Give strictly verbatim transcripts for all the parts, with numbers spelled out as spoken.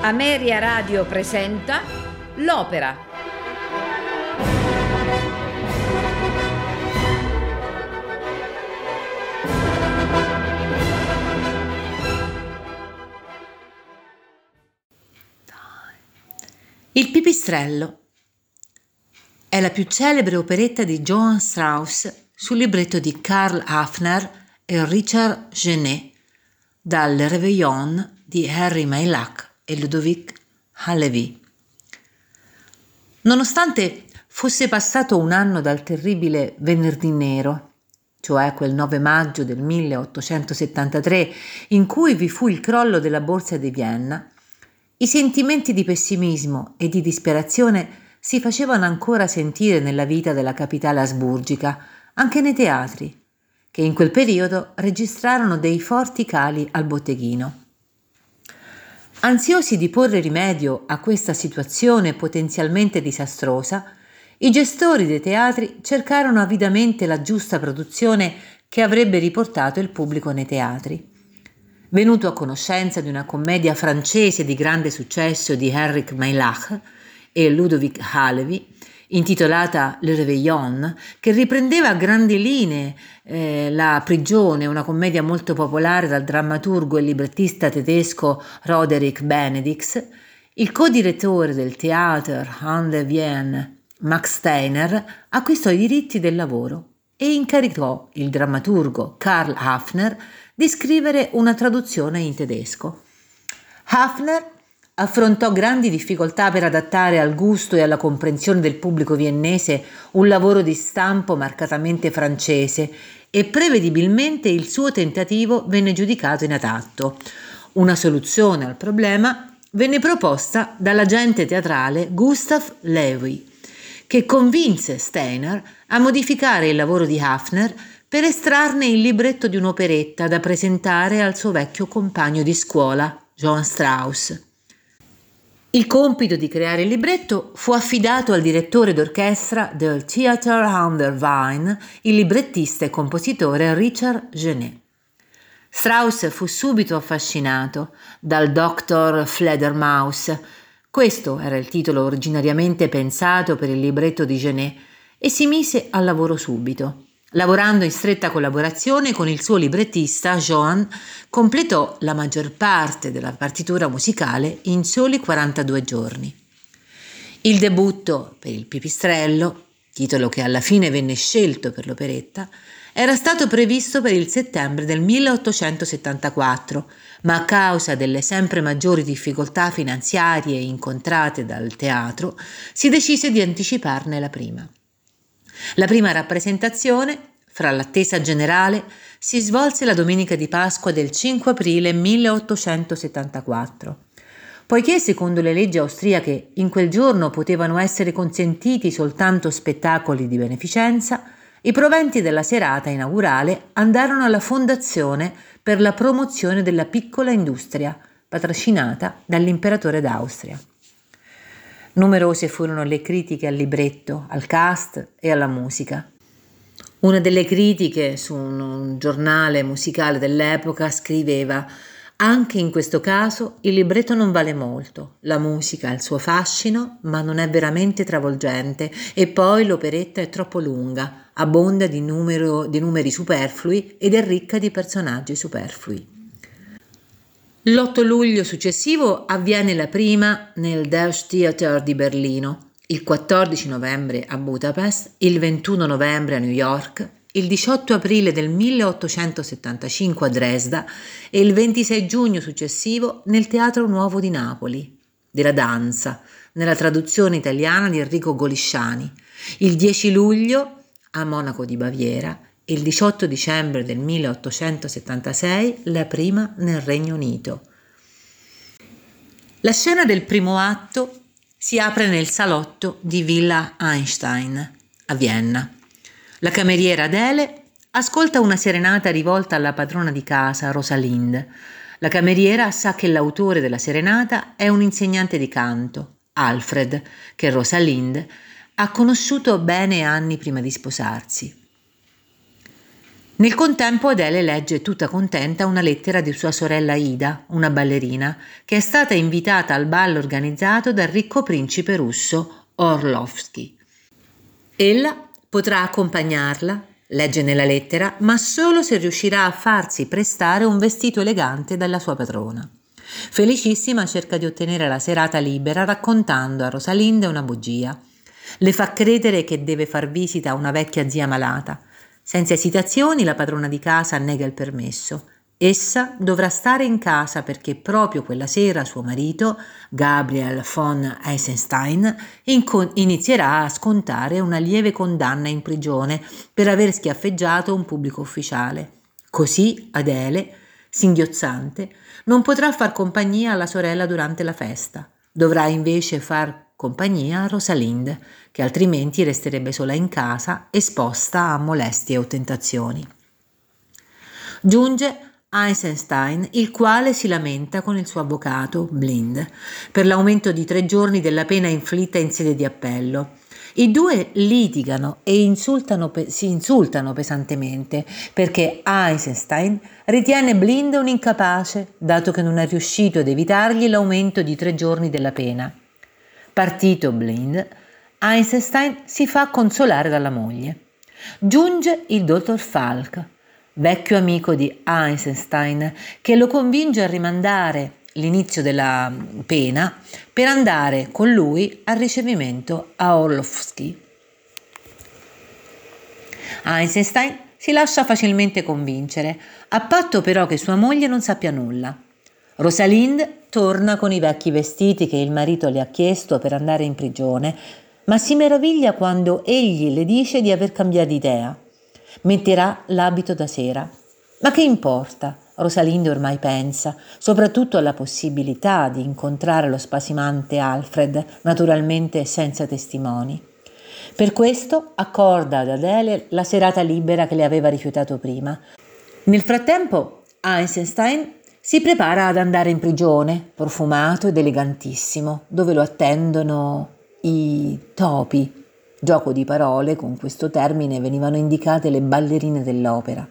Ameria Radio presenta L'Opera. Il Pipistrello è la più celebre operetta di Johann Strauss sul libretto di Karl Hafner e Richard Genet dal Réveillon di Henri Meilhac e Ludovic Halévy. Nonostante fosse passato un anno dal terribile Venerdì Nero, cioè quel nove maggio del milleottocentosettantatré in cui vi fu il crollo della borsa di Vienna, i sentimenti di pessimismo e di disperazione si facevano ancora sentire nella vita della capitale asburgica, anche nei teatri, che in quel periodo registrarono dei forti cali al botteghino. Ansiosi di porre rimedio a questa situazione potenzialmente disastrosa, i gestori dei teatri cercarono avidamente la giusta produzione che avrebbe riportato il pubblico nei teatri. Venuto a conoscenza di una commedia francese di grande successo di Henri Meilhac e Ludovic Halévy, intitolata Le Réveillon, che riprendeva a grandi linee eh, La prigione, una commedia molto popolare dal drammaturgo e librettista tedesco Roderick Benedix, il co-direttore del Theater an der Wien, Max Steiner, acquistò i diritti del lavoro e incaricò il drammaturgo Karl Hafner di scrivere una traduzione in tedesco. Hafner affrontò grandi difficoltà per adattare al gusto e alla comprensione del pubblico viennese un lavoro di stampo marcatamente francese e prevedibilmente il suo tentativo venne giudicato inadatto. Una soluzione al problema venne proposta dall'agente teatrale Gustav Lewy, che convinse Steiner a modificare il lavoro di Hafner per estrarne il libretto di un'operetta da presentare al suo vecchio compagno di scuola, Johann Strauss. Il compito di creare il libretto fu affidato al direttore d'orchestra del Theater an der Wien, il librettista e compositore Richard Genet. Strauss fu subito affascinato dal dottor Fledermaus. Questo era il titolo originariamente pensato per il libretto di Genet e si mise al lavoro subito. Lavorando in stretta collaborazione con il suo librettista, Johann completò la maggior parte della partitura musicale in soli quarantadue giorni. Il debutto per il Pipistrello, titolo che alla fine venne scelto per l'operetta, era stato previsto per il settembre del milleottocentosettantaquattro, ma a causa delle sempre maggiori difficoltà finanziarie incontrate dal teatro, si decise di anticiparne la prima. La prima rappresentazione, fra l'attesa generale, si svolse la domenica di Pasqua del cinque aprile milleottocentosettantaquattro. Poiché secondo le leggi austriache in quel giorno potevano essere consentiti soltanto spettacoli di beneficenza, i proventi della serata inaugurale andarono alla Fondazione per la promozione della piccola industria, patrocinata dall'imperatore d'Austria. Numerose furono le critiche al libretto, al cast e alla musica. Una delle critiche su un, un giornale musicale dell'epoca scriveva: «Anche in questo caso il libretto non vale molto, la musica ha il suo fascino, ma non è veramente travolgente, e poi l'operetta è troppo lunga, abbonda di, numero, di numeri superflui ed è ricca di personaggi superflui». L'otto luglio successivo avviene la prima nel Deutsches Theater di Berlino, il quattordici novembre a Budapest, il ventuno novembre a New York, il diciotto aprile del milleottocentosettantacinque a Dresda e il ventisei giugno successivo nel Teatro Nuovo di Napoli, della danza, nella traduzione italiana di Enrico Golisciani, il dieci luglio a Monaco di Baviera, il diciotto dicembre del milleottocentosettantasei la prima nel Regno Unito. La scena del primo atto si apre nel salotto di Villa Einstein a Vienna. La cameriera Adele ascolta una serenata rivolta alla padrona di casa, Rosalind. La cameriera sa che l'autore della serenata è un insegnante di canto, Alfred, che Rosalind ha conosciuto bene anni prima di sposarsi. Nel contempo Adele legge tutta contenta una lettera di sua sorella Ida, una ballerina, che è stata invitata al ballo organizzato dal ricco principe russo Orlovsky. Ella potrà accompagnarla, legge nella lettera, ma solo se riuscirà a farsi prestare un vestito elegante dalla sua padrona. Felicissima cerca di ottenere la serata libera raccontando a Rosalinde una bugia. Le fa credere che deve far visita a una vecchia zia malata. Senza esitazioni la padrona di casa nega il permesso. Essa dovrà stare in casa perché proprio quella sera suo marito, Gabriel von Eisenstein, inco- inizierà a scontare una lieve condanna in prigione per aver schiaffeggiato un pubblico ufficiale. Così Adele, singhiozzante, non potrà far compagnia alla sorella durante la festa. Dovrà invece far compagnia a Rosalinde, che altrimenti resterebbe sola in casa, esposta a molestie o tentazioni. Giunge Eisenstein, il quale si lamenta con il suo avvocato, Blind, per l'aumento di tre giorni della pena inflitta in sede di appello. I due litigano e insultano, si insultano pesantemente perché Eisenstein ritiene Blind un incapace, dato che non è riuscito ad evitargli l'aumento di tre giorni della pena. Partito Blind, Eisenstein si fa consolare dalla moglie. Giunge il dottor Falk, vecchio amico di Eisenstein, che lo convince a rimandare l'inizio della pena per andare con lui al ricevimento a Orlovsky. Eisenstein si lascia facilmente convincere, a patto però che sua moglie non sappia nulla. Rosalinde torna con i vecchi vestiti che il marito le ha chiesto per andare in prigione, ma si meraviglia quando egli le dice di aver cambiato idea. Metterà l'abito da sera. Ma che importa? Rosalinde ormai pensa, soprattutto alla possibilità di incontrare lo spasimante Alfred, naturalmente senza testimoni. Per questo accorda ad Adele la serata libera che le aveva rifiutato prima. Nel frattempo Eisenstein si prepara ad andare in prigione, profumato ed elegantissimo, dove lo attendono i topi. Gioco di parole, con questo termine venivano indicate le ballerine dell'opera.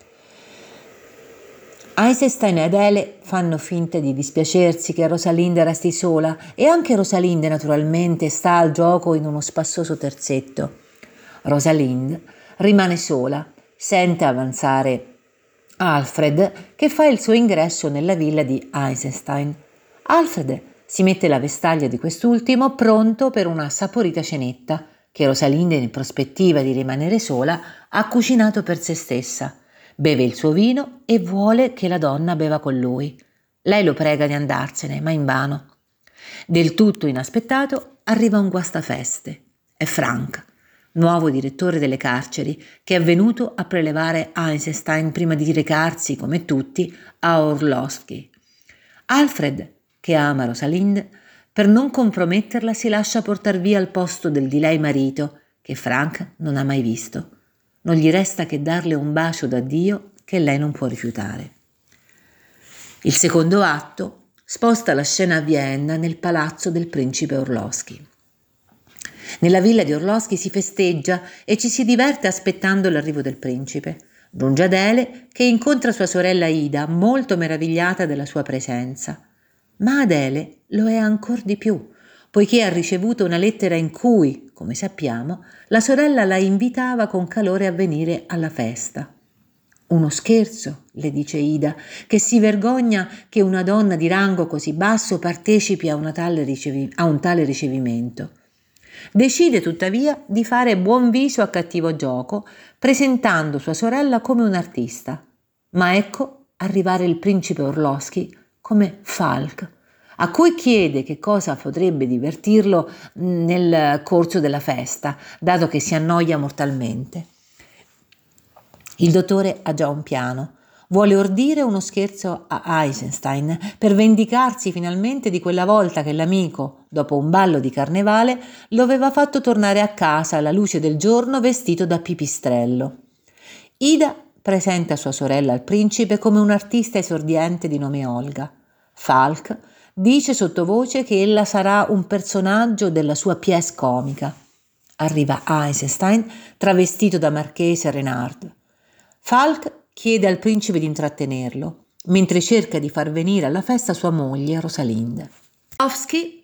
Eisenstein e Adele fanno finta di dispiacersi che Rosalinde resti sola e anche Rosalinde naturalmente sta al gioco in uno spassoso terzetto. Rosalinde rimane sola, sente avanzare Alfred che fa il suo ingresso nella villa di Eisenstein. Alfred si mette la vestaglia di quest'ultimo pronto per una saporita cenetta che Rosalinde, in prospettiva di rimanere sola, ha cucinato per se stessa. Beve il suo vino e vuole che la donna beva con lui. Lei lo prega di andarsene, ma invano. Del tutto inaspettato arriva un guastafeste. È Frank, nuovo direttore delle carceri, che è venuto a prelevare Eisenstein prima di recarsi, come tutti, a Orlovsky. Alfred, che ama Rosalinde, per non comprometterla si lascia portar via al posto del di lei marito, che Frank non ha mai visto. Non gli resta che darle un bacio d'addio che lei non può rifiutare. Il secondo atto sposta la scena a Vienna nel palazzo del principe Orlovsky. Nella villa di Orlovsky si festeggia e ci si diverte aspettando l'arrivo del principe. Giunge Adele che incontra sua sorella Ida, molto meravigliata della sua presenza. Ma Adele lo è ancor di più, poiché ha ricevuto una lettera in cui, come sappiamo, la sorella la invitava con calore a venire alla festa. Uno scherzo, le dice Ida, che si vergogna che una donna di rango così basso partecipi a, una tale ricevi- a un tale ricevimento. Decide tuttavia di fare buon viso a cattivo gioco, presentando sua sorella come un'artista. Ma ecco arrivare il principe Orlovsky come Falk, a cui chiede che cosa potrebbe divertirlo nel corso della festa, dato che si annoia mortalmente. Il dottore ha già un piano. Vuole ordire uno scherzo a Eisenstein per vendicarsi finalmente di quella volta che l'amico, dopo un ballo di carnevale, lo aveva fatto tornare a casa alla luce del giorno vestito da pipistrello. Ida presenta sua sorella al principe come un'artista esordiente di nome Olga. Falk dice sottovoce che ella sarà un personaggio della sua pièce comica. Arriva Eisenstein travestito da marchese Renard. Falk chiede al principe di intrattenerlo, mentre cerca di far venire alla festa sua moglie Rosalind. Rosowski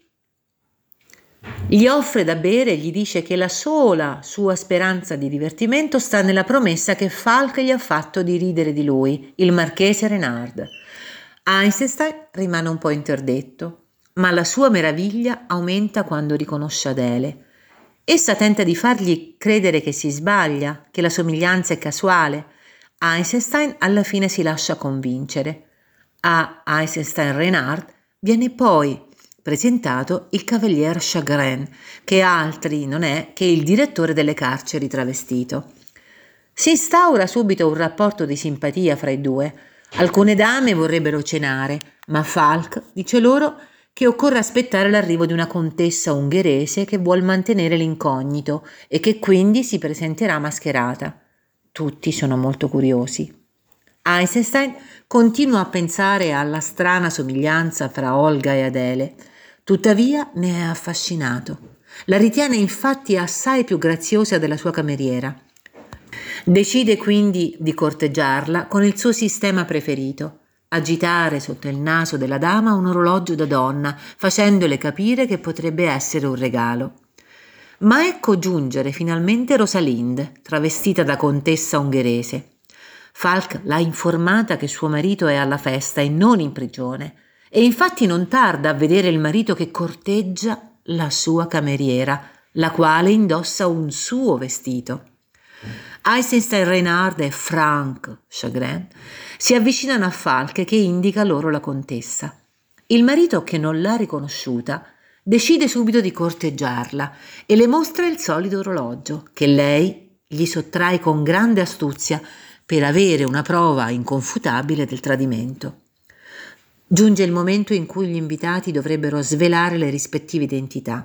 gli offre da bere e gli dice che la sola sua speranza di divertimento sta nella promessa che Falk gli ha fatto di ridere di lui, il marchese Renard. Eisenstein rimane un po' interdetto, ma la sua meraviglia aumenta quando riconosce Adele. Essa tenta di fargli credere che si sbaglia, che la somiglianza è casuale. Eisenstein alla fine si lascia convincere. A Eisenstein-Renard viene poi presentato il cavalier Chagrin, che altri non è che il direttore delle carceri travestito. Si instaura subito un rapporto di simpatia fra i due. Alcune dame vorrebbero cenare, ma Falk dice loro che occorre aspettare l'arrivo di una contessa ungherese che vuol mantenere l'incognito e che quindi si presenterà mascherata. Tutti sono molto curiosi. Eisenstein continua a pensare alla strana somiglianza fra Olga e Adele. Tuttavia ne è affascinato. La ritiene infatti assai più graziosa della sua cameriera. Decide quindi di corteggiarla con il suo sistema preferito: agitare sotto il naso della dama un orologio da donna, facendole capire che potrebbe essere un regalo. Ma ecco giungere finalmente Rosalind, travestita da contessa ungherese. Falk l'ha informata che suo marito è alla festa e non in prigione, e infatti non tarda a vedere il marito che corteggia la sua cameriera, la quale indossa un suo vestito. Eisenstein-Renard e Frank Chagrin si avvicinano a Falk che indica loro la contessa. Il marito, che non l'ha riconosciuta, decide subito di corteggiarla e le mostra il solito orologio, che lei gli sottrae con grande astuzia per avere una prova inconfutabile del tradimento. Giunge il momento in cui gli invitati dovrebbero svelare le rispettive identità.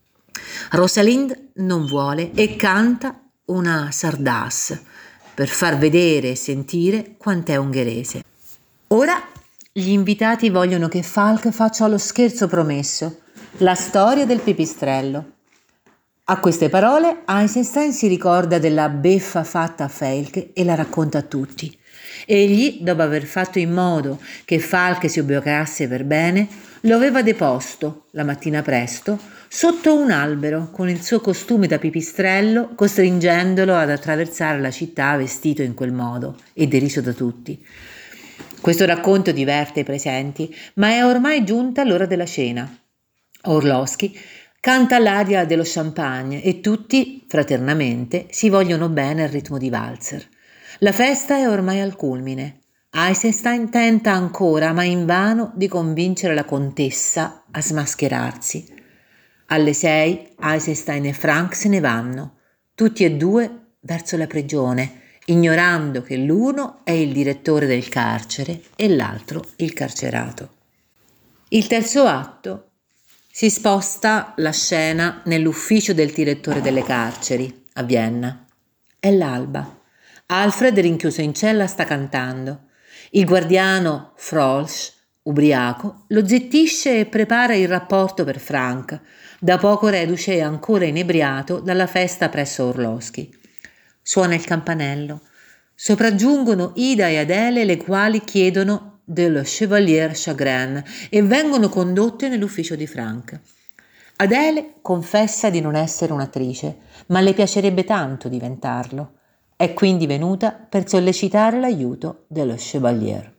Rosalind non vuole e canta una sardasse per far vedere e sentire quant'è ungherese. Ora gli invitati vogliono che Falk faccia lo scherzo promesso, la storia del pipistrello. A queste parole Eisenstein si ricorda della beffa fatta a Falk e la racconta a tutti. Egli, dopo aver fatto in modo che Falk si ubriacasse per bene, lo aveva deposto, la mattina presto, sotto un albero con il suo costume da pipistrello, costringendolo ad attraversare la città vestito in quel modo e deriso da tutti. Questo racconto diverte i presenti, ma è ormai giunta l'ora della cena. Orlowski canta l'aria dello champagne e tutti, fraternamente, si vogliono bene al ritmo di valzer. La festa è ormai al culmine. Eisenstein tenta ancora, ma invano, di convincere la contessa a smascherarsi. Alle sei Eisenstein e Frank se ne vanno, tutti e due verso la prigione, ignorando che l'uno è il direttore del carcere e l'altro il carcerato. Il terzo atto si sposta la scena nell'ufficio del direttore delle carceri a Vienna. È l'alba. Alfred, rinchiuso in cella, sta cantando. Il guardiano Frolsch, ubriaco, lo zittisce e prepara il rapporto per Frank, da poco reduce e ancora inebriato dalla festa presso Orlowski. Suona il campanello. Sopraggiungono Ida e Adele, le quali chiedono dello Chevalier Chagrin e vengono condotte nell'ufficio di Frank. Adele confessa di non essere un'attrice, ma le piacerebbe tanto diventarlo. È quindi venuta per sollecitare l'aiuto dello Chevalier.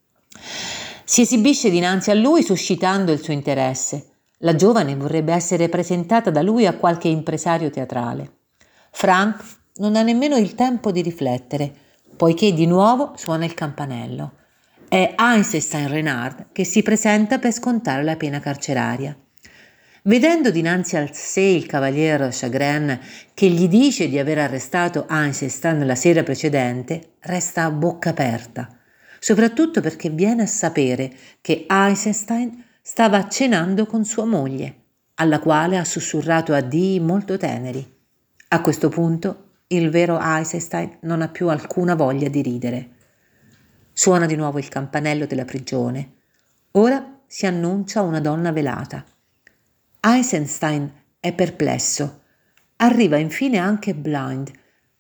Si esibisce dinanzi a lui suscitando il suo interesse. La giovane vorrebbe essere presentata da lui a qualche impresario teatrale. Frank non ha nemmeno il tempo di riflettere, poiché di nuovo suona il campanello. È Eisenstein-Renard che si presenta per scontare la pena carceraria. Vedendo dinanzi a sé il cavalier Chagrin, che gli dice di aver arrestato Eisenstein la sera precedente, resta a bocca aperta, soprattutto perché viene a sapere che Eisenstein stava cenando con sua moglie, alla quale ha sussurrato addii molto teneri. A questo punto il vero Eisenstein non ha più alcuna voglia di ridere. Suona di nuovo il campanello della prigione. Ora si annuncia una donna velata. Eisenstein è perplesso. Arriva infine anche Blind,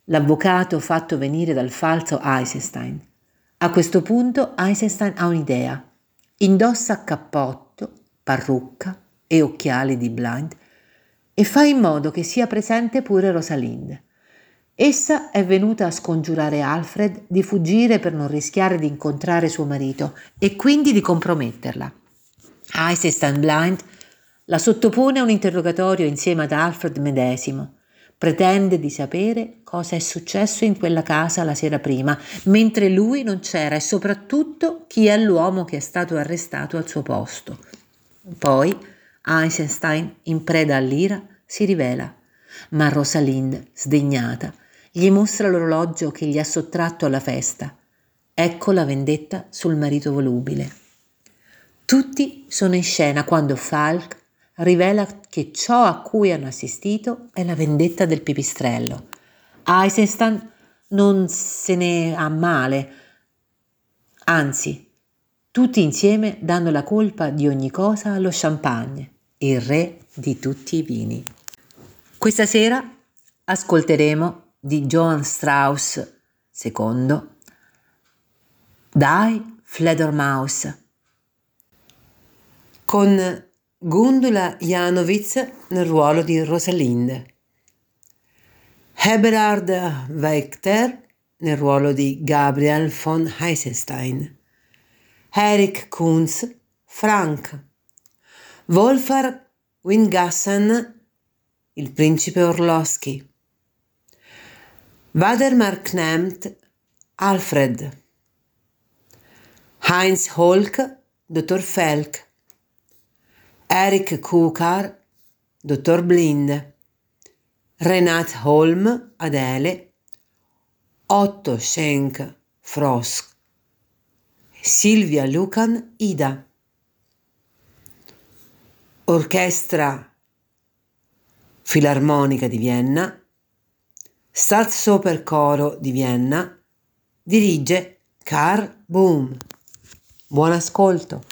l'avvocato fatto venire dal falso Eisenstein. A questo punto Eisenstein ha un'idea. Indossa cappotto, parrucca e occhiali di blind e fa in modo che sia presente pure Rosalind. Essa è venuta a scongiurare Alfred di fuggire per non rischiare di incontrare suo marito e quindi di comprometterla. Eisenstein Blind la sottopone a un interrogatorio insieme ad Alfred medesimo. Pretende di sapere cosa è successo in quella casa la sera prima, mentre lui non c'era, e soprattutto chi è l'uomo che è stato arrestato al suo posto. Poi Eisenstein, in preda all'ira, si rivela, ma Rosalind, sdegnata, gli mostra l'orologio che gli ha sottratto alla festa. Ecco la vendetta sul marito volubile. Tutti sono in scena quando Falk rivela che ciò a cui hanno assistito è la vendetta del pipistrello. Eisenstein non se ne ha male, anzi, tutti insieme danno la colpa di ogni cosa allo champagne, il re di tutti i vini. Questa sera ascolteremo di Johann Strauss secondo Die Fledermaus con Gundula Janowitz nel ruolo di Rosalind, Eberhard Wachter nel ruolo di Gabriel von Eisenstein, Erich Kunz, Frank, Wolfgang Wingassen, il principe Orlowski, Waldemar Knemt, Alfred, Heinz Holk, dottor Felk, Eric Kukar, dottor Blind, Renat Holm, Adele, Otto Schenk, Frosk, Silvia Lucan, Ida. Orchestra Filarmonica di Vienna, Staatsoperchoro di Vienna, dirige Karl Bohm. Buon ascolto.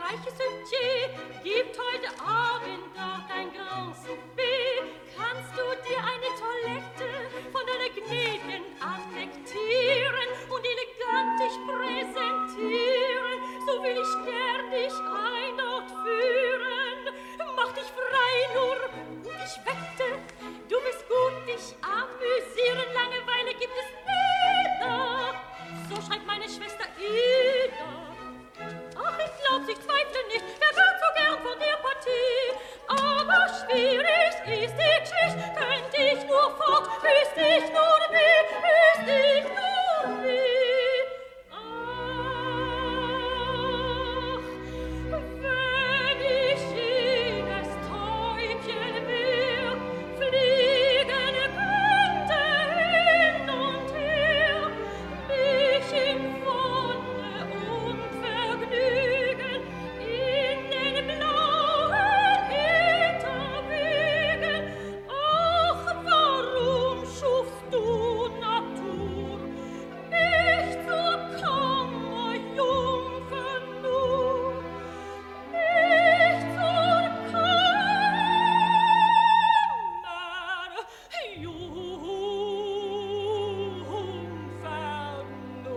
reiche Sötier gibt heute Abend dort ein Grand Souper. Kannst du dir eine Toilette von deiner gnädigen annektieren und elegant dich präsentieren? So will ich gern dich ein dort führen. Mach dich frei nur und ich wette, du wirst gut dich amüsieren. Langeweile gibt es nie. So schreibt meine Schwester Ida. Ach, ich glaub's, ich zweifle nicht, wer wird so gern von der Partie? Aber schwierig ist die Geschichte, könnt ich nur fort, wüsst ich nur wie, wüsst ich nur wie. Ach, wenn ich jenes Täubchen wär, fliegen könnte hin und her, mich in Wonne und Vergnügen in den blauen Äther wegen. Ach, warum schufst du Natur mich zur Kammerjungfer nur, mich zur Kammerjungfer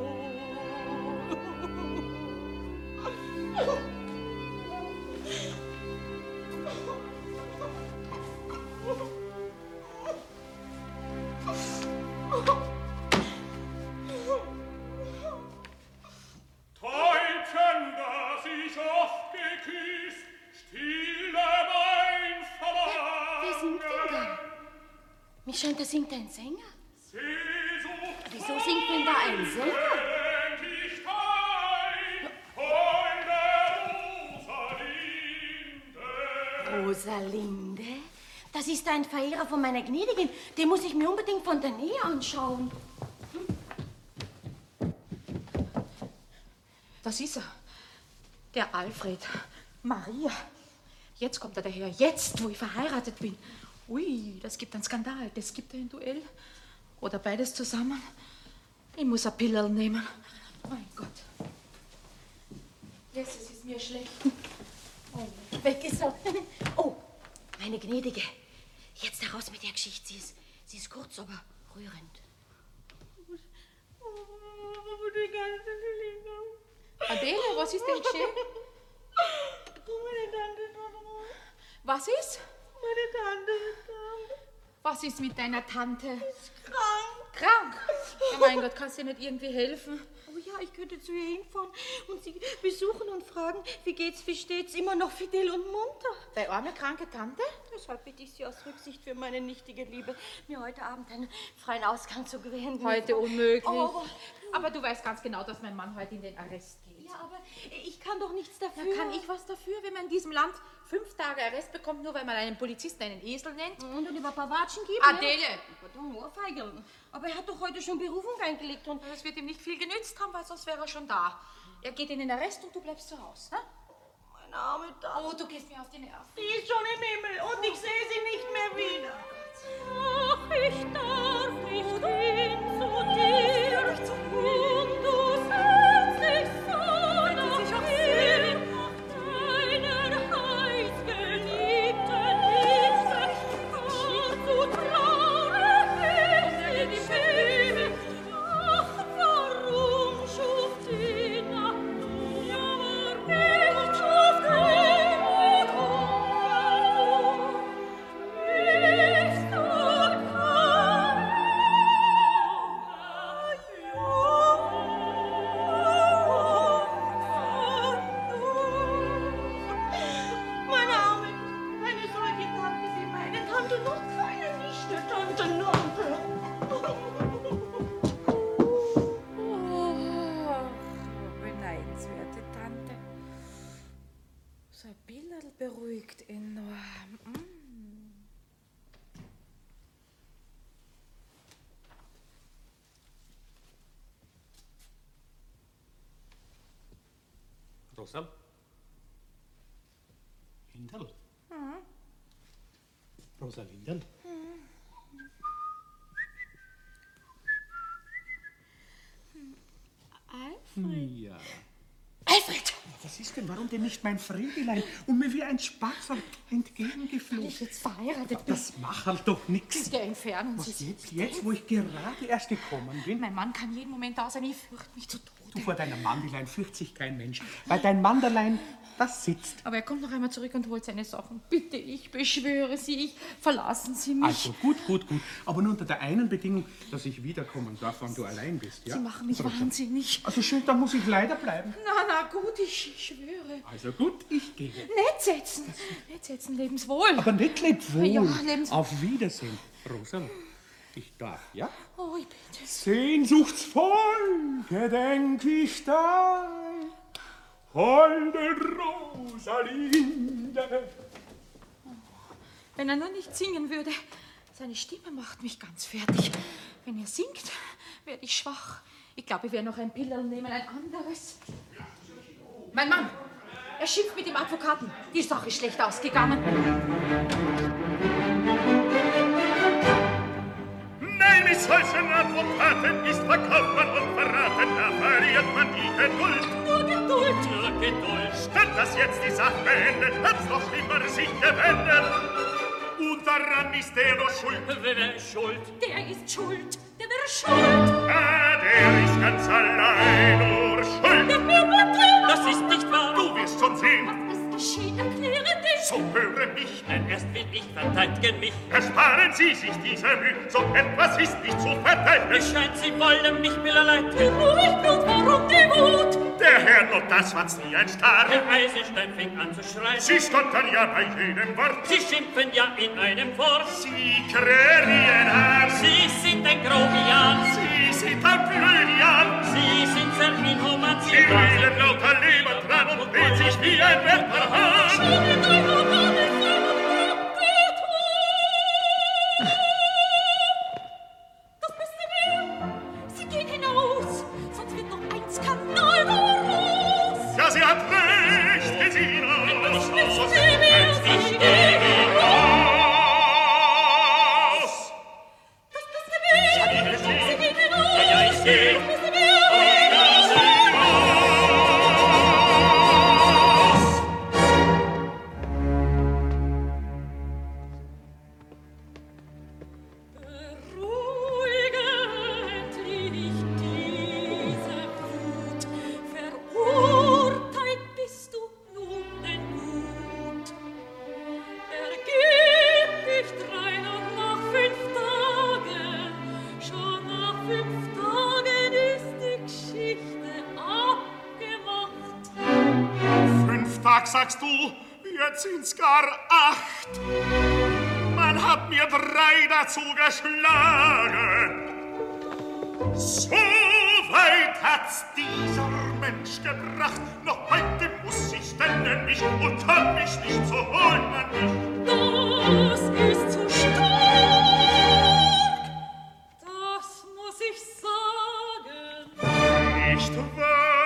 Täubchen, das ich oft geküsst, stille mein Wer singt denn Verlangen. da? Mich scheint, da singt ein Sänger. Sehnsucht Wieso singt denn da ein Sänger? endlich dein von der Rosalinde. Rosalinde? Das ist ein Verehrer von meiner Gnädigen. Den muss ich mir unbedingt von der Nähe anschauen. Das ist er. Der Alfred. Maria. Jetzt kommt er daher. Jetzt, wo ich verheiratet bin. Ui, das gibt einen Skandal. Das gibt ein Duell. Oder beides zusammen. Ich muss ein Pillerl nehmen. Mein Gott. Jetzt es ist mir schlecht. Oh, weg ist er. Oh, meine Gnädige. Jetzt heraus mit der Geschichte. Sie ist, sie ist kurz, aber rührend. Adele, was ist denn geschehen? Meine Tante ist tot. Was ist? Meine Tante ist krank. Was ist mit deiner Tante? Ist krank. Krank? Oh mein Gott, kannst du dir nicht irgendwie helfen? Oh ja, ich könnte zu ihr hinfahren und sie besuchen und fragen, wie geht's, wie steht's, immer noch fidel und munter. Deine arme, kranke Tante? Deshalb bitte ich Sie aus Rücksicht für meine nichtige Liebe, mir heute Abend einen freien Ausgang zu gewähren. Heute unmöglich. Oh, aber, Aber du weißt ganz genau, dass mein Mann heute in den Arrest geht. ja, aber ich kann doch nichts dafür. Ja, kann ich was dafür, wenn man in diesem Land fünf Tage Arrest bekommt, nur weil man einen Polizisten einen Esel nennt? Und dann über Pawatschen gibt? Adele! Ja. Pardon, Ohrfeigeln. Aber er hat doch heute schon Berufung eingelegt und... Das wird ihm nicht viel genützt haben, weil sonst wäre er schon da. Er geht in den Arrest und du bleibst zu Hause. Ne? Meine arme Tante. Oh, du gehst mir auf die Nerven. Die ist schon im Himmel und ich sehe sie nicht mehr wieder. Ach, ich darf nicht hin zu dir und du sehnst dich so nach mir, nach deiner heißgeliebten Liebe. Ach, so traurig ist die Schöne. Ach, warum schuf die Natur nicht schuf die Natur? Nicht so meine Arme, eine solche Tante wie meine Tante, noch keine Nichte, Tante Nonte. Oh, beneidenswerte Tante. So ein Bilderl beruhigt enorm. Mm. Rosal? Hindel? Rosalindel? Alfred? Ja. Alfred! Was Was ist denn, warum denn nicht mein Friedelein und mir wie ein Sparsack entgegengeflogen? Weil ich jetzt verheiratet bin. Das macht halt doch nichts. Der entfernen Was Sie jetzt, jetzt, wo ich gerade erst gekommen bin? Mein Mann kann jeden Moment da sein, ich fürchte mich zu Tode. Du, vor deinem Mandelein fürcht sich kein Mensch, weil dein Mandelein, das sitzt. Aber er kommt noch einmal zurück und holt seine Sachen. Bitte, ich beschwöre Sie, ich, verlassen Sie mich. Also gut, gut, gut. Aber nur unter der einen Bedingung, dass ich wiederkommen darf, wenn du allein bist, ja? Sie machen mich Rosa. wahnsinnig. Also schön, dann muss ich leider bleiben. Na, na gut, ich, ich schwöre. Also gut, ich gehe. Nicht setzen, nicht setzen, lebenswohl. Aber nicht lebt wohl. Ja, lebenswohl. Auf Wiedersehen, Rosa. Ich darf, ja? Oh, ich bitte. Sehnsuchtsvoll gedenk ich dein, holde Rosalinde. Wenn er nur nicht singen würde, seine Stimme macht mich ganz fertig. Wenn er singt, werde ich schwach. Ich glaube, ich werde noch ein Pillerl nehmen, ein anderes. Mein Mann, er schimpft mit dem Advokaten. Die Sache ist schlecht ausgegangen. Nein, mit solchen Advokaten ist verkauft man und verraten, da verliert man die Geduld. Nur Geduld, nur Geduld. Statt dass jetzt die Sache beendet, hat's noch schlimmer sich gewendet. Und daran ist der doch schuld. Wer ist schuld? Der ist schuld, der wäre schuld. Ah, der ist ganz allein nur schuld. Das ist nicht wahr. Du wirst schon sehen. Was geschieht, erkläre dich. So höre mich. Denn erst will ich verteidigen mich. Ersparen Sie sich diese Mühe. So etwas ist nicht zu verteidigen. Es scheint, Sie wollen mich billerleid. Ruhig, Blut, warum die Wut? Der Herr nur das war's wie ein Star. Der Eisenstein fing an zu schreien. Sie stottern ja bei jedem Wort. Sie schimpfen ja in einem Wort. Sie krähen an. Sie sind ein Grobian. Sie sind ein Blödian. Sie sind sehr inhuman. Sie reden lauter Leber dran und dreht sich wie ein Wetterhahn. Das müsste mehr. Sie gehen hinaus, sonst wird noch ein Skandal daraus. Ja, sie hat recht, Gesina. Ich wüsste, wer sie gehen hinaus. Das müsste mehr. Sie gehen hinaus. Ja, ja, ich geh. Das müsste mehr. Sagst du, jetzt sind's gar acht. Man hat mir drei dazu geschlagen. So weit hat's dieser Mensch gebracht. Noch heute muss ich stellen mich und kann mich nicht so holen an mich. Das ist zu stark. Das muss ich sagen. Nicht wahr?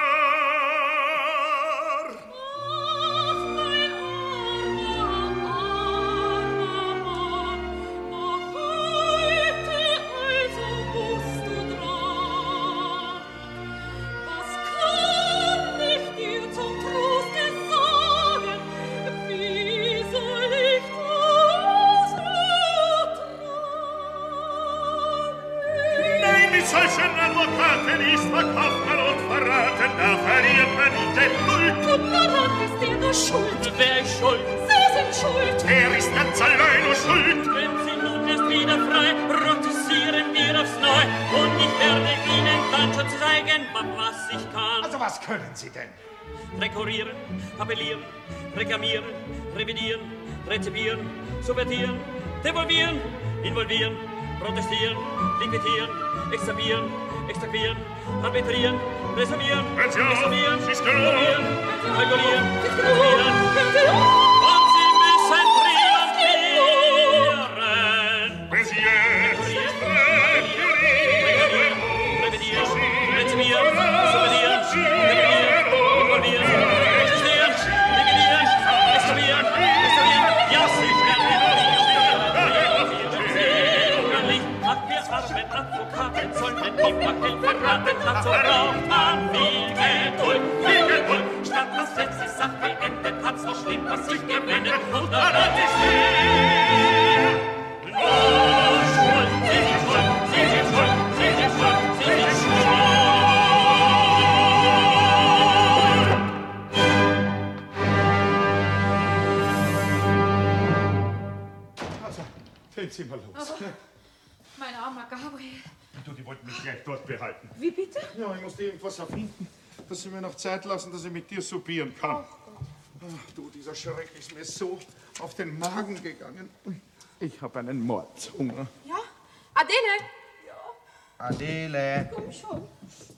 Solchen Advokaten ist verkauft man und verraten, da verliert man die Geduld. Und daran ist er nur schuld. Wer ist schuld? Sie sind schuld. Er ist ganz allein nur schuld. Wenn Sie nun erst wieder frei, protestieren wir aufs Neu. Und ich werde Ihnen dann schon zeigen, was ich kann. Also was können Sie denn? Rekurrieren, appellieren, reklamieren, revidieren, rezipieren, subvertieren, devolvieren, involvieren, protestieren, liquidieren, extrahieren, extrahieren, arbitrieren, reservieren, reservieren, kalkulieren, kalkulieren, kalkulieren. Und Sie müssen triumphieren. Wenn Sie jetzt nicht rekurrieren, revidieren, rezipieren, subvertieren, devolvieren, involvieren, protestieren, liquidieren, extrahieren, extrahieren. Ja, Sie werden Advokaten sollten die Fackel verraten, dazu braucht man viel Geduld, viel Geduld, statt das letzte was ich gewinne, und daran ist er. Los, schuld, sie sind schuld, sie sind schuld, sie sind schuld, sie sind schuld. Also, jetzt sind wir los. Aber, mein armer Gabriel. Du, die wollten mich gleich dort behalten. Wie bitte? Ja, ich musste irgendwas erfinden, dass sie mir noch Zeit lassen, dass ich mit dir soupieren kann. Ach, du, dieser Schreck ist mir so auf den Magen gegangen. Ich habe einen Mordshunger. Ja? Adele! Adele! Komm schon.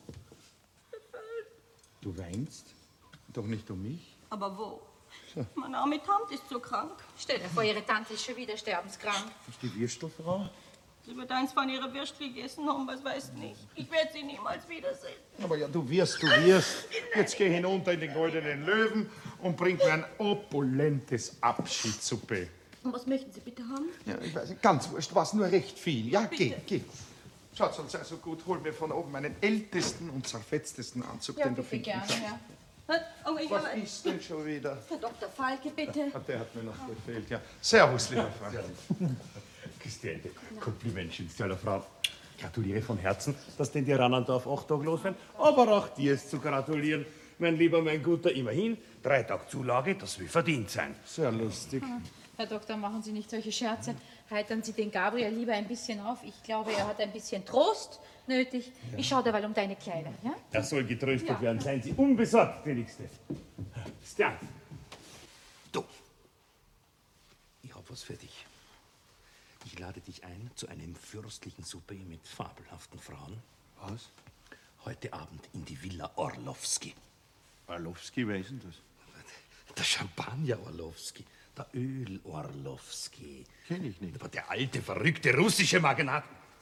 Du weinst? Doch nicht um mich? Aber wo? Meine arme Tante ist so krank. Stell dir vor, ihre Tante ist schon wieder sterbenskrank. Ist die Würstelfrau? Sie wird eins von ihrer Würstel gegessen haben, was weiß nicht. Ich werde sie niemals wiedersehen. Aber ja, du wirst, du wirst. Jetzt geh hinunter in den Goldenen Löwen und bring mir ein opulentes Abschiedssuppe. Und was möchten Sie bitte haben? Ja, ich weiß nicht, ganz wurscht, was nur recht viel. Ja, geh, geh. Schatz, sei so gut, hol mir von oben meinen ältesten und zerfetztesten Anzug, Ja, den du bitte finden gerne, kannst. ja. Oh, ich Was habe... ist denn schon wieder? Herr Doktor Falke, bitte. Ah, der hat mir noch gefehlt, ja. Servus, lieber Freund. Christiane, Komplimentchen, tolle Frau. Gratuliere von Herzen, dass denn die Rannendorf acht Tage los werden. Aber auch dir ist zu gratulieren, mein Lieber, mein Guter. Immerhin, drei Tage Zulage, das will verdient sein. Sehr lustig. Herr Doktor, machen Sie nicht solche Scherze. Heitern Sie den Gabriel lieber ein bisschen auf. Ich glaube, er hat ein bisschen Trost nötig. Ich schaue derweil um deine Kleider, ja? Er soll getröstet Ja. werden. Seien Sie unbesorgt, gnädigste. Stern. Du. Ich hab was für dich. Ich lade dich ein zu einem fürstlichen Souper mit fabelhaften Frauen. Was? Heute Abend in die Villa Orlowski. Orlowski, wer ist denn das? Der Champagner Orlowski. Der Öl Orlowski. Kenn ich nicht. Aber der alte, verrückte russische Magnat.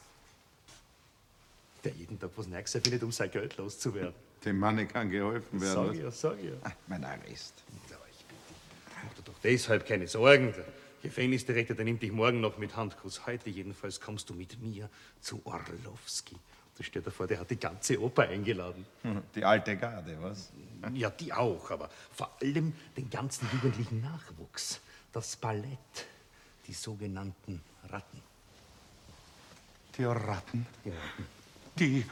Der jeden Tag was Neues findet, um sein Geld loszuwerden. Dem Manne kann geholfen werden. Sag was? ich ja, sag ich ja. Ah, mein Arrest. Ja, ich bitte. Mach dir doch deshalb keine Sorgen. Der Gefängnisdirektor, der nimmt dich morgen noch mit Handkuss. Heute jedenfalls kommst du mit mir zu Orlowski. Da steht davor, der hat die ganze Oper eingeladen. Die alte Garde, was? Ja, die auch, aber vor allem den ganzen jugendlichen Nachwuchs. Das Ballett, die sogenannten Ratten. Die Ratten. Die Ratten. Die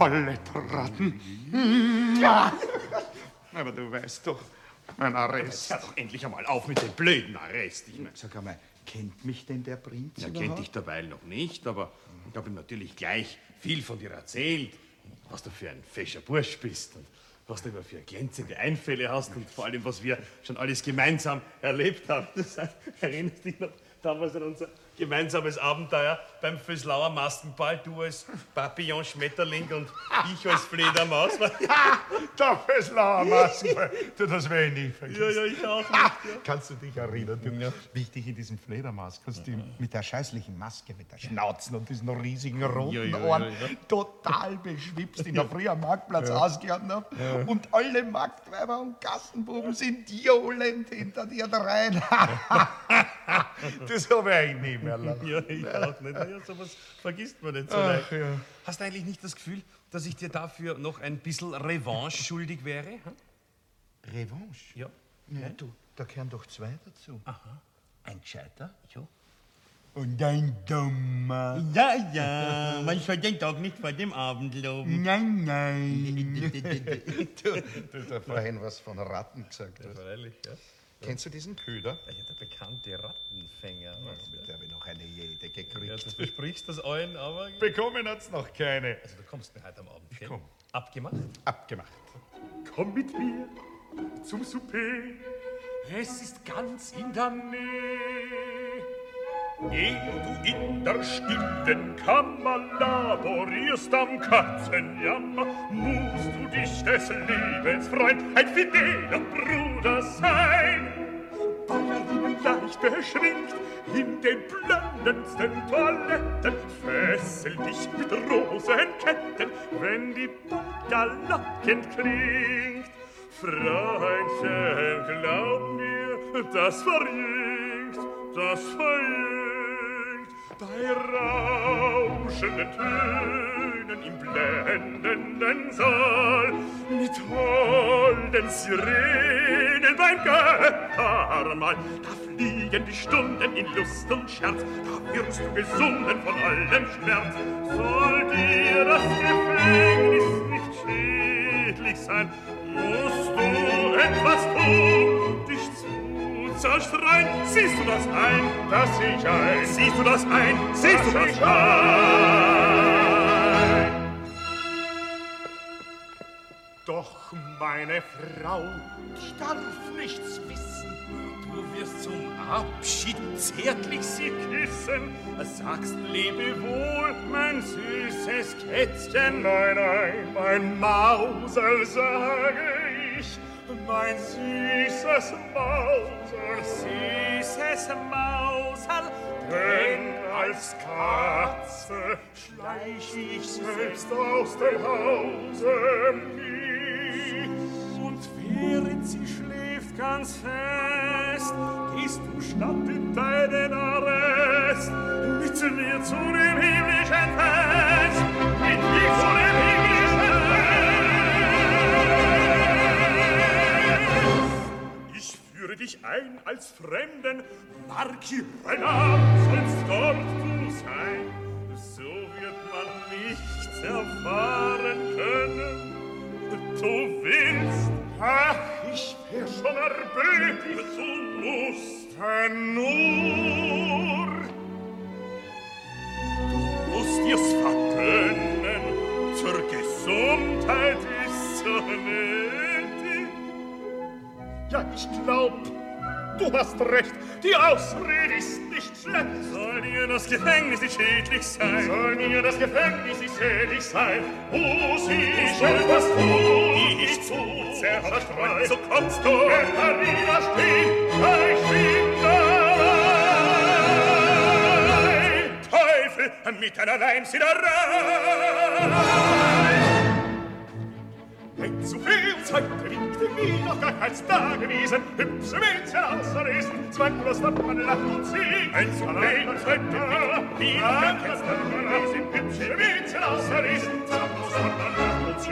Ballettratten. Ja! Aber du weißt doch, mein Arrest. Hör doch endlich einmal auf mit dem blöden Arrest. Ich mein, Sag einmal, kennt mich denn der Prinz er überhaupt? kennt dich derweil noch nicht, aber ich habe ihm natürlich gleich viel von dir erzählt, was du für ein fescher Bursch bist und was du immer für glänzende Einfälle hast und vor allem, was wir schon alles gemeinsam erlebt haben. Das heißt, erinnerst dich noch damals an unser gemeinsames Abenteuer beim Vöslauer Maskenball, du als Papillon-Schmetterling und ich als Fledermaus. Der Vöslauer Maskenball. Du, das werde ich nie vergessen. Ja, ja, ich auch nicht. Ja. Kannst du dich erinnern, du, wie ich dich in diesem Fledermauskostüm mit der scheußlichen Maske, mit der Schnauzen und diesen riesigen roten Ja, ja, ja, Ohren ja. total beschwipst in der Früh am Marktplatz ausgehauen habe? Und alle Marktweiber und Gassenbuben sind johlend hinter dir rein. Das habe ich nie mehr lachen. Ja, ich auch nicht. Ja, sowas vergisst man nicht so Ach, leicht. ja. Hast du eigentlich nicht das Gefühl, dass ich dir dafür noch ein bisschen Revanche schuldig wäre? Hm? Revanche? Ja. Ja, du, da gehören doch zwei dazu. Aha. Ein Gescheiter Ja. und ein Dummer. Ja, ja, man soll den Tag nicht vor dem Abend loben. Nein, nein. du, du hast ja vorhin was von Ratten gesagt. Ja, Hast. freilich, ja. Kennst du diesen Köder? Ja, der bekannte Rattenfänger. Mit der habe ich noch eine jede Ja, gekriegt. du versprichst das allen, aber... Bekommen hat's noch keine. Also du kommst mir heute am Abend, gell? komm. Abgemacht? Abgemacht. Komm mit mir zum Souper, es ist ganz in der Nähe. Ehe du in der stillen Kammer laborierst am Katzenjammer, musst du dich des Lebens Freund, ein fideler Bruder sein. Ballerinnen leicht beschränkt in den blendendsten Toiletten, fesseln dich mit Rosenketten, wenn die Polka lockend klingt. Freundchen, glaub mir, das verjüngt, das verjüngt. Bei rauschenden Tönen im blendenden Saal, mit holden Sirenen beim Göttermahl. Da fliegen die Stunden in Lust und Scherz, da wirst du gesunden von allem Schmerz. Soll dir das Gefängnis nicht schädlich sein, musst du etwas tun, dich zu zerstreuen. Siehst du das ein? Das sehe ich ein. Siehst du das ein? Siehst du das ein? Doch, meine Frau, ich darf nichts wissen. Du wirst zum Abschied zärtlich sie küssen. Sagst Lebewohl, mein süßes Kätzchen. Nein, nein, mein Mausel, sage ich. Mein süßes Mausel, süßes Mausel. Denn als Katze schleich ich selbst aus dem Hause nie. Und während sie schläft ganz fest, gehst du statt in deinen Arrest mit mir zu dem himmlischen Fest, mit mir zu dem himmlischen Fest. Ich führe dich ein als Fremden, Marquis Renard sollst dort du sein, so wird man nichts erfahren können. Du willst, ach, ich wär schon erbötig, du musst nur, du musst dir's vergönnen, zur Gesundheit ist so nötig. Ja, ich glaub, du hast recht, die Ausrede ist nicht schlecht. Soll dir das Gefängnis nicht schädlich sein? Soll mir das Gefängnis nicht schädlich sein? Muss ich etwas tun, dich zu zerstreuen? So kommst du, wenn er widerstehen, ich bin dabei. Teufel, mit einer Leimsiederei. Ein zu viel Zeit winkte mir noch gar keins dagewesen. Hübsche Mädchen außerlesen, zwanglos wird man lacht und singt. Ein zu viel Zeit winkte mir noch gar keins dagewesen. Hübsche Mädchen außerlesen, zwanglos wird man lacht und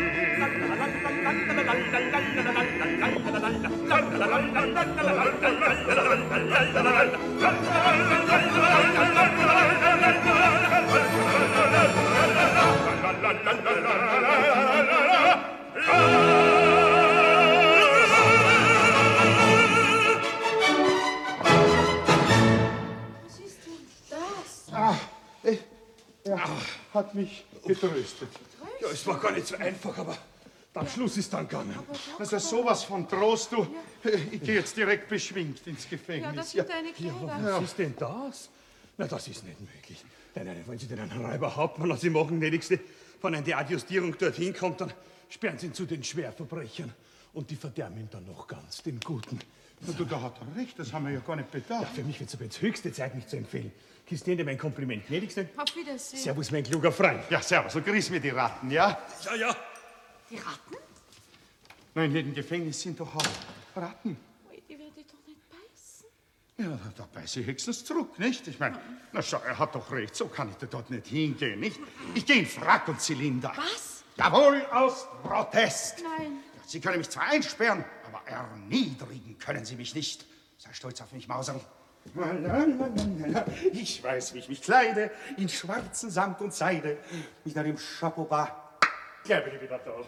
Was ist denn das? Ah, äh, er hat mich getröstet. Ja, es war gar nicht so einfach, aber am Schluss ist dann gegangen. Also sowas von Trost, du. Ich gehe jetzt direkt beschwingt ins Gefängnis. Ja, das sind deine Kleider. Was ist denn das? Na, das ist nicht möglich. Nein, nein, wollen Sie denn einen Räuberhauptmann aus dem machen, gnädigste? Wenn eine Adjustierung dorthin kommt, dann sperren Sie ihn zu den Schwerverbrechern. Und die verderben ihn dann noch ganz, den Guten. Na, du, da hat er recht, das haben wir ja gar nicht bedacht. Ja, für mich wird es aber jetzt höchste Zeit, mich zu empfehlen. Christine, dir mein Kompliment, gnädigste. Auf Wiedersehen. Servus, mein kluger Freund. Ja, servus, so grüß mir die Ratten, ja? Ja, ja. Die Ratten? Nein, in dem Gefängnis sind doch auch Ratten. Ui, die werden doch nicht beißen. Ja, da, da beiße ich höchstens zurück, nicht? Ich meine, na schau, er hat doch recht, so kann ich da dort nicht hingehen, nicht? Ich gehe in Frack und Zylinder. Was? Jawohl, aus Protest. Nein. Sie können mich zwar einsperren, aber erniedrigen können Sie mich nicht. Sei stolz auf mich, Mauserl. Ich weiß, wie ich mich kleide, in schwarzen Samt und Seide, mit einem Chapeau bas. Gleich bin ich wieder da.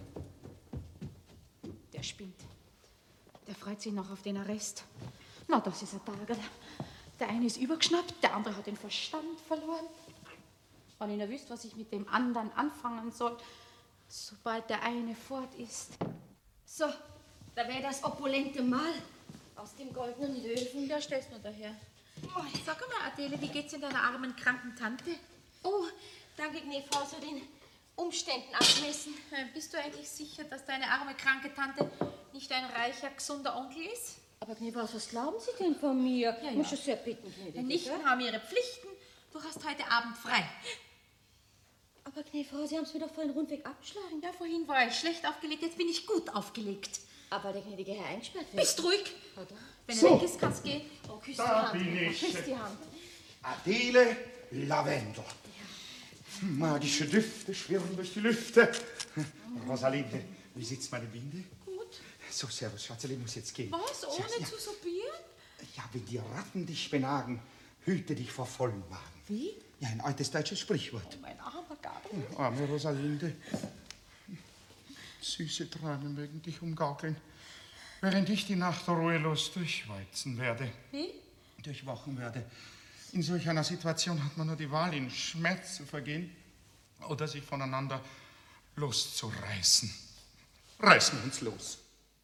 Der spinnt. Der freut sich noch auf den Arrest. Na, das ist ein Tagel. Der eine ist übergeschnappt, der andere hat den Verstand verloren. Wenn ich nur wüsste, was ich mit dem anderen anfangen soll, sobald der eine fort ist. So, da wäre das opulente Mahl aus dem goldenen Löwen. Der stellst nur daher. Oh, sag mal, Adele, wie geht's in deiner armen, kranken Tante? Oh, danke, Gnäfrau, so den Umständen abmessen. Äh, Bist du eigentlich sicher, dass deine arme, kranke Tante nicht ein reicher, gesunder Onkel ist? Aber Gnäfrau, was glauben Sie denn von mir? Ja, Ich muss ja. schon sehr bitten, gnädige. Die Nichten haben ihre Pflichten. Du hast heute Abend frei. Aber Gnäfrau, Sie haben es mir doch vorhin rundweg abgeschlagen. Ja, vorhin war ich schlecht aufgelegt, jetzt bin ich gut aufgelegt. Aber der gnädige Herr eingesperrt wird. Bist ruhig. Oder? Wenn So. er weg ist, kannst du gehen. Oh, küss Da die Hand. bin Gnäfrau, ich. Küss die Hand. Adele Lavendel. Magische Düfte schwirren durch die Lüfte. Rosalinde, wie sitzt meine Binde? Gut. So, servus, Schatzeli, ich muss jetzt gehen. Was, ohne Servus, ja. zu soupieren? Ja, wenn die Ratten dich benagen, hüte dich vor vollem Magen. Wie? Ja, ein altes deutsches Sprichwort. Oh, mein armer Gabriel. Oh, arme Rosalinde. Süße Tränen mögen dich umgaukeln, während ich die Nacht ruhelos durchwalzen werde. Wie? Durchwachen werde. In solch einer Situation hat man nur die Wahl, in Schmerz zu vergehen oder sich voneinander loszureißen. Reißen wir uns los.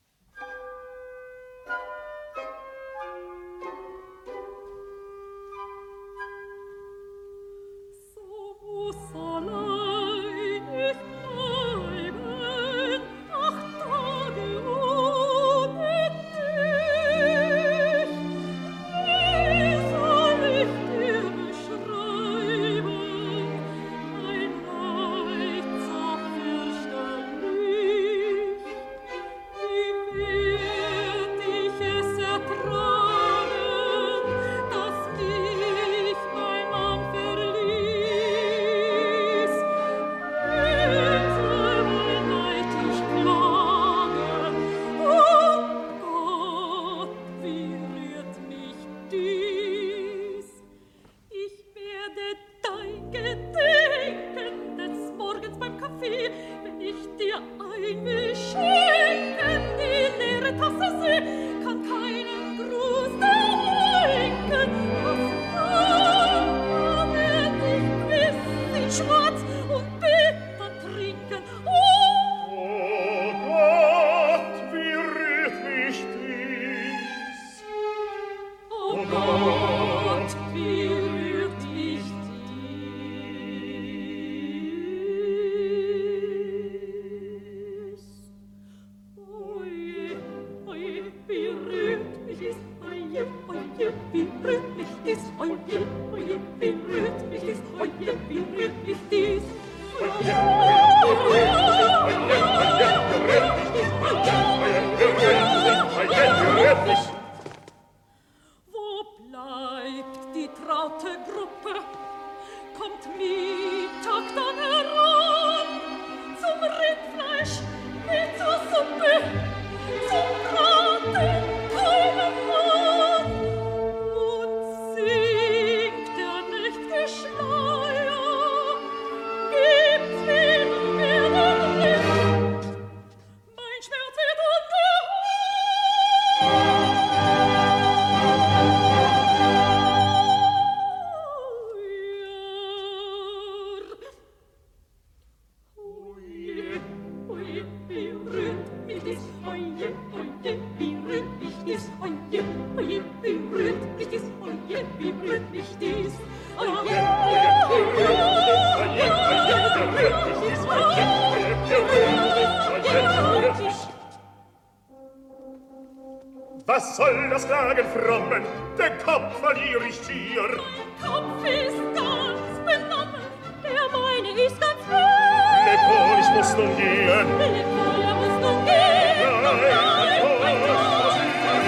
Was soll das Klagen frommen? Den Kopf verliere ich schier. Mein Kopf ist ganz benommen, der meine ist ganz fest. Lepol, ich muss nun gehen. Lepol, er muss nun gehen. Nein, Lepol, mein Kopf ist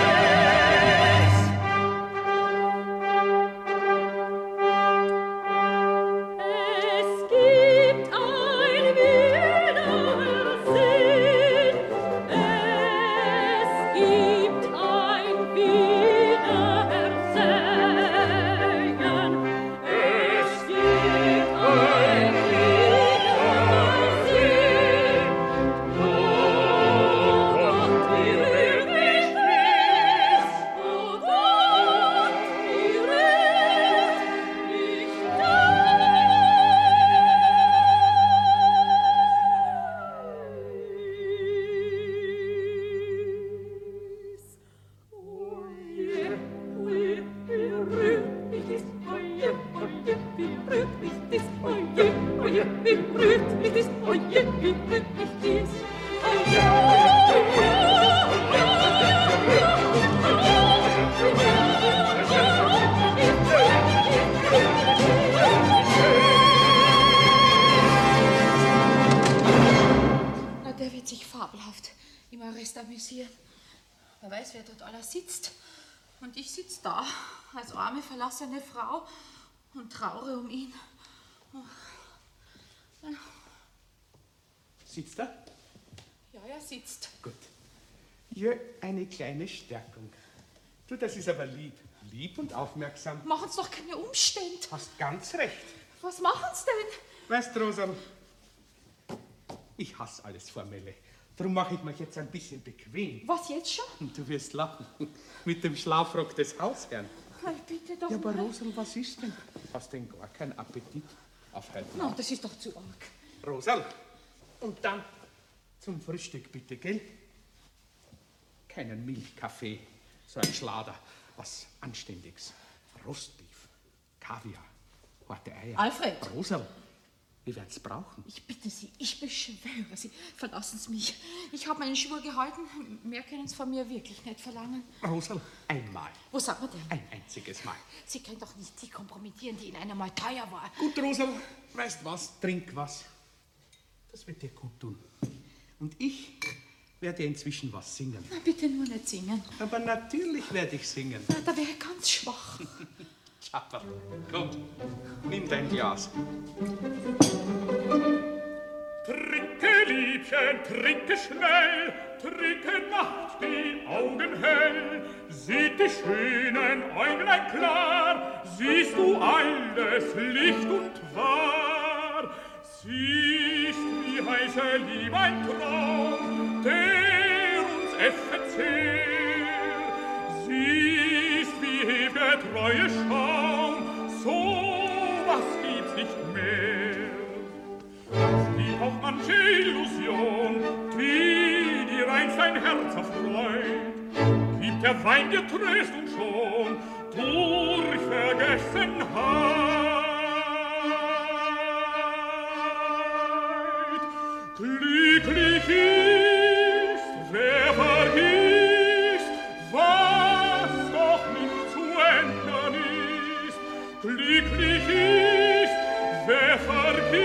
Es gibt ein wilder Sinn. Es gibt ein wilder Segen. Es gibt ein wilder Sinn. Oh Gott, wie rührt mich dies? Oh Gott, wie rührt mich Na, der wird sich fabelhaft im Arrest amüsieren. Wer weiß, wer dort alles sitzt. Und ich sitze da, als arme, verlassene Frau und traure um ihn. Oh, Sitzt er? Ja, er sitzt. Gut. Hier eine kleine Stärkung. Du, das ist aber lieb. Lieb und aufmerksam. Machen Sie doch keine Umstände. Hast ganz recht. Was machen Sie denn? Weißt du, Rosa, ich hasse alles Formelle. Darum mache ich mich jetzt ein bisschen bequem. Was, jetzt schon? Und du wirst lachen. Mit dem Schlafrock des Hausherrn. Hey, bitte doch Ja, aber mal. Rosal, was ist denn? Hast denn gar keinen Appetit auf heute Na, Nacht? das ist doch zu arg. Rosal, und dann zum Frühstück bitte, gell? Keinen Milchkaffee, so ein Schlader, was Anständiges. Rostbeef, Kaviar, harte Eier. Alfred! Rosal, wir werden's brauchen. Ich bitte Sie, ich beschwöre Sie, verlassen Sie mich. Ich habe meinen Schwur gehalten, mehr können Sie von mir wirklich nicht verlangen. Rosal, einmal. Wo sagt man denn? Ein einziges Mal. Sie können doch nicht die kompromittieren, die Ihnen einmal teuer war. Gut, Rosal, weißt was? Trink was. Das wird dir gut tun. Und ich werde inzwischen was singen. Na, bitte nur nicht singen. Aber natürlich werde ich singen. Na, da wäre ich ganz schwach. Schapper, komm, nimm dein Glas. Trinke, Liebchen, trinke schnell, trinke Nacht die Augen hell. Sieht die schönen Äuglein klar, siehst du alles Licht und wahr. Siehst, wie heiße Liebe ein Traum, der uns äffet sehr. Siehst, wie ewige Treue Schaum, so was gibt's nicht mehr. Es gibt auch manche Illusion, die dir einst dein Herz erfreut. Gibt der Wein dir Trost und schon durch Vergessenheit. Glücklich ist, wer vergisst, was doch nicht zu ändern ist. Glücklich ist, wer vergisst,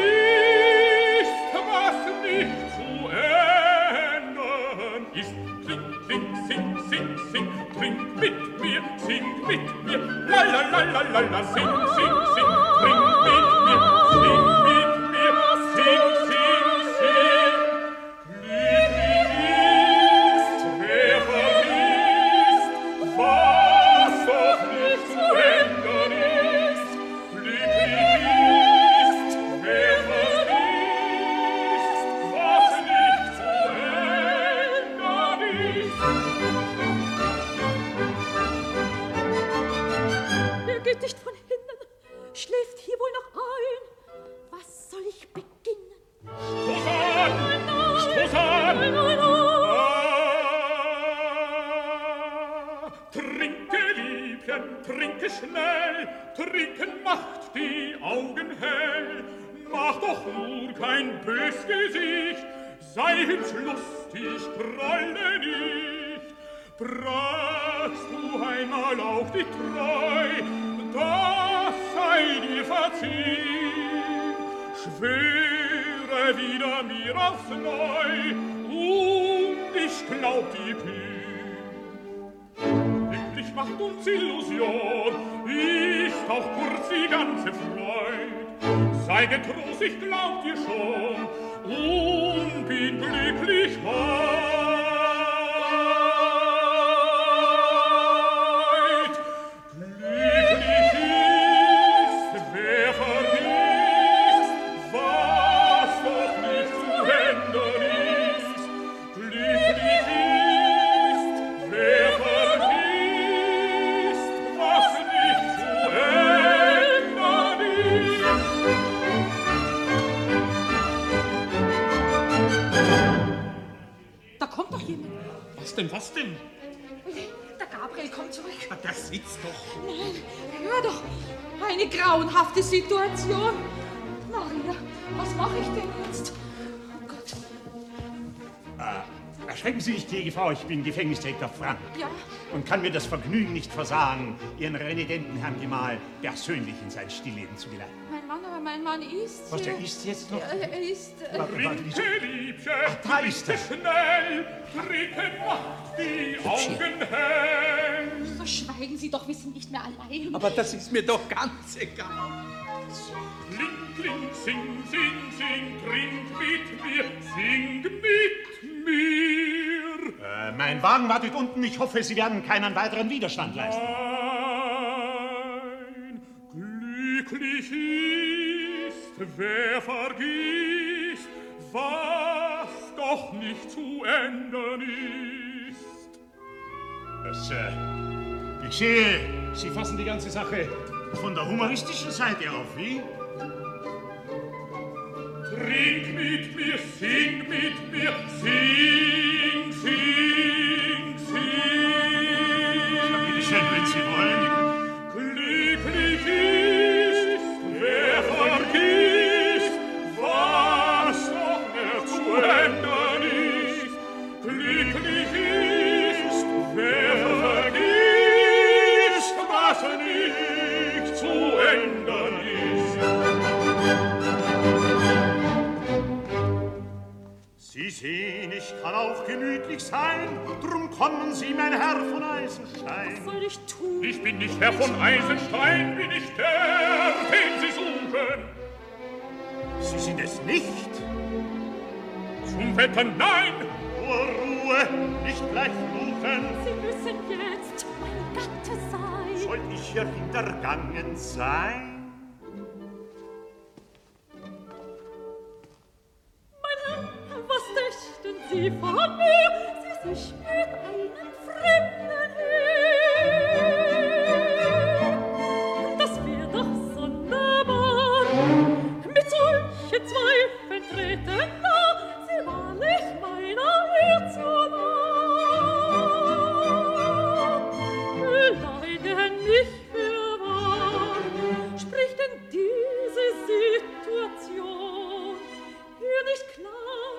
was nicht zu ändern ist. Trink, trink, sing, sing, sing, trink mit mir, sing mit mir, la la la la la la, sing, sing, sing, trink mit mir, sing mit mir, sing, sing, sing. Glücklich ist, wer vergisst, was doch nicht zu ändern ist. Glücklich ist, wer vergisst, was nicht zu ändern ist. Er geht nicht von hinnen, schläft hier wohl noch ein. Was soll ich beginnen? Stoß an! Stoß an! Nein, nein, Ah, trinke, Liebchen, trinke schnell, trinken macht die Augen hell. Mach doch nur kein bös Gesicht, sei hübsch lustig, pralle nicht. Brachst du einmal auch die Treu, das sei dir verziehen. Schwöre wieder mir aufs Neu, und ich glaub die Pie. Glücklich macht uns Illusion, ist auch kurz die ganze Freud. Sei getrost, ich glaub dir schon, und bin glücklich heut. Glücklich ist, wer vergisst, was doch nicht zu ändern ist. Glücklich ist, wer vergisst, was nicht zu ändern ist. Da kommt doch jemand. Was denn, was denn? Der Gabriel kommt zurück. Ah, der sitzt doch. Nein, hör doch. Eine grauenhafte Situation. Maria, was mache ich denn jetzt? Oh Gott. Äh, erschrecken Sie sich, gnädige Frau, ich bin Gefängnisdirektor Frank. Ja? Und kann mir das Vergnügen nicht versagen, Ihren renitenten Herrn Gemahl persönlich in sein Stillleben zu geleiten. Mein Mann, aber mein Mann isst. Was, der isst jetzt noch? Ja, er isst. Äh, Trinke, Liebchen, da ist er. schnell, trinken macht die Augen hell. So schweigen Sie doch, wir sind nicht mehr allein. Aber das ist mir doch ganz egal. Kling, kling, sing, sing, sing, trink mit mir, sing mit mir. Äh, mein Wagen wartet unten. Ich hoffe, Sie werden keinen weiteren Widerstand leisten. Nein, glücklich ist, wer vergisst, was doch nicht zu ändern ist. Das, äh, ich sehe, Sie fassen die ganze Sache von der humoristischen Seite auf, wie? Trink mit mir, sing mit mir, sing, sing, sing. Ja, bitte schön, wenn Sie wollen. Glücklich ist, wer vergisst, was noch mehr zu ändern ist. Glücklich ist, wer vergisst, was nicht zu ändern ist. Sie sehen, ich kann auch gemütlich sein, drum kommen Sie, mein Herr von Eisenstein. Was soll ich tun? Ich bin nicht Herr von Eisenstein, bin ich der, den Sie suchen. Sie sind es nicht. Zum Wetter nein. Nur Ruhe, nicht gleich fluchen. Sie müssen jetzt mein Gatte sein. Soll ich hier hintergangen sein? Was dächten Sie von mir, Sie sich mit einem Fremden hin? Das wär doch sonderbar, mit solchen Zweifeln treten nah, Sie wahrlich meiner Ehr zu nah. Leiden nicht für wahr, spricht denn diese Situation hier nicht klar?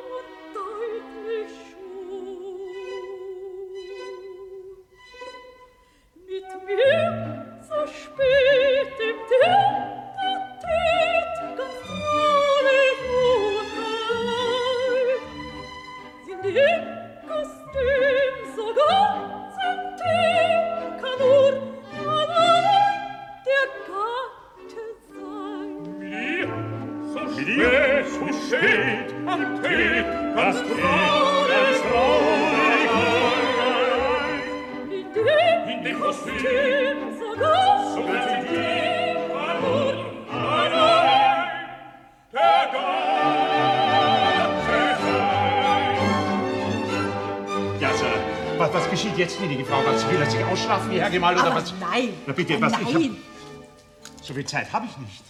Mit mir so spät im Tät-a-Tät, ganz traurig und allein, sind im Kostüm so ganz intim, kann nur allein der Gatte sein. Mir so spät, so spät am Tät, ganz traurig, traurig allein, in dem Kostüm so ganz so ganz intim, kann nur allein der Gatte sein. Ja, Sir, was, was geschieht jetzt, gnädige Frau? Was will er sich ausschlafen, wie Herr Gemahl, oder Aber was? nein. Na bitte, was? Ich hab, Nein. so viel Zeit habe ich nicht.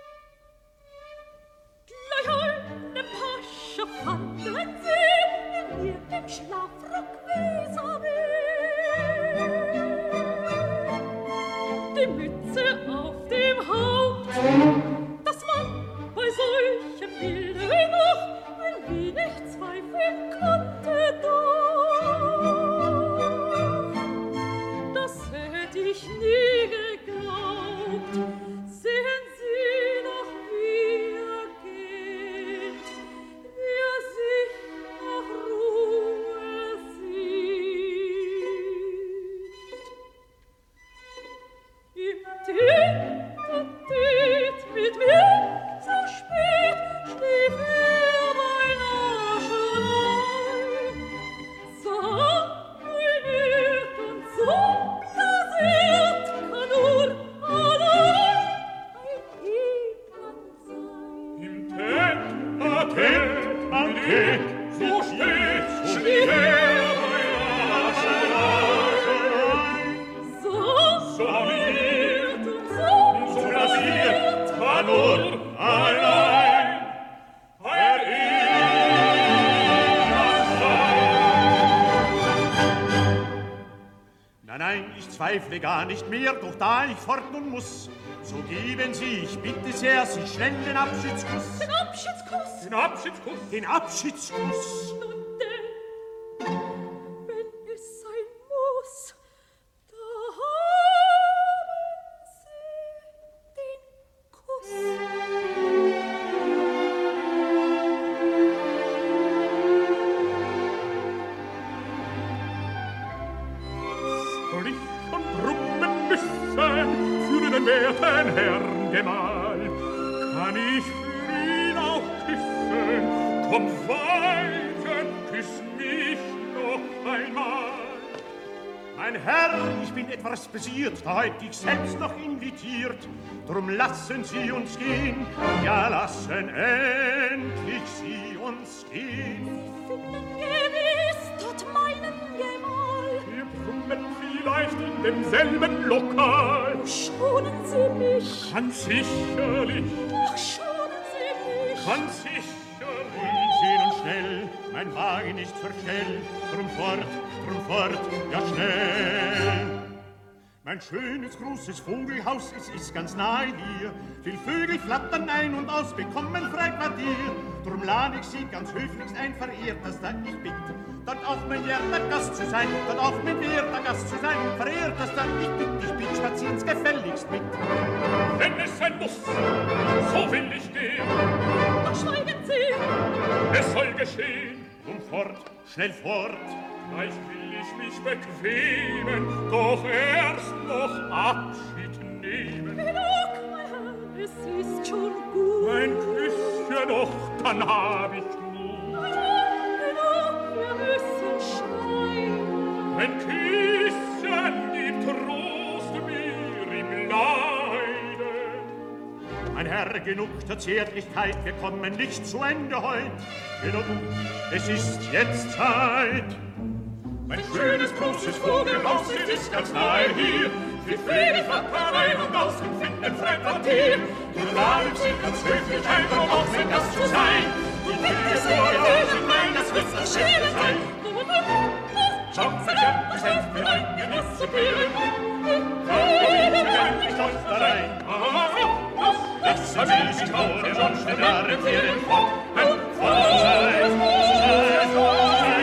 Gleich eine Pasche fanden sie in ihrem Schlafrock vis-à-vis. Die Mütze auf dem Haupt, dass man bei solchem Bilde noch ein wenig zweifeln konnte doch. Das hätt ich nie geglaubt. Sehen Sie doch, wie er geht, wie er sich nach Ruhe sieht. Im Tät-a-Tät mit mir so spät schlief er beinahe schon ein. So ruiniert und so blasiert kann nur allein ein Ehemann sein. Im Tät-a-Tät, am Tät, so spät schlief er beinahe schon ein. So So ruiniert und so so blasiert kann nur allein ein Ehemann sein. Nein, nein, ich zweifle gar nicht mehr, doch da ich fort nun muss, so geben Sie, ich bitte sehr, Sie schnell den Abschiedskuss. Den Abschiedskuss. Den Abschiedskuss. Den Abschiedskuss. Nun denn, wenn es sein muss, da haben Sie den Kuss. den werten Herrn Gemahl. Kann ich für ihn auch küssen? Komm weiter, küss mich noch einmal. Mein Herr, ich bin etwas begiert, da heut ich selbst noch invitiert. Drum lassen Sie uns gehen, ja lassen endlich Sie uns gehen. Sie finden gewiss dort meinen Gemahl. Wir brummen vielleicht in demselben Lokal. Oh, schonen Sie mich. Ganz sicherlich. Ach, schonen Sie mich. Ganz sicherlich. Sehen und schnell, mein Wagen nicht verstellt, drum fort, drum fort, ja schnell. Mein schönes, großes Vogelhaus, es ist ganz nahe hier. Viel Vögel flattern ein und aus, bekommen Freiquartier. Drum lade ich Sie ganz höflichst ein, verehrtester, ich bitt, dort auch mein werter Gast zu sein, dort auch mein werter Gast zu sein, verehrtester, ich bitt, ich bitt, spazieren's gefälligst mit. Wenn es sein muss, so will ich gehen. Doch schweigen Sie. Es soll geschehen. Drum fort, schnell fort. Gleich will ich mich bequemen, doch erst noch Abschied nehmen. Genug, mein Herr, es ist schon gut. Ein Küsschen noch, dann hab ich Mut. Genug, wir müssen schweigen. Ein Küsschen gibt Trost mir im Leide. Mein Herr, genug der Zärtlichkeit, wir kommen nicht zu Ende heut. Genug, es ist jetzt Zeit. Mein schönes, großes Vogelhaus, es ist ganz nahe hier. Wir Vögel flattern ein und aus und finden Freiquartier. Wir laden Sie ganz höflich ein, um auch mein Gast zu sein. Die Vögel vor sind mein, das wird das Schöne sein. Schaut sich an, das Heft mir ein, gewiss zu gehen. Warum ich gar nicht auf da rein? Lassen Sie sich vor dem Anschnitt arretieren fort. Ein Vorzeit, Vorzeit, Vorzeit.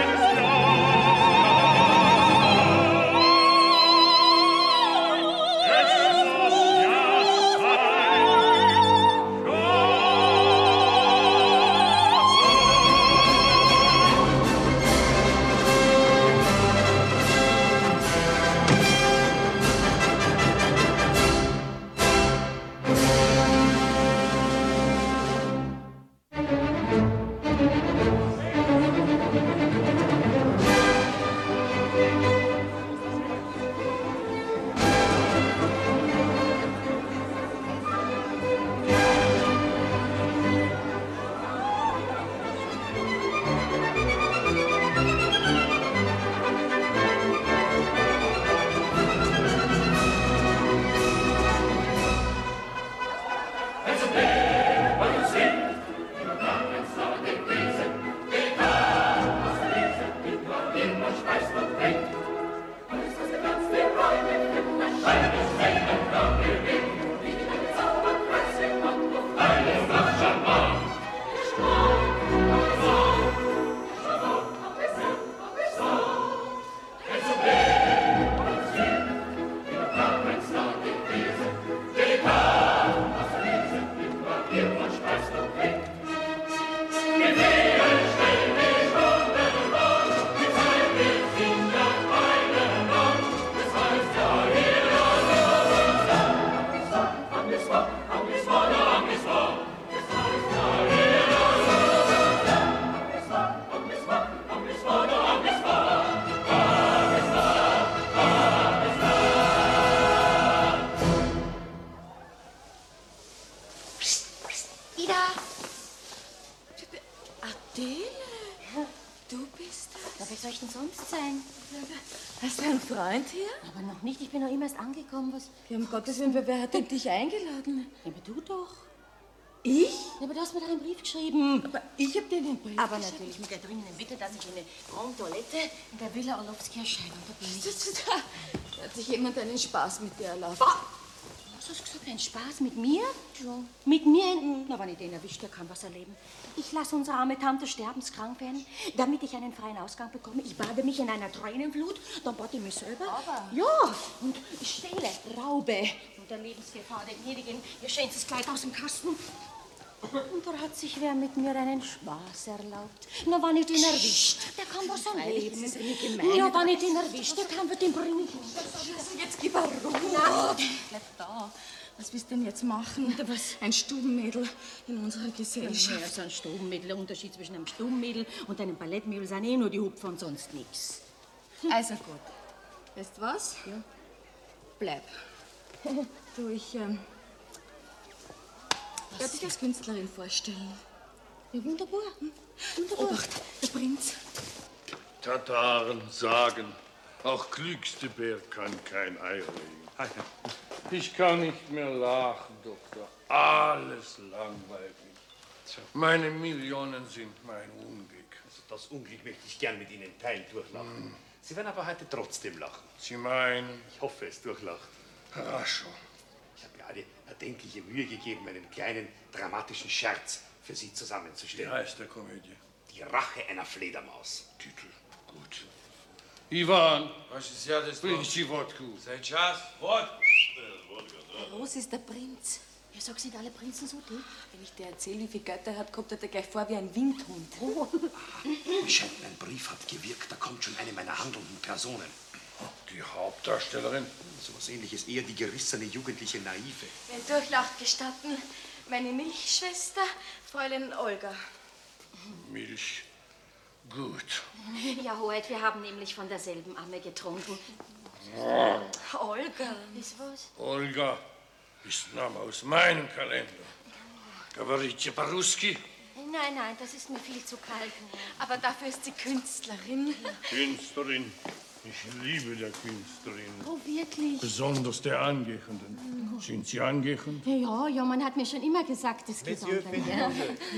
Hast du einen Freund hier? Aber noch nicht, ich bin noch immer erst angekommen. Was? Ja, um Gottes Willen, wer hat denn dich eingeladen? Ja, aber du doch. Ich? Ja, aber du hast mir doch einen Brief geschrieben. Aber ich hab dir den Brief Aber geschrieben. natürlich mit der dringenden Bitte, dass ich eine Grande Toilette in der Villa Orlowski erscheine. Und da bin ich. Da hat sich jemand einen Spaß mit dir erlaubt. Was hast du gesagt? Ein Spaß mit mir? Ja. Mit mir? Na, wenn ich den erwischt, der kann was erleben. Ich lasse unsere arme Tante sterbenskrank werden, damit ich einen freien Ausgang bekomme. Ich bade mich in einer Tränenflut, dann bade ich mich selber. Aber? Ja, und ich stehle, raube unter Lebensgefahr der Gnädigen ihr schönstes Kleid aus dem Kasten. Und da hat sich wer mit mir einen Spaß erlaubt. Na, wenn ich den erwischt, der kann was erleben. Das ist nicht gemein. Ja, wenn ich den erwischt, der kann was den bringen. Jetzt gib er Ruhe. Na, bleib da. Was willst du denn jetzt machen? Oder was? Ein Stubenmädel in unserer Gesellschaft. Ja, so ein Stubenmädel. Der Unterschied zwischen einem Stubenmädel und einem Ballettmädel sind eh nur die Hupfer und sonst nichts. Also gut. Weißt du was? Ja. Bleib. Du, ich, ähm, ich werde dich als Künstlerin vorstellen. Ja, wunderbar. Hm? Wunderbar. Obacht, der Prinz. Tataren sagen, auch klügste Bär kann kein Ei legen. Ich kann nicht mehr lachen, Doktor. Alles langweilig. Meine Millionen sind mein Unglück. Also das Unglück möchte ich gern mit Ihnen teilen, durchlachen. Mm. Sie werden aber heute trotzdem lachen. Sie meinen? Ich hoffe es, durchlachen. Rasch. Ich habe mir alle erdenkliche Mühe gegeben, einen kleinen dramatischen Scherz für Sie zusammenzustellen. Wie heißt der Komödie? Die Rache einer Fledermaus. Titel. Gut. Ivan, bring Sie Wodka. Сейчас, вот. Groß ist der Prinz. Ja, sag, sind alle Prinzen so dick? Wenn ich dir erzähle, wie viel Geld er hat, kommt er dir gleich vor wie ein Windhund. Oh. Mir scheint, mein Brief hat gewirkt. Da kommt schon eine meiner handelnden Personen. Die Hauptdarstellerin? So was Ähnliches, eher die gerissene jugendliche Naive. Wenn Durchlacht gestatten, meine Milchschwester, Fräulein Olga. Milch. Gut. Ja, Hoheit, wir haben nämlich von derselben Amme getrunken. Oh. Olga. Ist was? Olga ist Name aus meinem Kalender. Говорите по-русски? Nein, nein, das ist mir viel zu kalt. Aber dafür ist sie Künstlerin. Künstlerin. Ich liebe der Künstlerin. Oh, wirklich? Besonders der Angehenden. Sind Sie angehend? Ja, ja, man hat mir schon immer gesagt, das geht Monsieur, an. Ja.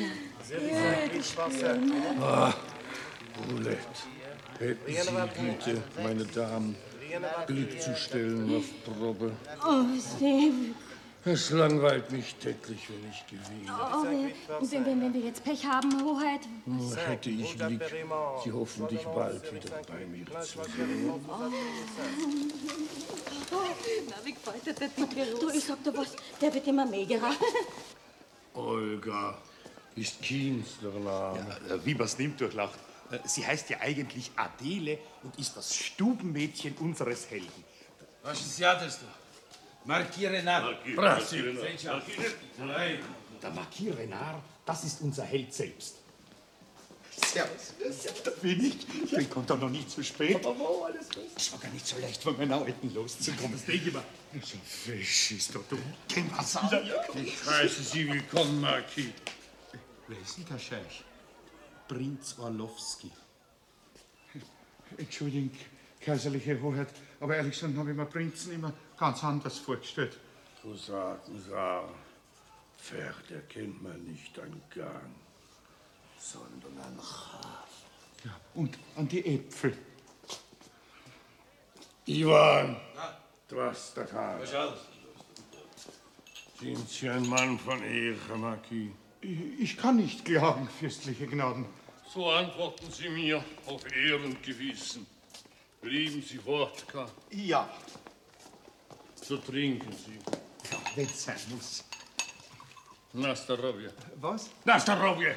Ah, Roulette. Hätten Sie Güte, meine Damen, Glück zu stellen auf Probe. Oh, sehr. Es langweilt mich täglich, wenn ich gewinne. Oh, wenn, wenn, wenn wir jetzt Pech haben, Hoheit. Hm, hätte ich Glück, Sie hoffentlich bald wieder bei mir zu sehen. Na, wie gefällt dir der dicke Ross? Du, ich sag dir was, der wird immer megerer. Olga ist Künstlername. Ja, wie man's nimmt, durchlacht. Sie heißt ja eigentlich Adele und ist das Stubenmädchen unseres Helden. Was ist ja das da? Marquis Renard. Brasil. Der Marquis Renard, das ist unser Held selbst. Servus. Da bin ich. Ich komme doch noch nicht zu spät. Aber wo alles gut? Es war gar nicht so leicht, von meiner Alten loszukommen. Das denke ich mal. So fisch ist doch du. Kein Wasser. Ich heiße Sie willkommen, Marquis. Wer ist denn der Scheich? Prinz Orlowski. Entschuldigung, kaiserliche Hoheit, aber ehrlich gesagt habe ich mir Prinzen immer ganz anders vorgestellt. Cousin, Cousin, Pferd erkennt man nicht an Gang, sondern an Hafen. Ja, und an die Äpfel. Ivan, was der Tag? Пожалуйста. Sind Sie ein Mann von Ehre, Marquis? Ich, ich kann nicht klagen, fürstliche Gnaden. So antworten Sie mir auf Ehr und Gewissen. Lieben Sie Wodka? Ja. So trinken Sie. Ja, wenn's sein muss. Na здоровье. Was? Na здоровье.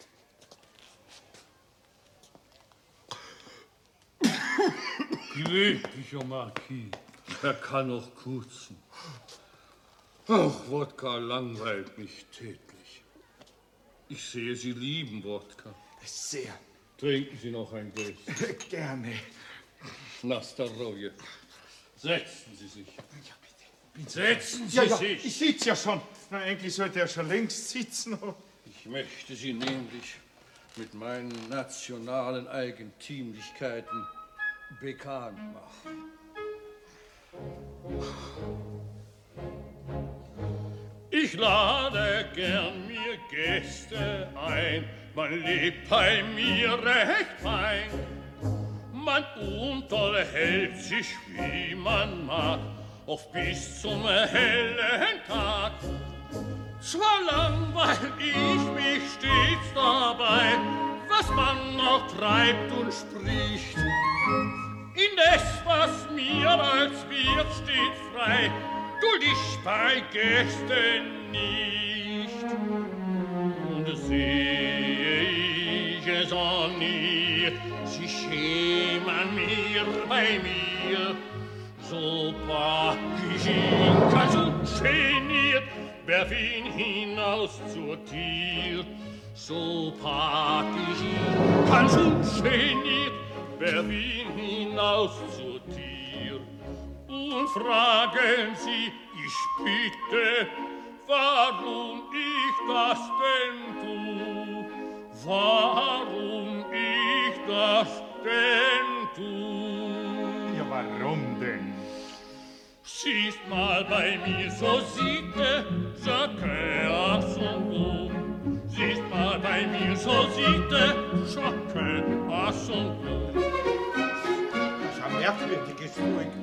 Glücklicher Marquis, er kann noch kurzen. Ach, Wodka langweilt mich täglich. Ich sehe, Sie lieben Wodka. Sehr. Trinken Sie noch ein Glas. Gerne. Na здоровье. Setzen Sie sich. Ja, bitte. bitte. Setzen Sie ja, ja, sich. Ich sitze ja schon. Na, eigentlich sollte er schon längst sitzen. Ich möchte Sie nämlich mit meinen nationalen Eigentümlichkeiten bekannt machen. Ich lade gern mir Gäste ein, man lebt bei mir recht fein. Man unterhält sich, wie man mag, oft bis zum hellen Tag. Zwar langweil ich mich stets dabei, was man noch treibt und spricht. Indes, was mir als Wirt steht frei, duld ich bei Gästen nicht. Und sehe ich es an ihr, sie schämen mir bei mir, so pack ich in Kasus geniert, werf ihn hinaus zur Tür. So pack ich ihn, ganz ungeniert, werf ihn hinaus zur Tür. Und fragen Sie, ich bitte, warum ich das denn tu? Warum ich das denn tu? Ja, warum denn? Siehst mal bei mir, so sieht er, chacun à son goût. Siehst mal bei mir, so sieht er, chacun à son goût. Das ist ein merkwürdiges Volk.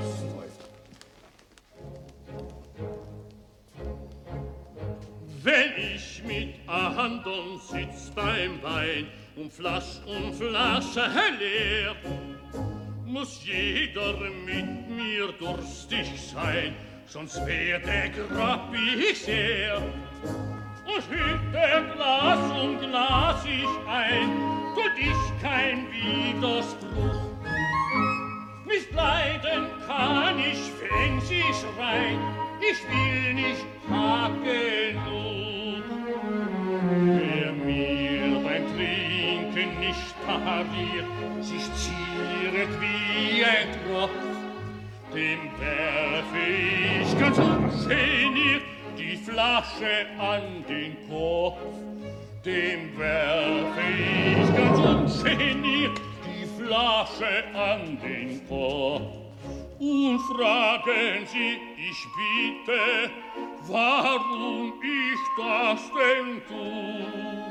Wenn ich mit andern sitz beim Wein und Flasch und Flasche leer, muss jeder mit mir durstig sein, sonst werde grab ich sehr. Und hüte Glas um Glas ich ein, tut ich kein Widerspruch. Nicht leiden kann ich, wenn sie schreien, ich will nicht genug. Wer mir beim Trinken nicht pariert, sich zieret wie ein Tropf, dem werfe ich ganz ungeniert die Flasche an den Kopf. Dem werfe ich ganz ungeniert die Flasche an den Kopf. Und fragen Sie, ich bitte, warum ich das denn tu?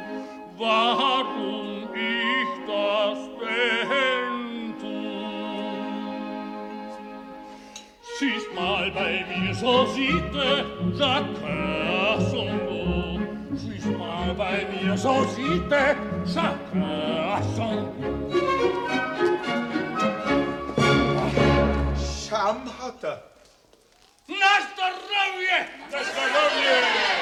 Warum ich das denn tu? Siehst mal bei mir, so sieht er, chacun à son goût. Siehst mal bei mir, so sieht er, chacun à son goût. Scham hat er. Na Zdravje! Na Zdravje!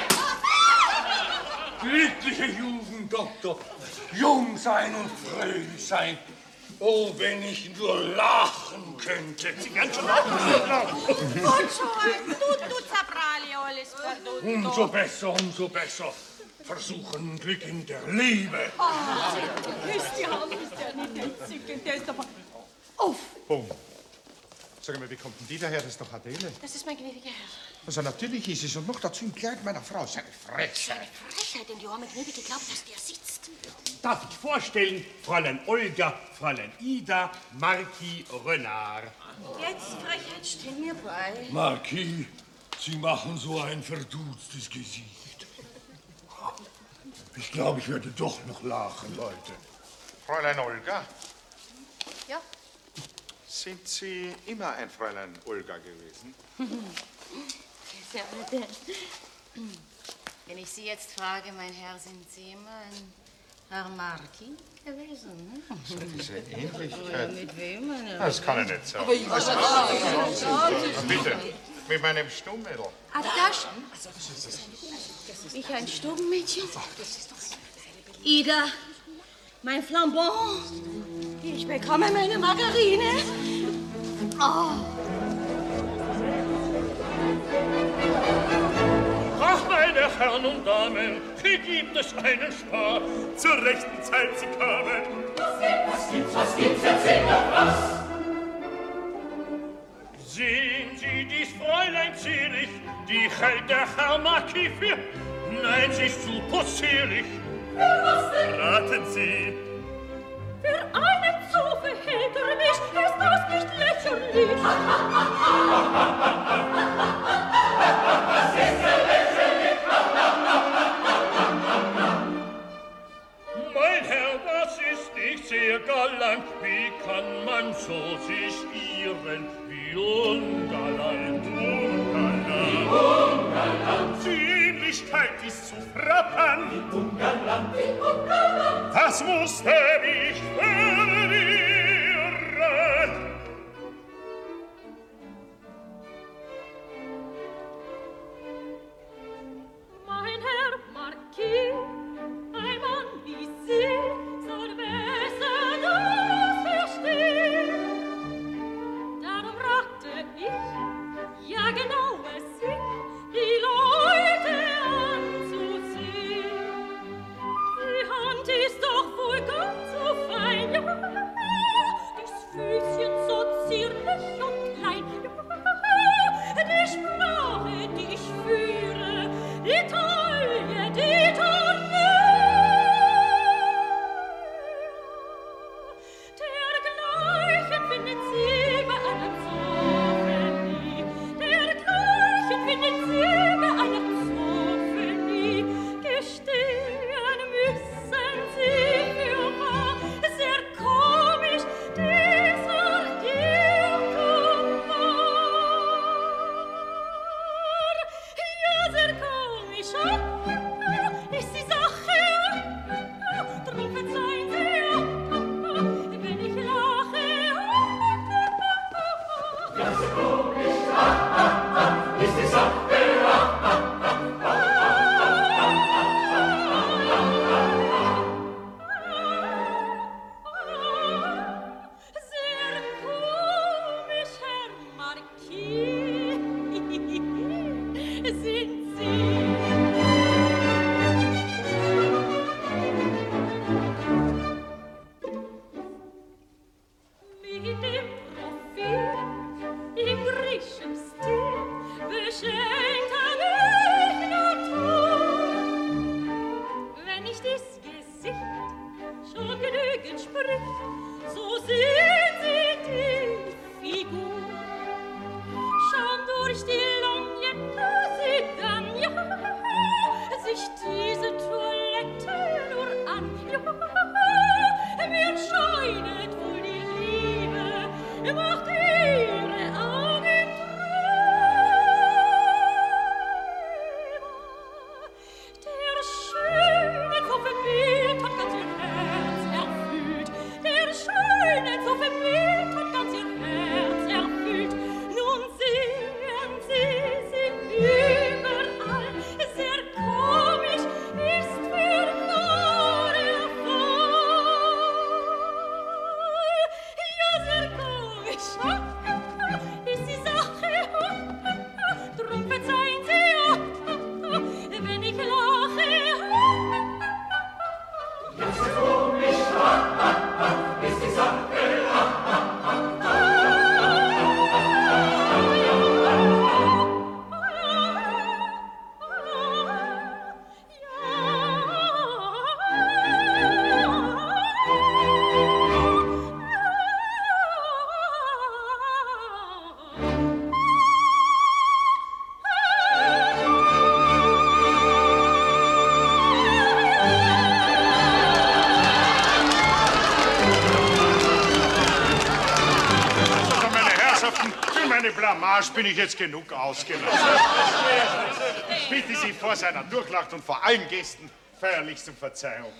Glückliche Jugend, Doktor. Jung sein und fröhlich sein. Oh, wenn ich nur lachen könnte. Sie werden schon lachen. Und schon, tutto saprali alles perdutto. Umso besser, umso besser. Versuchen Glück in der Liebe. Oh, Christian ist ja nicht entzückend, der ist aber... Uff! Bumm. Sag mal, wie kommt denn die daher? Das ist doch Adele. Das ist mein gnädiger Herr. Also natürlich ist es und noch dazu im Kleid meiner Frau. Seine Frechheit. Eine Frechheit, denn die arme Gnädige glaubt, dass der sitzt. Darf ich vorstellen, Fräulein Olga, Fräulein Ida, Marquis Renard. Jetzt, Frechheit, stell mir bei. Marquis, Sie machen so ein verdutztes Gesicht. Ich glaube, ich werde doch noch lachen, Leute. Fräulein Olga, Ja? sind Sie immer ein Fräulein Olga gewesen? Sehr bitte. Wenn ich Sie jetzt frage, mein Herr, sind Sie immer ein Herr Marquis gewesen? Ne? So diese Ähnlichkeit. Aber mit wem, meine Das kann ich nicht sagen. Aber ich weiß es nicht. Na bitte, mit meinem Stummmädel. Ah, das? Ich ein Stubenmädchen? Ida, mein Flambon. Ich bekomme meine Margarine. Oh. Ach, meine Herren und Damen, hier gibt es einen Spaß. Zur rechten Zeit Sie kamen. Was gibt's, was gibt's, erzähl doch was! Sehen Sie dies Fräulein zierlich, die hält der Herr Marquis für... Nein, sie ist zu possierlich. Für was denn? Raten Sie. Für einen so verhält er mich, ist das nicht lächerlich? Das ist ja lächerlich! Mein Herr, das ist nicht sehr galant. Wie kann man so sich irren? Wie ungalant, ungalant. Wie ungalant. Die Ähnlichkeit ist zu frappant. Wie ungalant, wie ungalant. Das musste mich verwirren. Mein Herr Marquis, ein Mann wie Sie soll besser das verstehen. Darum rate ich, ja genau es sind, schon, ist die Sache, drum verzeihen Sie, wenn ich lache. Ganz komisch, ist die Sache, bin ich jetzt genug ausgelassen. Ich bitte Sie vor seiner Durchlacht und vor allen Gästen feierlichst um Verzeihung.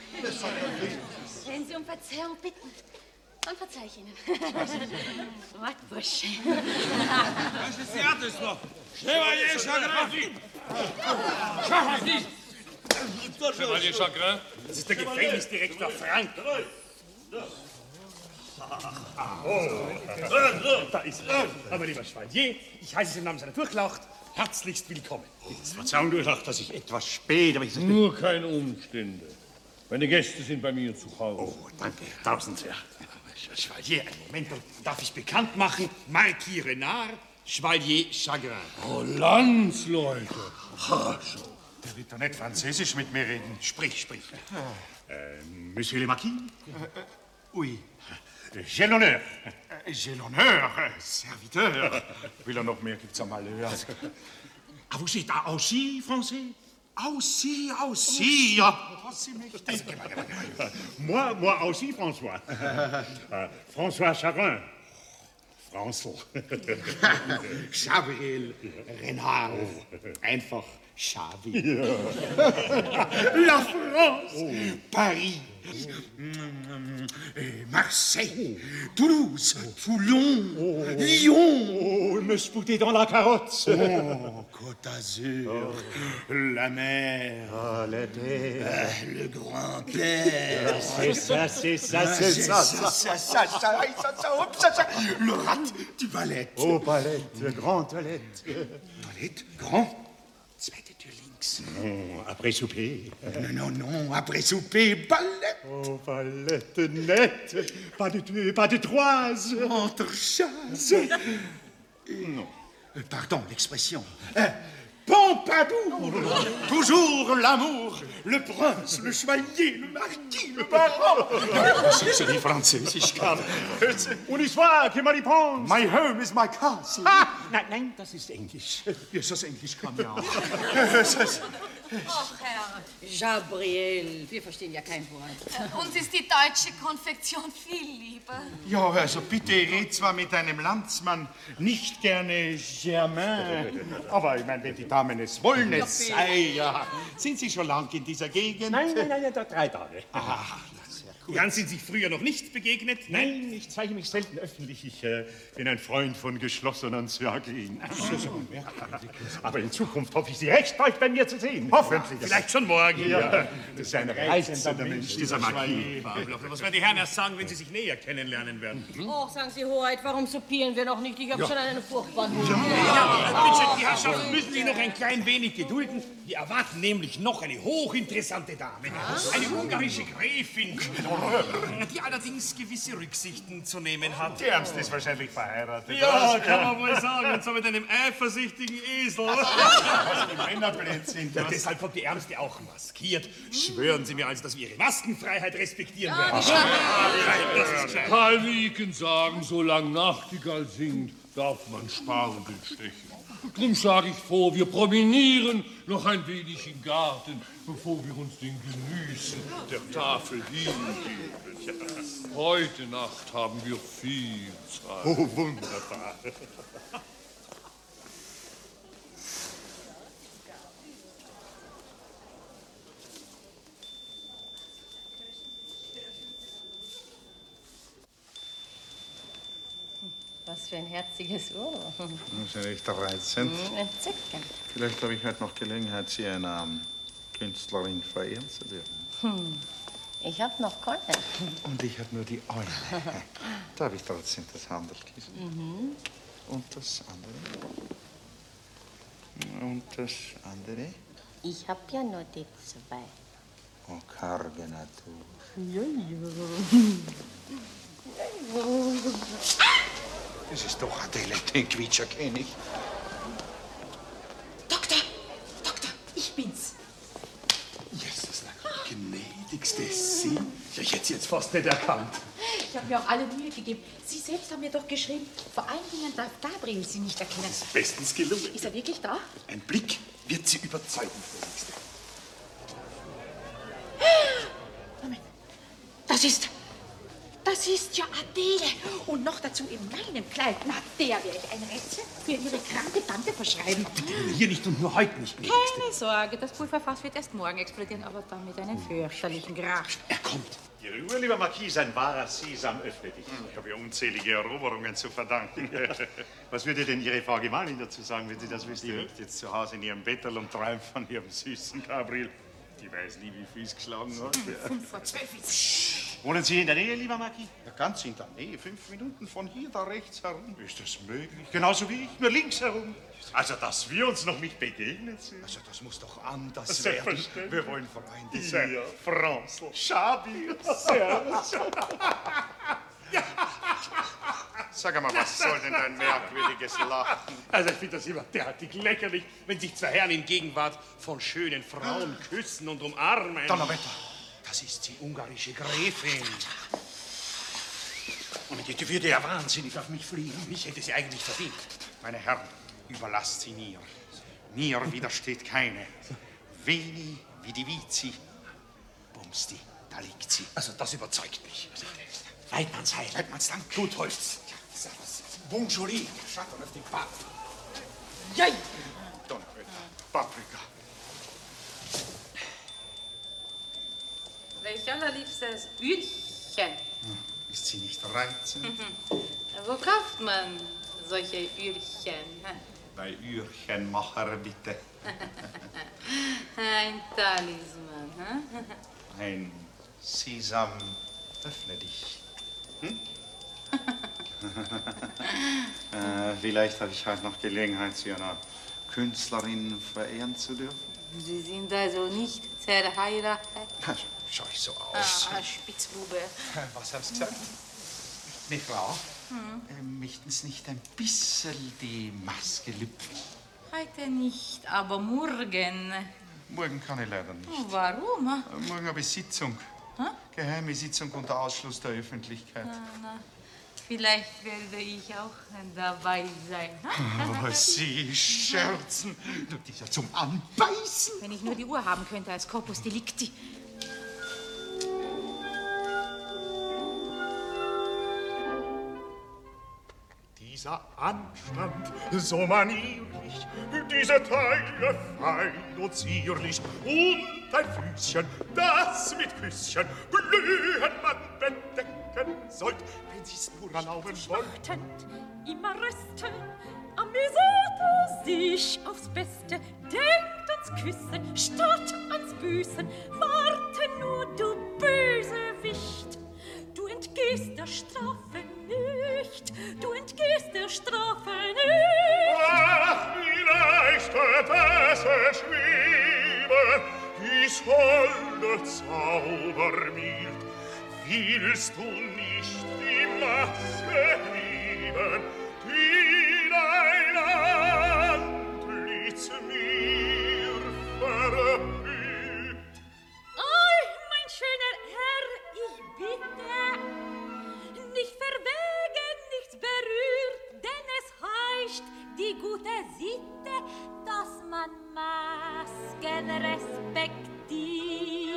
Wenn Sie um Verzeihung bitten, dann verzeih ich Ihnen. Wart, Bursche. Was ist die Artes noch? Chevalier Chagrin! Chagrin! Chevalier Chagrin? Das ist der Gefängnisdirektor Frank. Oh, da ist er. Aber lieber Chevalier, ich heiße Sie im Namen seiner Durchlaucht herzlichst willkommen. Verzeihung, Durchlaucht, dass ich etwas spät, aber ich... Nur keine Umstände. Meine Gäste sind bei mir zu Hause. Oh, danke. Tausend Herr. Chevalier, einen Moment, darf ich bekannt machen? Marquis Renard, Chevalier Chagrin. Oh, Landsleute. Der wird doch nicht Französisch mit mir reden. Sprich, sprich. Äh, Monsieur le Marquis? Äh, oui. J'ai l'honneur. J'ai l'honneur, serviteur. Will er noch mehr, gibt's am Malheur. Ah, vous êtes aussi français? Aussi, aussi, ja. Aussi mächtig. Moi, moi aussi, François. François Chagrin. Franzl. Chabril, Renard. Einfach Chabi. La France, oh. Paris, Marseille, Toulouse, Toulon, oh. Lyon. Oh, me spouter dans la carotte. Oh, Côte d'Azur, oh. La mer, oh, la terre, euh, le grand-père. Ah, c'est ça, c'est ça, c'est ça, ça, ça, ça, ça, ça, ça, le rat du Valette. Oh, Palette, grand toilette. Toilette, grand. Zweite Tür links. Non, après souper. Non, non, non, après souper, ballette. Oh, ballette nette. Pas de deux, pas de trois. Entrechasse. Non. Pardon, l'expression. Euh, Pompadour. Toujours l'amour. Le prince, le chevalier, le marquis, le baron. C'est die Französisch kann. Und ich frage, meine Pons. My home is my castle. Ah, nein, nein, das ist Englisch. Ja, das Englisch kann ja auch. Ach, Herr Gabriel, wir verstehen ja kein Wort. Uns ist die deutsche Konfektion viel lieber. Ja, also bitte, ich rede zwar mit einem Landsmann nicht gerne Germain, aber ich meine, wenn die Damen es wollen, es sei ja. Sind Sie schon lang in dieser Gegend? Nein, nein, nein, da drei Tage. Ach, sehr gut. Jan, sind Sie früher noch nicht begegnet? Nein, ich zeige mich selten öffentlich. Ich äh, bin ein Freund von geschlossenen Zirkeln. Aber in Zukunft hoffe ich, Sie recht bald bei mir zu sehen. Hoffentlich. Vielleicht schon morgen. Ja. Das ist ein reizender Mensch, dieser Marquis. Was werden die Herren erst sagen, wenn sie sich näher kennenlernen werden? Oh, sagen Sie, Hoheit, warum soupieren wir noch nicht? Ich habe Ja. schon einen furchtbaren Hunger. Ja, bitte, die Herrschaften müssen sich noch ein klein wenig gedulden. Wir erwarten nämlich noch eine hochinteressante Dame. Eine ungarische Gräfin, die allerdings gewisse Rücksichten zu nehmen hat. Die Ernst ist wahrscheinlich verheiratet. Ja, was? kann man wohl sagen. Und so mit einem eifersüchtigen Esel. Was die Männerblöd sind. Ja, deshalb kommt die Ärmste auch maskiert. Schwören Sie mir also, dass wir Ihre Maskenfreiheit respektieren Ja, werden. die Ja, das ist gescheit. Karl Wieken sagen, solange Nachtigall singt, darf man sparen den Stechen. Drum schlage ich vor, wir promenieren noch ein wenig im Garten, bevor wir uns den Genüssen der Tafel hingeben. Heute Nacht haben wir viel Zeit. Oh, wunderbar. Was für ein herziges Ohr. Das ist ja echt reizend. Hm, entzückend. Vielleicht habe ich heute noch Gelegenheit, Sie einer ähm, Künstlerin verehren zu dürfen. Hm. Ich habe noch keinen. Und ich habe nur die eine. Da habe ich trotzdem das Handelkissen. Mhm. Und das andere. Und das andere. Ich habe ja nur die zwei. Oh, karge Natur. Ja, Das ist doch Adele, den Quietscher kenn ich. Doktor, Doktor, ich bin's. Jesus, na, gnädigste Sie. Ja, ich hätte Sie jetzt fast nicht erkannt. Ich habe mir auch alle Mühe gegeben. Sie selbst haben mir doch geschrieben, vor allen Dingen darf Gabriel Sie nicht erkennen. Bestens gelungen. Ist er wirklich da? Ein Blick wird Sie überzeugen, gnädigste. Moment, das ist, das ist ja Adele. Und noch dazu in meinem Kleid. Na, der werde ich ein Rätsel für Ihre kranke Tante verschreiben. Hier nicht und nur heute nicht, gnädigste. Keine Sorge, das Pulverfass wird erst morgen explodieren, aber dann mit einem fürchterlichen Krach. Er kommt. Ihre Uhr, lieber Marquis, ein wahrer Sesam, öffne dich. Ich habe ja unzählige Eroberungen zu verdanken. Was würde denn Ihre Frau Gemahlin dazu sagen, wenn sie das wüsste? Die liegt jetzt zu Hause in ihrem Bettel und träumt von ihrem süßen Gabriel. Die weiß nie, wie viel es geschlagen hat. Fünf vor zwölf ist. Wohnen Sie in der Nähe, lieber Marquis? Ja, ganz in der Nähe, fünf Minuten von hier da rechts herum. Ist das möglich? Genauso wie ich, nur links herum. Also, dass wir uns noch nicht begegnet sind. Also, das muss doch anders Das werden. selbstverständlich. Wir wollen Freunde sein. Ja, Franzl. Schabi. Servus. Sag einmal, was soll denn dein merkwürdiges Lachen? Also ich finde das immer derartig lächerlich, wenn sich zwei Herren in Gegenwart von schönen Frauen küssen und umarmen. Donnerwetter, das ist die ungarische Gräfin. Und die würde ja wahnsinnig auf mich fliegen. Ich hätte sie eigentlich verdient. Meine Herren, überlasst sie mir. Mir widersteht keine. Veni, vidi vici. Bumsti, da liegt sie. Also das überzeugt mich. Weidmannsheil. Weidmannsdank. Totholz. Bonjour, Schatten auf den Bart. Jei. Donnerwetter, Paprika. Welch allerliebstes Ührchen. Ist sie nicht reizend? Wo kauft man solche Ührchen? Bei Ührchenmacher, bitte. Ein Talisman. Hm? Ein Sesam, öffne dich. Hm? äh, vielleicht habe ich heute noch Gelegenheit, Sie einer Künstlerin verehren zu dürfen. Sie sind also nicht verheiratet? Schau ich so aus? Ah, Spitzbube. Was haben Sie gesagt? Meine Frau, Hm. äh, möchten Sie nicht ein bisschen die Maske lüpfen? Heute nicht, aber morgen. Morgen kann ich leider nicht. Oh, warum? Äh, Morgen habe ich Sitzung. Hä? Geheime Sitzung unter Ausschluss der Öffentlichkeit. Na, na. Vielleicht werde ich auch dabei sein. Oh, Sie scherzen. Das ist ja zum Anbeißen. Wenn ich nur die Uhr haben könnte als Corpus Delicti. Dieser Anstand, so manierlich, diese Taille fein und zierlich, und ein Füßchen, das mit Küsschen glühend man bedecken sollt, wenn sie's nur erlauben wollt. Immer rösten, amüsiert er sich aufs Beste, denkt ans Küssen statt ans Büßen. Warte nur, du Bösewicht, du entgehst der Strafe nicht, du entgehst der Strafe nicht. Ach, wie leicht wird es erschweben, dies holde Zaubermild. Willst du nicht die Maske lieben, die dein Antlitz mir verhüllt? Ei, mein schöner Herr, ich bitte, nicht verwegen, nichts berührt, denn es heißt die gute Sitte, dass man Masken respektiert.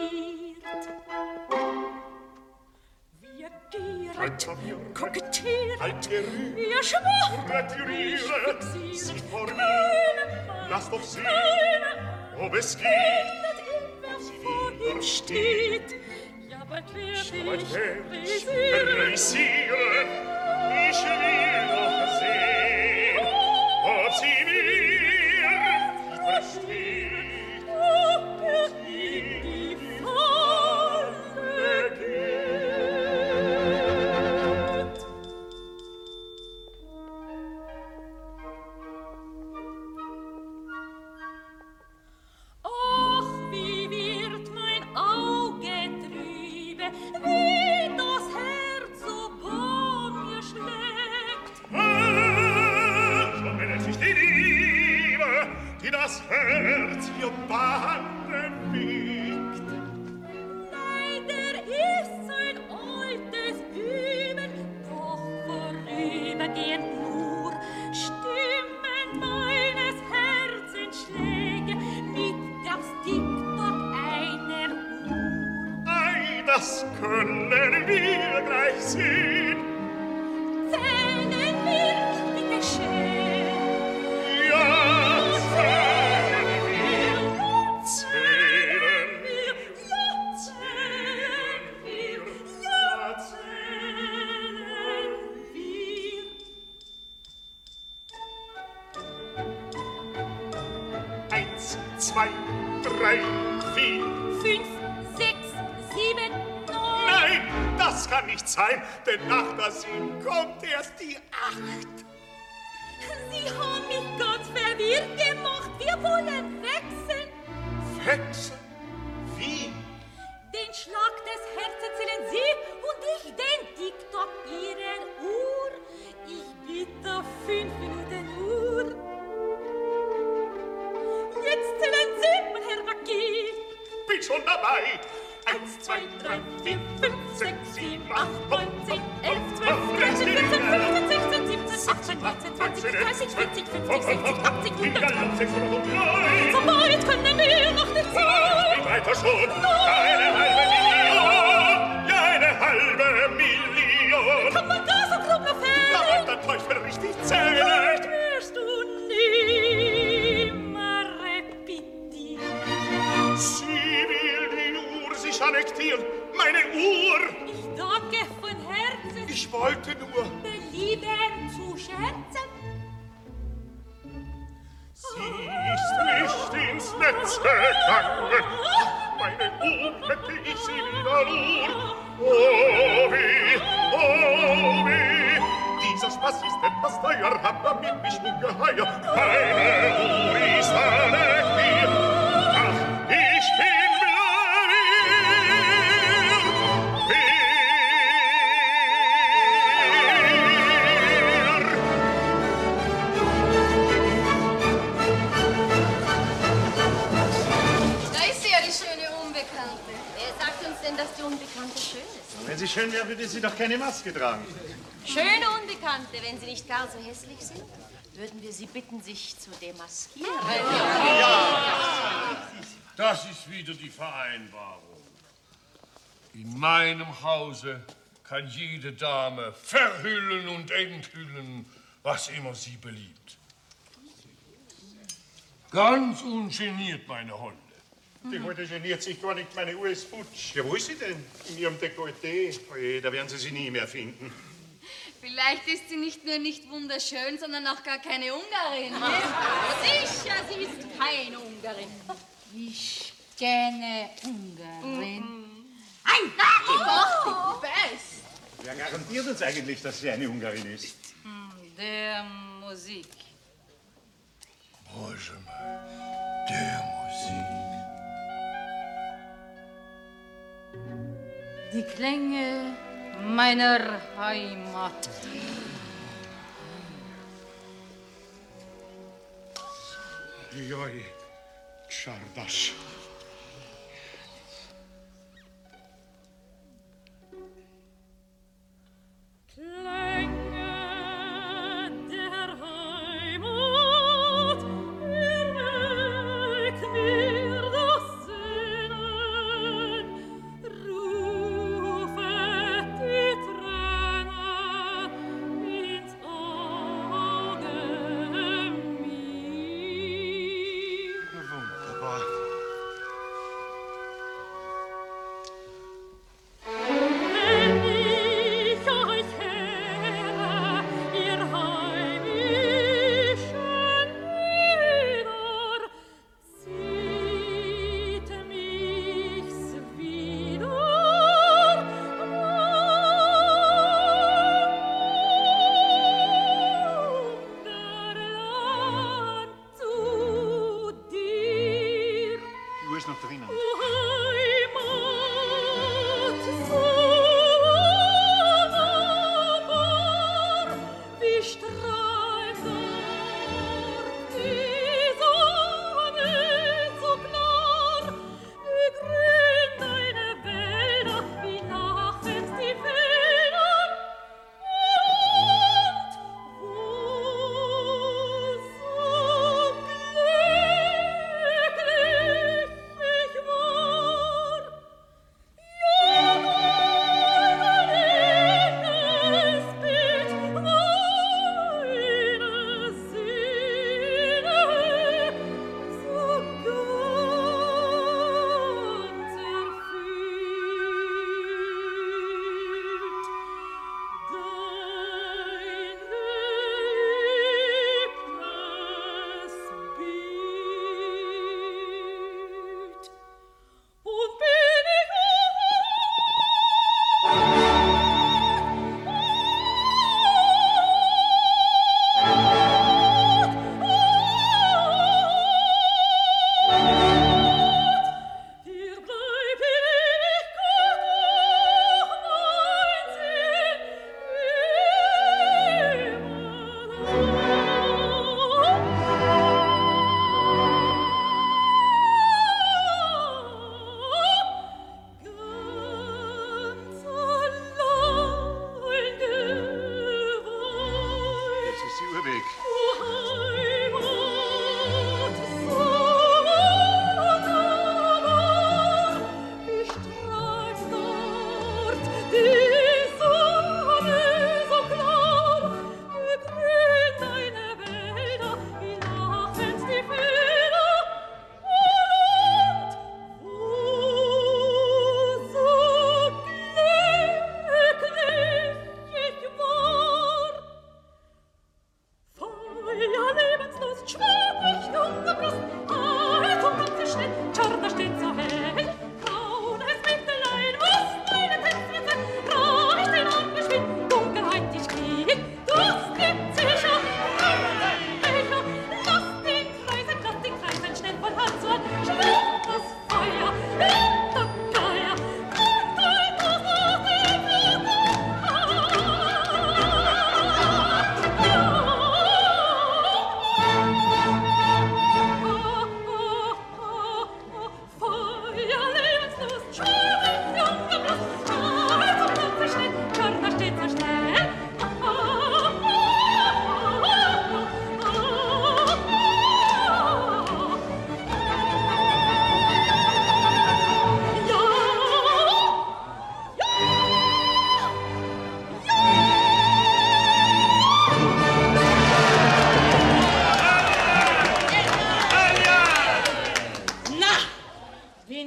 Wir gieren, kokettieren, wir schwuren, Sie vor mir, lass doch sehen, ob es geht. Sie vor ihm steht, ja, bald werd ich frisieren. Ich will doch sehen, ob sie mir versteht, ob er in die Falle geht. Ach, wie wird mein Auge trübe, wie das Herz so bei mir schlägt. Ah, schon wenn es sich die Liebe, die das Herz ihr Bande wiegt. Nein, der ist so ein altes Üben, doch vorübergehend nur stimmen meines Herzens Schläge mit der Stickdorf einer Uhr. Ei, das können wir gleich sehen. Zählen wir, bitte schön. Ja, zählen wir, zählen wir, Ja, zählen wir, ja, zählen wir. eins, zwei, drei, vier. Fünf, sechs, sieben, neun. Nein, das kann nicht sein, denn nach der sieben kommt erst die acht. Sie haben mich ganz verwirrt gemacht. Wir wollen wechseln. Wechseln? Wie? Den Schlag des Herzens zählen Sie und ich den Tick-Tock Ihrer Uhr. Ich bitte fünf Minuten Uhr. Jetzt zählen Sie, mein Herr Marquis. Bin schon dabei. Eins, zwei, drei, vier, fünf, sechs, sieben, acht, neun, zehn, elf, zwölf, dreizehn, vierzehn, fünfzehn, sechzehn, siebzehn, achtzehn, neunzehn, zwanzig, dreißig, vierzig, fünfzig, sechzig, achtzig, hundert. So weit können wir noch nicht sein. Wie weiter schon? Eine halbe Million. Ja, eine halbe Million. Kann man da so grob noch fällen? Da wird der Teufel richtig zählen. Vielleicht wirst du nimmer repetieren. Sie will die Uhr sich annektieren. Meine Uhr. Ich danke von Herzen. Ich wollte nur belieben zu scherzen. Sie ist nicht ins Netz gegangen. Meine Uhr hätte ich sie wieder nur. Oh weh, oh weh. Dieser Spaß ist etwas teuer, hat damit mich ungeheuer. Meine Uhr ist annektiert. Ach, ich bin Wer sagt uns denn, dass die Unbekannte schön ist? Wenn sie schön wäre, würde sie doch keine Maske tragen. Schöne Unbekannte, wenn Sie nicht gar so hässlich sind, würden wir Sie bitten, sich zu demaskieren. Ja. Das ist wieder die Vereinbarung. In meinem Hause kann jede Dame verhüllen und enthüllen, was immer sie beliebt. Ganz ungeniert, meine Hunde. Die Heute geniert sich gar nicht, meine Uhr ist futsch. Ja, wo ist sie denn? In ihrem Dekolleté. Oje, da werden Sie sie nie mehr finden. Vielleicht ist sie nicht nur nicht wunderschön, sondern auch gar keine Ungarin. Ne? Sicher, sie ist keine Ungarin. Ich kenne Ungarin. Ein Oh. Doch, die Best. Wer garantiert uns eigentlich, dass sie eine Ungarin ist? Der Musik. Bräuche mal, der Musik. Die Klänge meiner Heimat. Joj, Czardasz.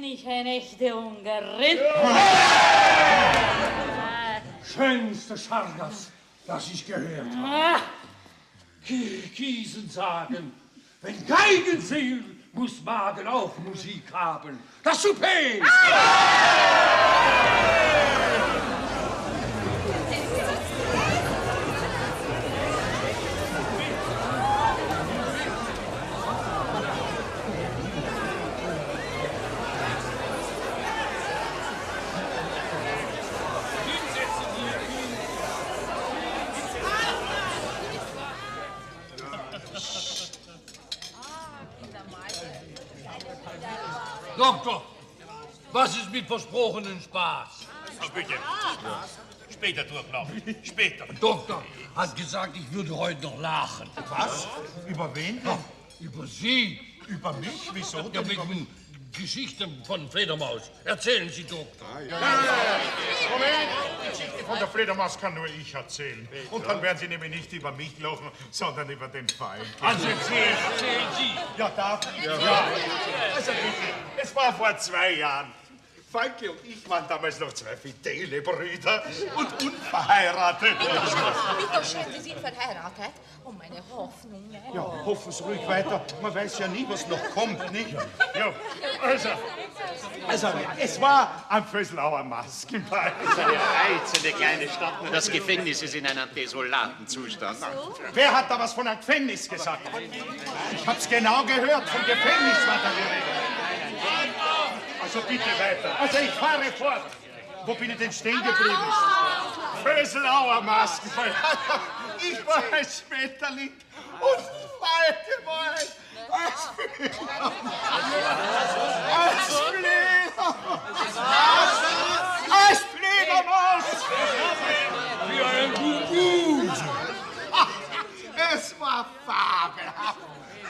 ich eine echte Ungarin. Schönste Schargas, das ich gehört habe. Kiesen sagen, wenn Geigen fehlen, muss Magen auch Musik haben. Das Souper! Doktor, was ist mit versprochenen Spaß? Oh, bitte. Ja. Später durchlaufen. Später. Doktor hat gesagt, ich würde heute noch lachen. Was? Über wen denn? Ach, über Sie. Über mich? Wieso? Ja, mit den Geschichten von Fledermaus. Erzählen Sie, Doktor. Ja, ja, ja, ja. Moment. Die Geschichte von der Fledermaus kann nur ich erzählen. Und dann werden Sie nämlich nicht über mich lachen, sondern über den Feind. Also erzählen, erzählen Sie. Ja, darf ich? Ja. ja. Also bitte, es war vor zwei Jahren. Falke und ich waren damals noch zwei fidele Brüder und unverheiratet. Bitte schön, Sie sind verheiratet. Oh, meine Hoffnung. Ne? Ja, hoffen Sie ruhig weiter. Man weiß ja nie, was noch kommt, nicht? Ja, also, also es war am Vöslauer Maskenball. Das ist eine reizende kleine Stadt, nur das Gefängnis ist in einem desolaten Zustand. So? Wer hat da was von einem Gefängnis gesagt? Ich hab's genau gehört, vom Gefängnis war da die Rede. Also bitte weiter. Also ich fahre fort. Wo bin ich denn stehen geblieben? Vöslauer Maskenball. Ich war ein Schmetterling und Falke war ein... Als Fledermaus! Als Fledermaus! Wie ein Gugu! Es war fabelhaft!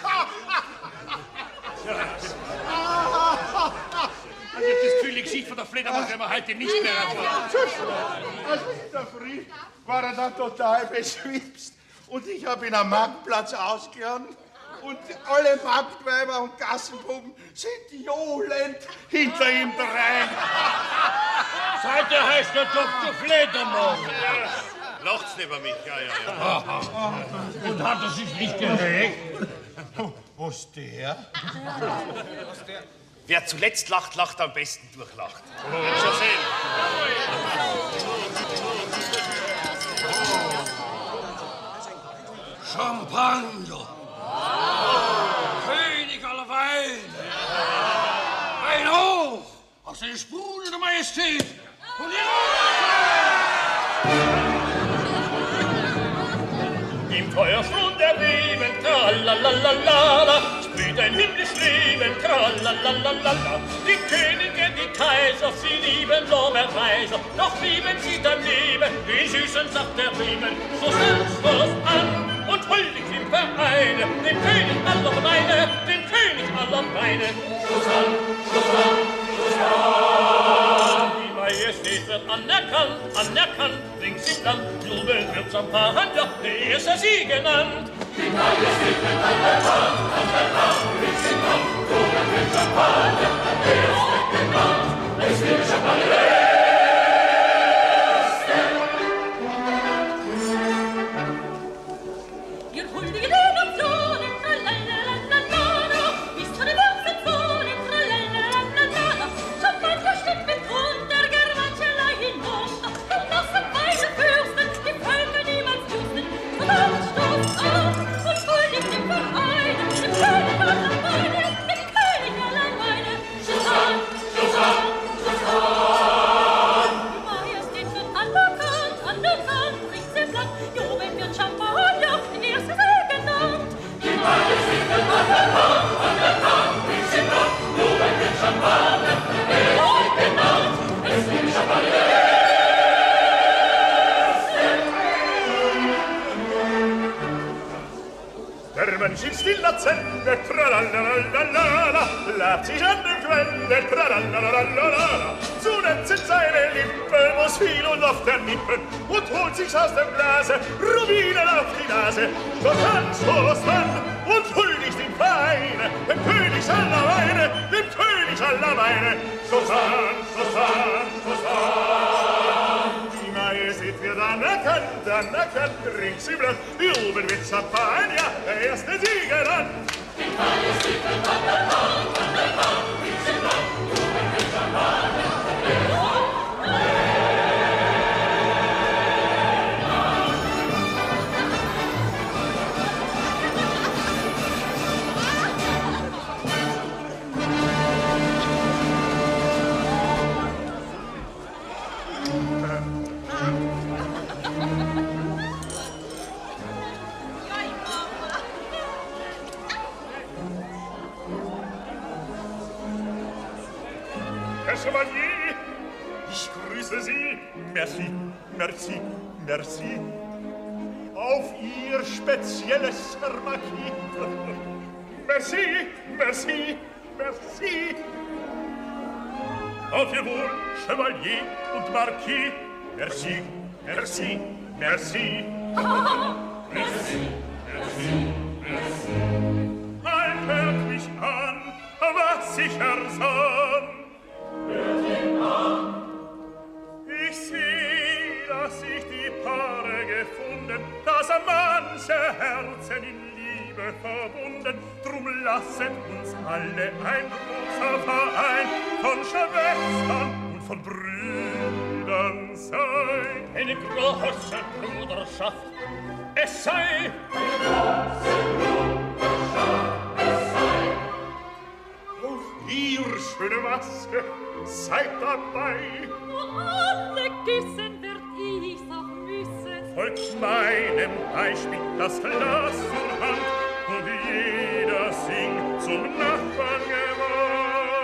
Also das Gefühl, die Geschichte von der Fledermaus werden wir heute nicht mehr erfahren. Also in der Früh war er dann total beschwipst und ich habe ihn am Marktplatz ausgehauen und alle Marktweiber und Gassenbuben sind johlend hinter ihm drein. Seitdem heißt der Doktor Fledermaus. Lacht's über mich, ja, ja, ja. Aha. Und hat er sich nicht geregt? Was der? Wer zuletzt lacht, lacht am besten durchlacht. Oh. Schon sehen. Champagner. König aller Weine. Ein Hoch aus der sprudelnden Majestät. Und Im Feuerstund der Leben, tralalalala, sprüht ein himmlisch Leben, tralalalala. Die Könige, die Kaiser, sie lieben Lorbeerreiser, doch lieben sie daneben den süßen Saft der Riemen. So selbstlos an und huldig im Vereine, den König aller Weine, den König aller Weine. Schluss an, Schluss an, Schluss an. Die Majestät wird anerkannt, anerkannt, rings im Land, jubeln wird Champagner, der erste sie genannt. Die Majestät wird anerkannt, anerkannt, rings im Land, jubeln wird Champagner, der erste genannt. Es wird Champagner. Der Mensch in stiller Zelle, tralalalala, labt sich an der Quelle, tralalalala. Zuletzt sind seine Lippen, wo's viel und oft der Nippen, und holt sich's aus dem Glase, Rubinen auf die Nase. So tanzt, so an und huldigt im Vereine, dem König aller Weine, dem König aller meine Susanne, Susanne, Susanne. Die Majestät wird anerkannt, anerkannt, rings im Land, wie oben mit Champagner, der erste Sieger dann. Die Majestät wird anerkannt, anerkannt, rings im Land, wie oben mit Champagner, der erste Chevalier, ich grüße Sie. Merci, merci, merci. Auf Ihr spezielles Herr Marquis. Merci, merci, merci. Auf Ihr Wohl, Chevalier und Marquis. Merci, merci, merci. Merci, merci, merci. Halt, hört mich an, was ich ersann. Ich seh, dass sich die Paare gefunden, dass manche Herzen in Liebe verbunden. Drum lasset uns alle ein großer Verein von Schwestern und von Brüdern sein. Eine große Bruderschaft, es sei. Eine große Bruderschaft, es sei. Auf ihr schöne Maske, seid dabei. Wo alle küssen, wird ich's auch müssen. Folgt meinem Beispiel das Glas zur Hand und jeder singt zum Nachbarn gewandt.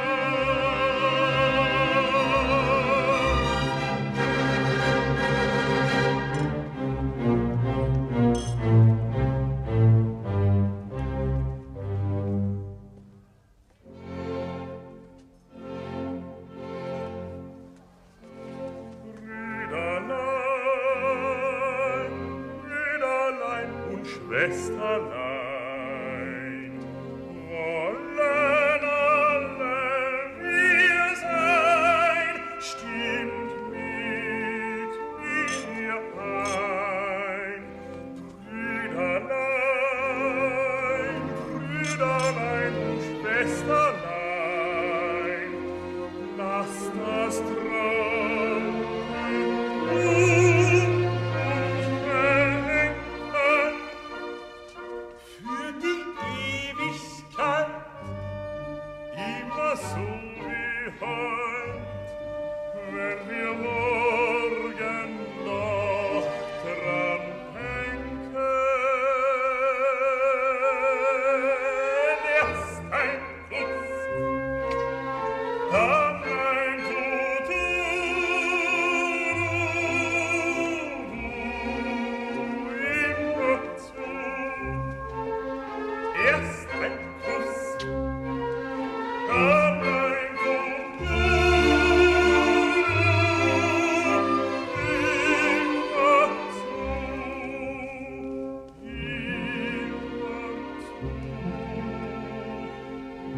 Schwesterlein, wollen alle wir sein, stimmt mit mir ein. Brüderlein, Brüderlein und Schwesterlein, lasst das Traum so wie heut, wenn wir morgen noch dran denken. Erst ein Kuss, dann ein Tutu, immer zu. Erst ein Kuss, dann ein Tutu, immer zu, immer zu.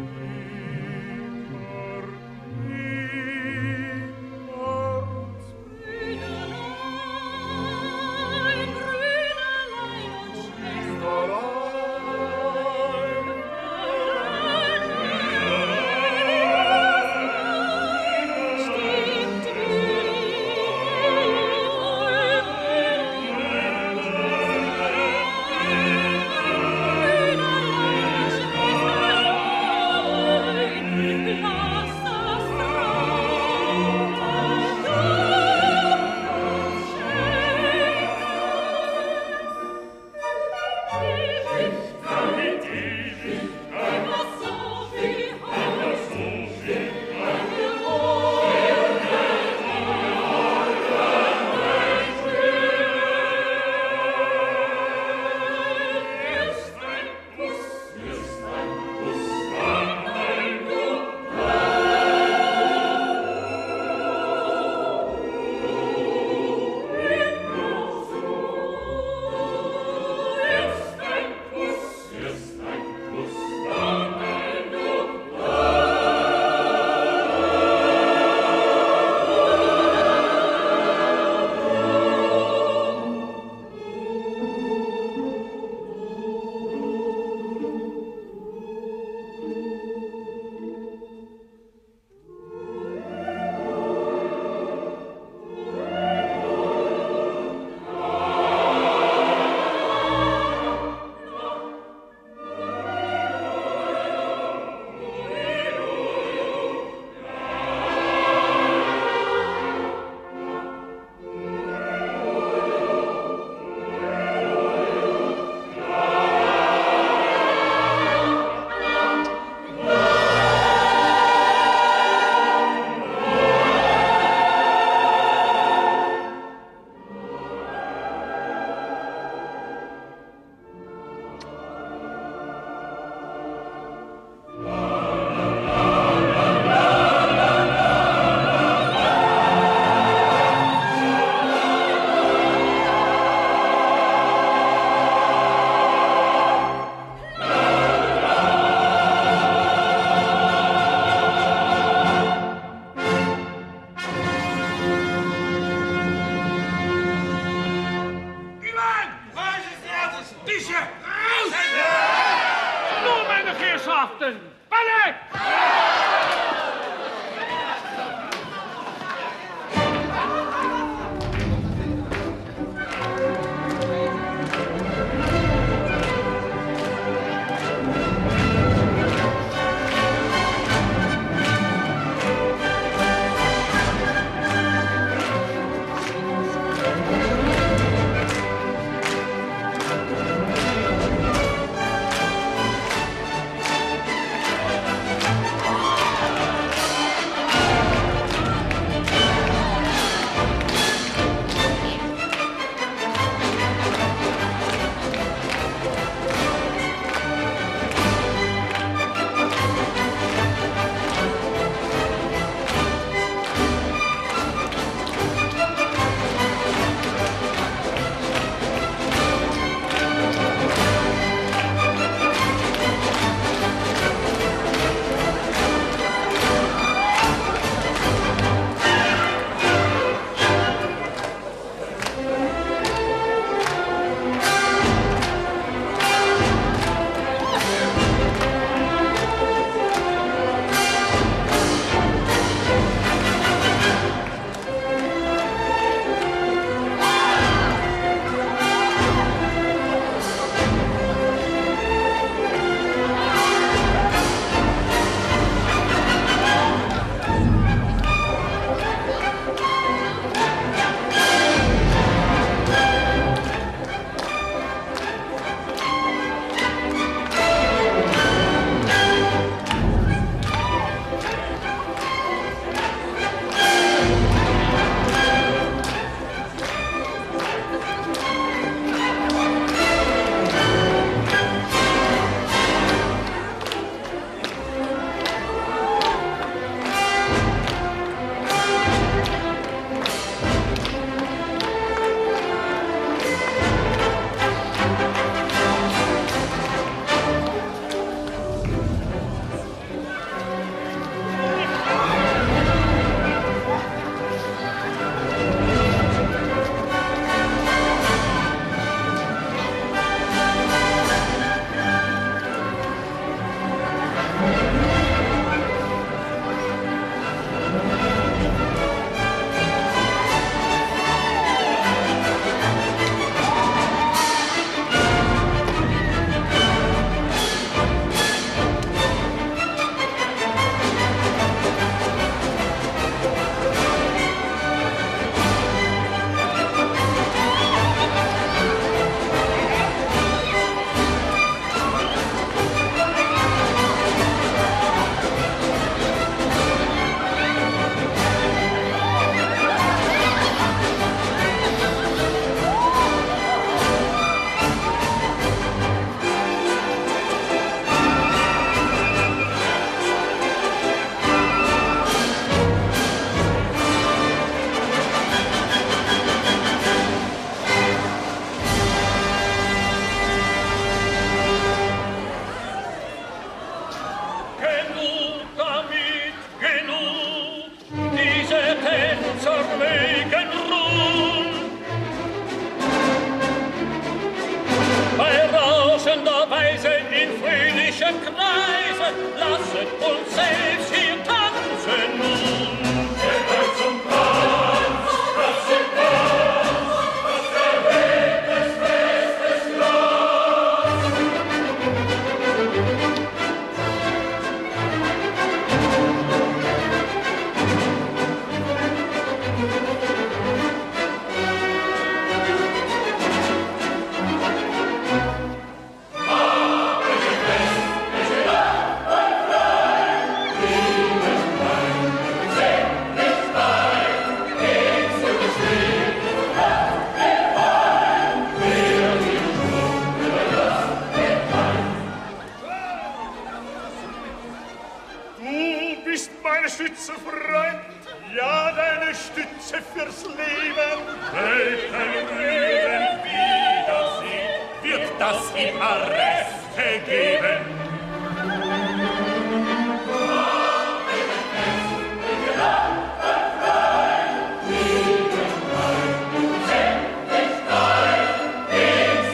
Weg!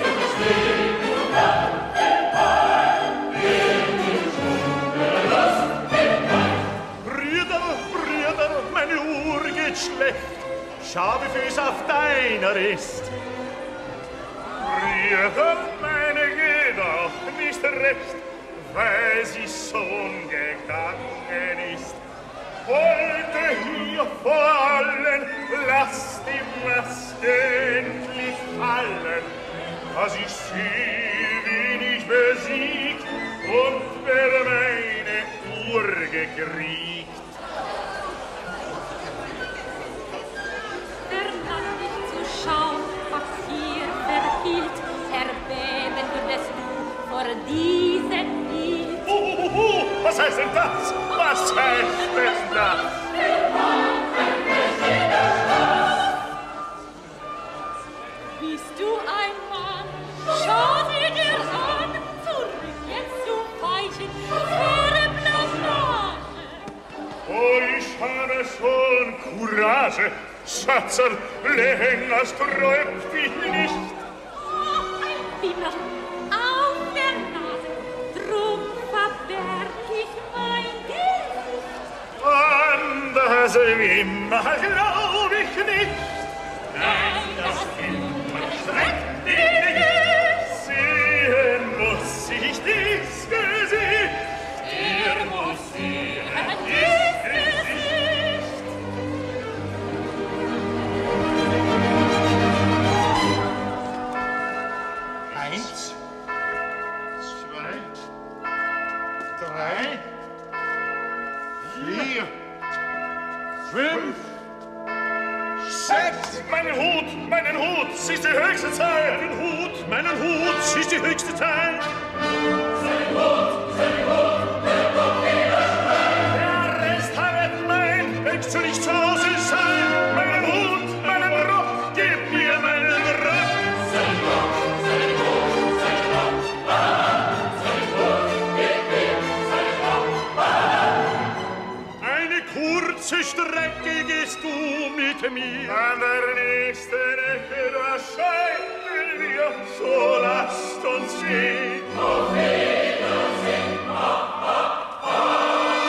Los schlecht. Schau, wie viel es auf deiner ist. Früher meine geht auch nicht recht, weil sie schon gegangen ist. Heute hier vor allen, lass die Maske endlich fallen, dass ich sehe, wen ich besiegt und wer meine Uhr gekriegt. Der Mann nicht zu schauen, was hier verhielt, erbeben würdest du vor diesem Lied. Uh, uh, uh, was heißt denn das? Was heißt denn das? Bist du ein Mann? Schau sie dir an, zurück jetzt zu weichen, vor Blamage. Oh, ich habe schon Courage, Schatzel, länger sträubt mich nicht. Oh, ein Wimmer auf der Nase, drum verberg ich mein Gesicht. An das Wimmer glaub ich nicht. Nein, das Wimmer schreckt mich nicht. Sehen muss ich dies Gesicht. Er muss sehen dies Gesicht. Eins, zwei, drei, vier, Fünf, sechs. Meinen Hut, meinen Hut, es ist die höchste Zeit. Meinen Hut, meinen Hut, es ist die höchste Zeit. Sein Hut, sein Hut, der kommt wieder rein. Der Rest hat mein, willst du nicht zu Hause sein? Meinen Hut, meinen Rock, gib mir meinen Rock. Sein Rock, sein Hut, sein Rock, ah, sein Hut, gib mir sein Rock, ah. Eine kurze Strecke gehst du mit mir. An der nächsten Ecke, da scheiden wir, so lasst uns gehen. Auf Wiedersehen, ah, ah, ah.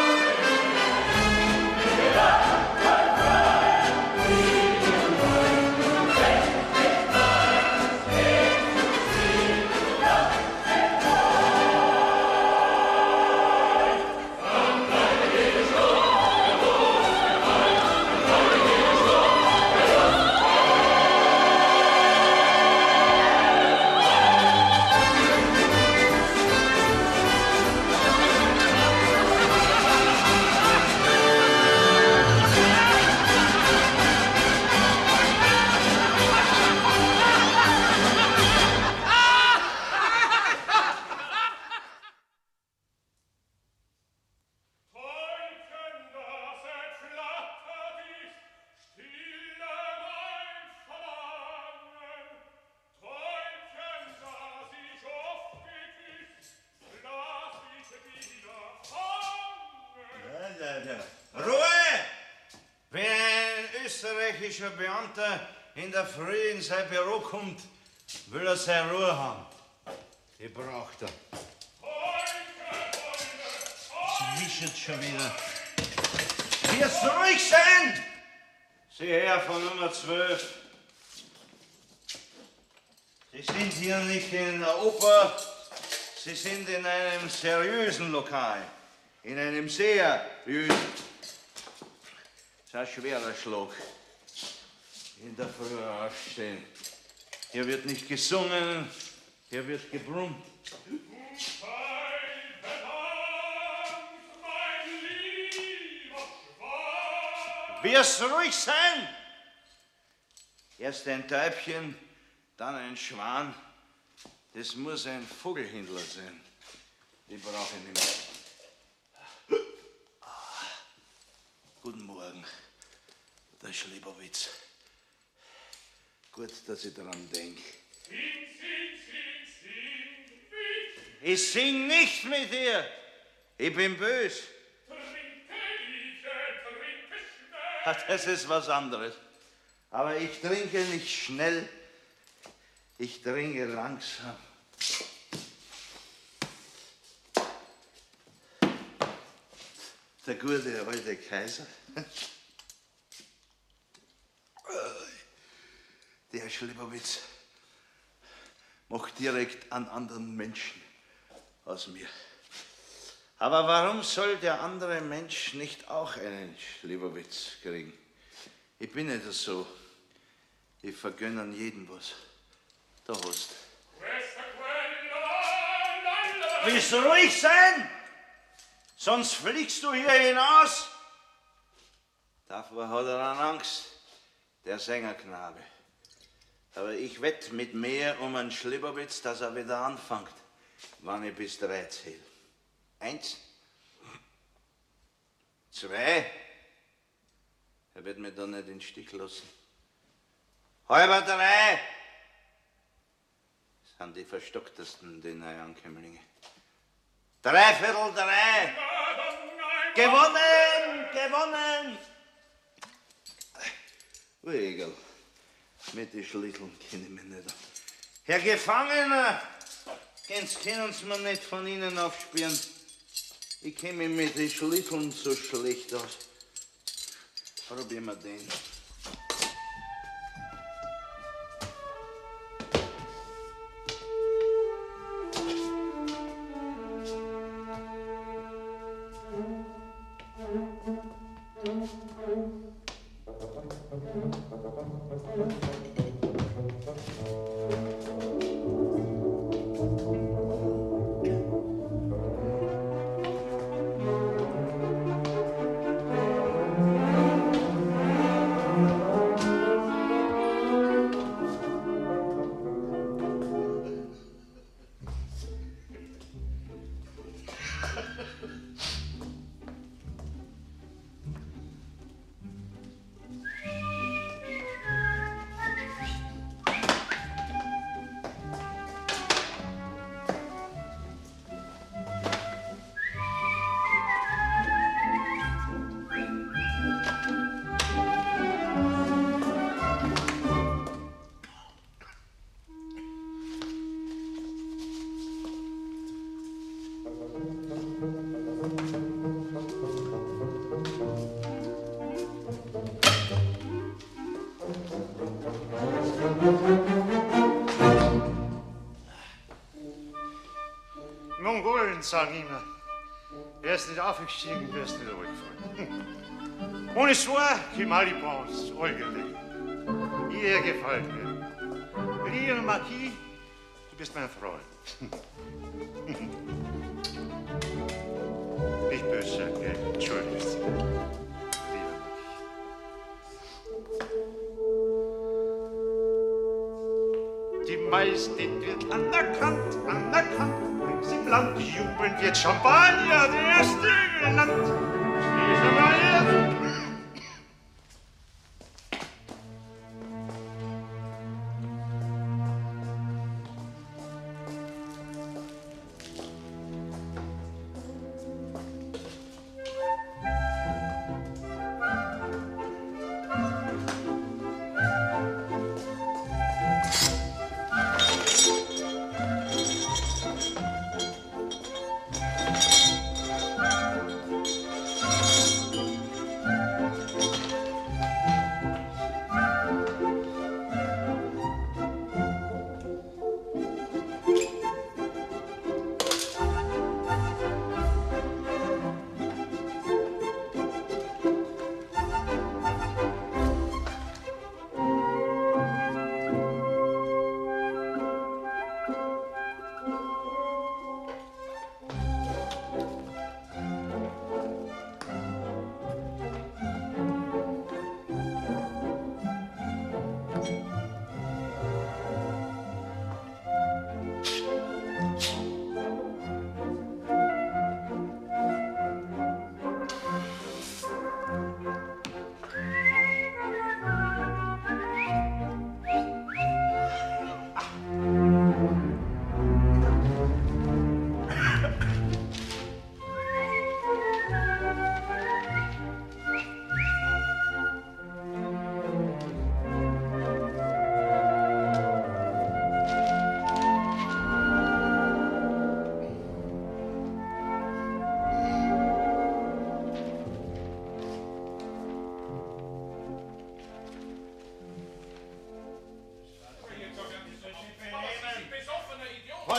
Ruhe! Wenn ein österreichischer Beamter in der Früh in sein Büro kommt, will er seine Ruhe haben. Die braucht er. Sie wischert schon wieder. Wir's ruhig sein! Sie her von Nummer zwölf. Sie sind hier nicht in der Oper, Sie sind in einem seriösen Lokal. In einem sehr seriösen. Das ist ein schwerer Schlag. In der Früh aufstehen. Hier wird nicht gesungen, hier wird gebrummt. Wirst ruhig sein! Erst ein Täubchen, dann ein Schwan. Das muss ein Vogelhändler sein. Die brauche ich nicht mehr. Guten Morgen, der Schlieberwitz. Gut, dass ich daran denke. Sing, sing, sing, sing mit. Ich sing nicht mit dir. Ich bin böse. Trinke, Liebe, trinke schnell. Das ist was anderes. Aber ich trinke nicht schnell. Ich trinke langsam. Der gute alte Kaiser. Schlibowitz macht direkt einen anderen Menschen aus mir. Aber warum soll der andere Mensch nicht auch einen Schlibowitz kriegen? Ich bin nicht so. Ich vergönne an jeden was. Da hast du. Willst du ruhig sein? Sonst fliegst du hier hinaus. Davor hat er dann Angst, der Sängerknabe. Aber ich wette mit mehr um einen Schlibowitz, dass er wieder anfängt, wann ich bis drei zähle. Eins. Zwei. Er wird mich da nicht in den Stich lassen. Halber drei. Das sind die verstocktesten, die Neuankömmlinge. Dreiviertel drei. Gewonnen, gewonnen. Wegel, mit den Schlitteln kenne ich mich nicht. Herr Gefangener, ganz können Sie mir nicht von Ihnen aufspüren. Ich kenne mich mit den Schlitteln so schlecht aus. Probieren wir den. Mongolen sagen immer, wer ist nicht aufgestiegen, wer ist nicht runtergefallen. On est soir qui mal y pense, Eugen. Ihr gefällt mir. Lieber Marquis, du bist mein Freund. Nicht böse sein, gell? Entschuldigt. Die Majestät wird anerkannt, anerkannt. Im Land jubeln wird Champagner, der erste genannt. Schließe mal her.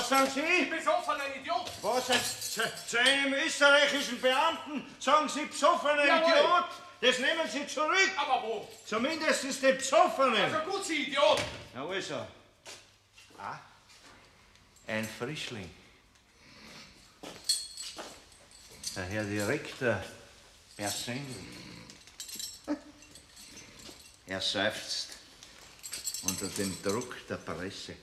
Was sagen Sie? Besoffener Idiot! Was? Zu, zu einem österreichischen Beamten sagen Sie besoffener Jawohl. Idiot? Das nehmen Sie zurück. Aber wo? Zumindest den Besoffenen. Also gut, Sie Idiot! Na also. Ah, ein Frischling. Der Herr Direktor persönlich. Er seufzt unter dem Druck der Presse.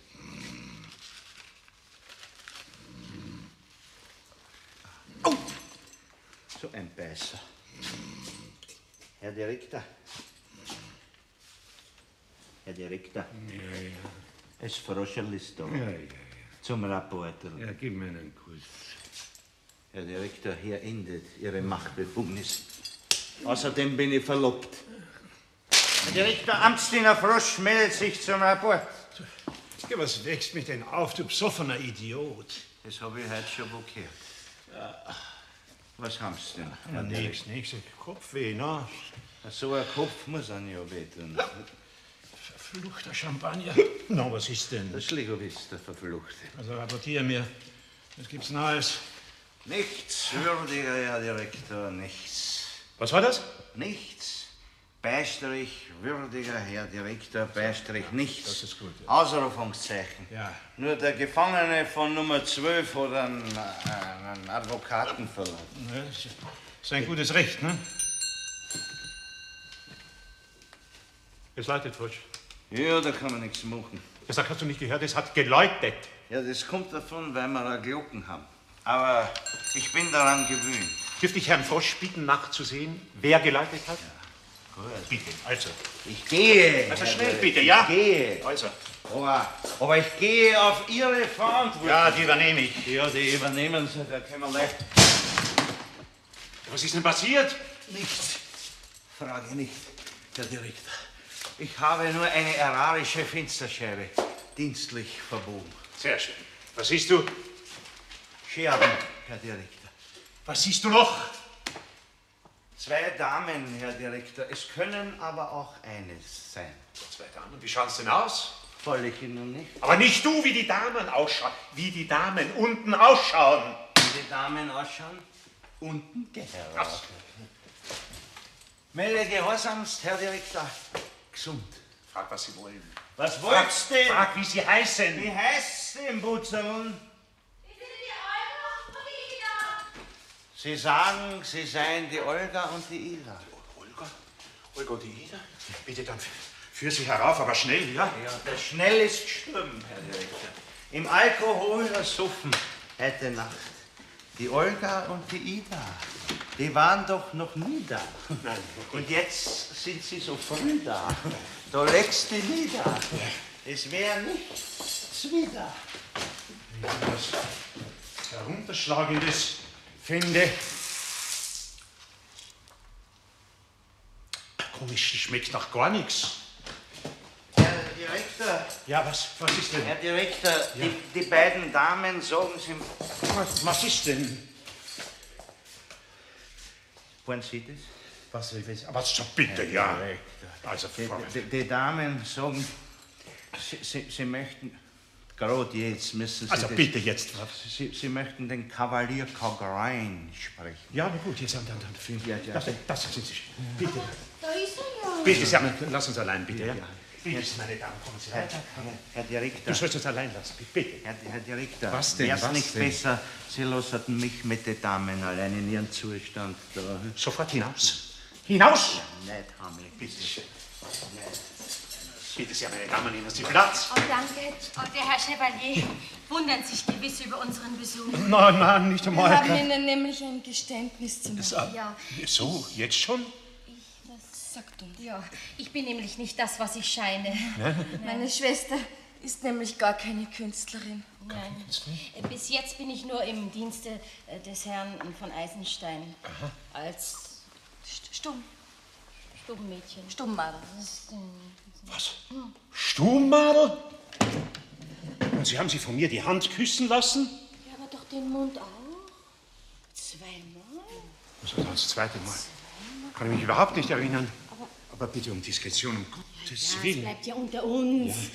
Oh! So ein Beißer. Herr Direktor. Herr Direktor. Ja, ja. Es Froscherl ist da. Ja, ja, ja. Zum Rapporten. Ja, gib mir einen Kuss. Herr Direktor, hier endet Ihre Machtbefugnis. Außerdem bin ich verlobt. Herr Direktor, Amtsdiener Frosch meldet sich zum Rapport. Ja, was wächst mich denn auf, du besoffener Idiot? Das habe ich heute schon blockiert. Was haben Sie denn, Ja, Herr nix, Direktor? nix. Kopfweh, na? So ein Kopf muss an ja wehtun. Verfluchter Champagner. Na, was ist denn? Das Schlegowitz, der Verfluchte. Also rapportier mir. Was gibt's Neues? Nichts würdiger, Herr Direktor, nichts. Was war das? Nichts. Beistrich würdiger, Herr Direktor, Beistrich nichts. Das ist gut. Ja. Ausrufungszeichen. Ja. Nur der Gefangene von Nummer zwölf hat einen, äh, einen Advokaten verlangt. Ne, das ist ein gutes Recht, ne? Es läutet, Frosch. Ja, da kann man nichts machen. Das hast du nicht gehört, es hat geläutet. Ja, das kommt davon, weil wir eine Glocken haben. Aber ich bin daran gewöhnt. Dürfte ich Herrn Frosch bitten, nachzusehen, wer geläutet hat? Gut. Bitte, also. Ich gehe. Also Herr schnell, Direktor, bitte, ja? Ich gehe. Also. Aber, aber ich gehe auf Ihre Verantwortung. Ja, die übernehme ich. Ja, die übernehmen Sie, da können wir leicht. Was ist denn passiert? Nichts. Frage nicht, Herr Direktor. Ich habe nur eine erarische Fensterscheibe dienstlich verbogen. Sehr schön. Was siehst du? Scherben, Herr Direktor. Was siehst du noch? Zwei Damen, Herr Direktor. Es können aber auch eines sein. Zwei Damen, wie schaut's denn aus? Soll ich Ihnen nicht? Aber nicht du, wie die Damen ausschauen. Wie die Damen unten ausschauen. Wie die Damen ausschauen? Unten geheiratet. Melde gehorsamst, Herr Direktor. Gesund. Frag, was Sie wollen. Was wollt's denn? Frag, wie Sie heißen. Wie heißt's denn, Butzerl? Sie sagen, Sie seien die Olga und die Ida. Olga? Olga und die Ida? Bitte dann führ sie herauf, aber schnell, ja? Ja, das schnell ist gestorben, Herr Direktor. Im Alkohol ersoffen heute Nacht. Die Olga und die Ida, die waren doch noch nie da. Nein. Und jetzt sind sie so früh da. Da legst du nieder. Es wäre nichts wieder. Was Herunterschlagendes finde. Komisch, die schmeckt nach gar nichts. Herr Direktor. Ja, was, was ist denn? Herr Direktor, Ja. die, die beiden Damen sagen Sie... Was, was ist denn? Wollen Sie das? Was, was, aber so bitte, Herr ja. Direktor. Also, Die, Frau- die, die Damen sagen, sie, sie, sie möchten, gerade jetzt müssen Sie Also das, bitte jetzt. Sie, sie möchten den Kavalier Cogrein sprechen. Ja, na gut, jetzt dann, dann, dann. Ja, ja. Das, das sind Sie. Bitte. Da ist er ja. Bitte, Sie haben, lass uns allein, bitte, ja? Ja. Bitte, meine Damen, kommen Sie rein. Herr Direktor. Du sollst uns allein lassen, bitte. Herr, Herr Direktor, Was denn, wär's was nicht denn? besser, Sie lassen mich mit den Damen allein in Ihren Zustand da? Sofort hinaus. Hinaus! Ja, nicht, Hamlet. Bitte schön. Bitte sehr, meine Damen, nehmen Sie Platz. Oh, danke. Oh, der Herr Chevalier wundert sich gewiss über unseren Besuch. Nein, nein, nicht Wir einmal. haben Ihnen nämlich ein Geständnis zu Das, machen. äh, Ja, So, jetzt schon? das sagt uns. Ja, ich bin nämlich nicht das, was ich scheine. Ne? Meine Schwester ist nämlich gar keine Künstlerin. Nein. Äh, Bis jetzt bin ich nur im Dienste äh, des Herrn von Eisenstein. Aha. Als St- Stumm. Stummmädchen. Stummmadel. Das ist, äh, Was? hm. Stummmadel? Und Sie haben sie von mir die Hand küssen lassen? Ja, aber doch den Mund auch. Zweimal. Das war das zweite Mal. Kann ich mich überhaupt nicht erinnern. Aber bitte um Diskretion, um Gottes Ja, es Willen. bleibt ja unter uns.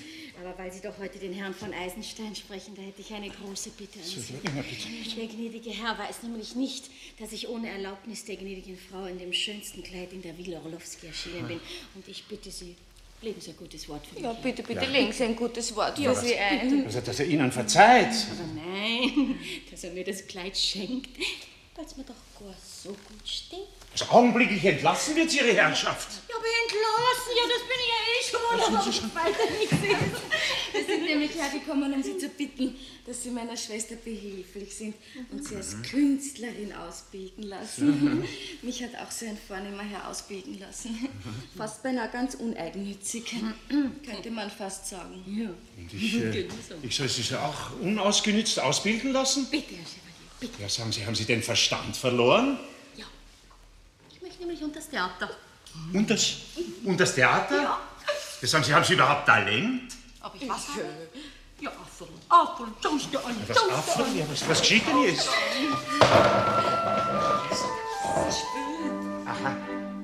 aber weil Sie doch heute den Herrn von Eisenstein sprechen, da hätte ich eine große Bitte an Sie. Immer bitte nicht. Der gnädige Herr weiß nämlich nicht, dass ich ohne Erlaubnis der gnädigen Frau in dem schönsten Kleid in der Villa Orlowski erschienen bin. Und ich bitte Sie, legen Sie ein gutes Wort für mich. Ja, bitte, bitte, Ja. legen Sie ein gutes Wort Ja, für Sie ein. Also, dass er Ihnen verzeiht. Aber nein, dass er mir das Kleid schenkt, weil es mir doch gar so gut steht. Also, augenblicklich entlassen wird Ihre Herrschaft. Ja, aber entlassen, ja, das bin ich ja eh schon, Das sind aber Sie schon. weiter nichts ist. Wir sind nämlich hergekommen, um Sie zu bitten, dass Sie meiner Schwester behilflich sind und sie als Künstlerin ausbilden lassen. Mhm. Mich hat auch so ein vornehmer Herr ausbilden lassen. Fast beinahe ganz uneigennützig, könnte man fast sagen. Ja. Und ich, äh, Genau. ich soll Sie so auch unausgenützt ausbilden lassen? Bitte, Herr Chevalier, bitte. Ja, sagen Sie, haben Sie den Verstand verloren? Ich möchte nämlich unter das Theater. Und das, und das Theater? Ja. Ja, sagen Sie, haben Sie überhaupt Talent? Aber ich was habe? Ja, Affeln, Affeln, schaust du an, Was schaust du Affeln? an. Ja, was, was geschieht denn jetzt? Aha.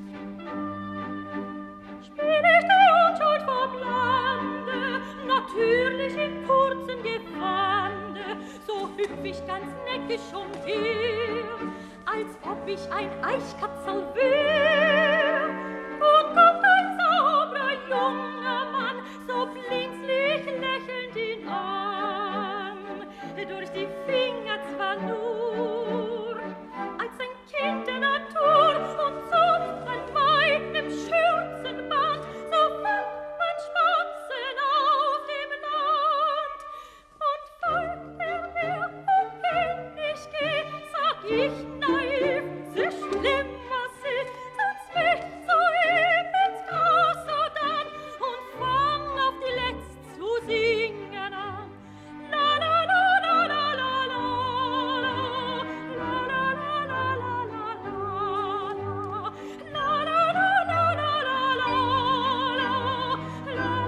Spiel ich die Unschuld vom Lande, natürlich im kurzen Gewande, so hüpf ich ganz neckisch umher, als ob ich ein Eichkatzel wär. Und kommt ein sauberer junger Mann, so blinzlig lächelnd ihn an, durch die Finger zwar nur, als ein Kind der Natur, und zupft an meinem Schürzenband, so fand mein Spatzen auf dem Land. Und folgt er mir, wohin ich geh, sag ich naiv, sehr schlimm, was ist, sonst mich so eben ins Gras sodann, und fang auf die Letzt zu singen an. La la la la la la la la, la la la la la la la, la la la la la la la, la la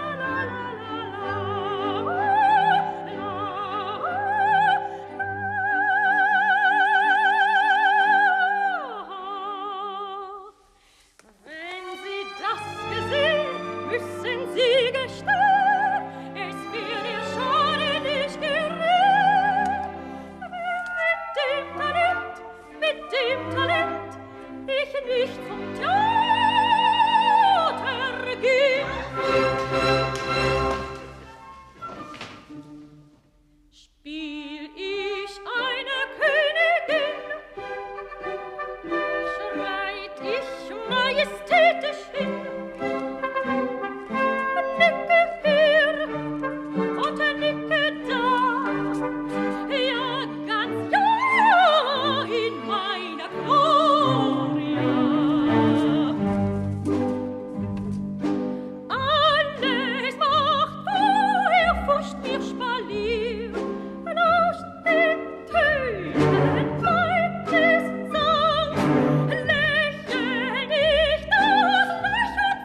Wenn Sie das gesehen, müssen Sie gestehen, es wird Ihr Schade nicht gerät. Mit dem Talent, mit dem Talent, ich nicht zum Theater geh. Spiel ich eine Königin, schreit ich majestätisch hin, nicke hier und nicke da, ja ganz ja in meiner Gloria. Alles macht, woher fuscht mir Spalier, aus den Tönen meines Sangs lächel ich das Lächeln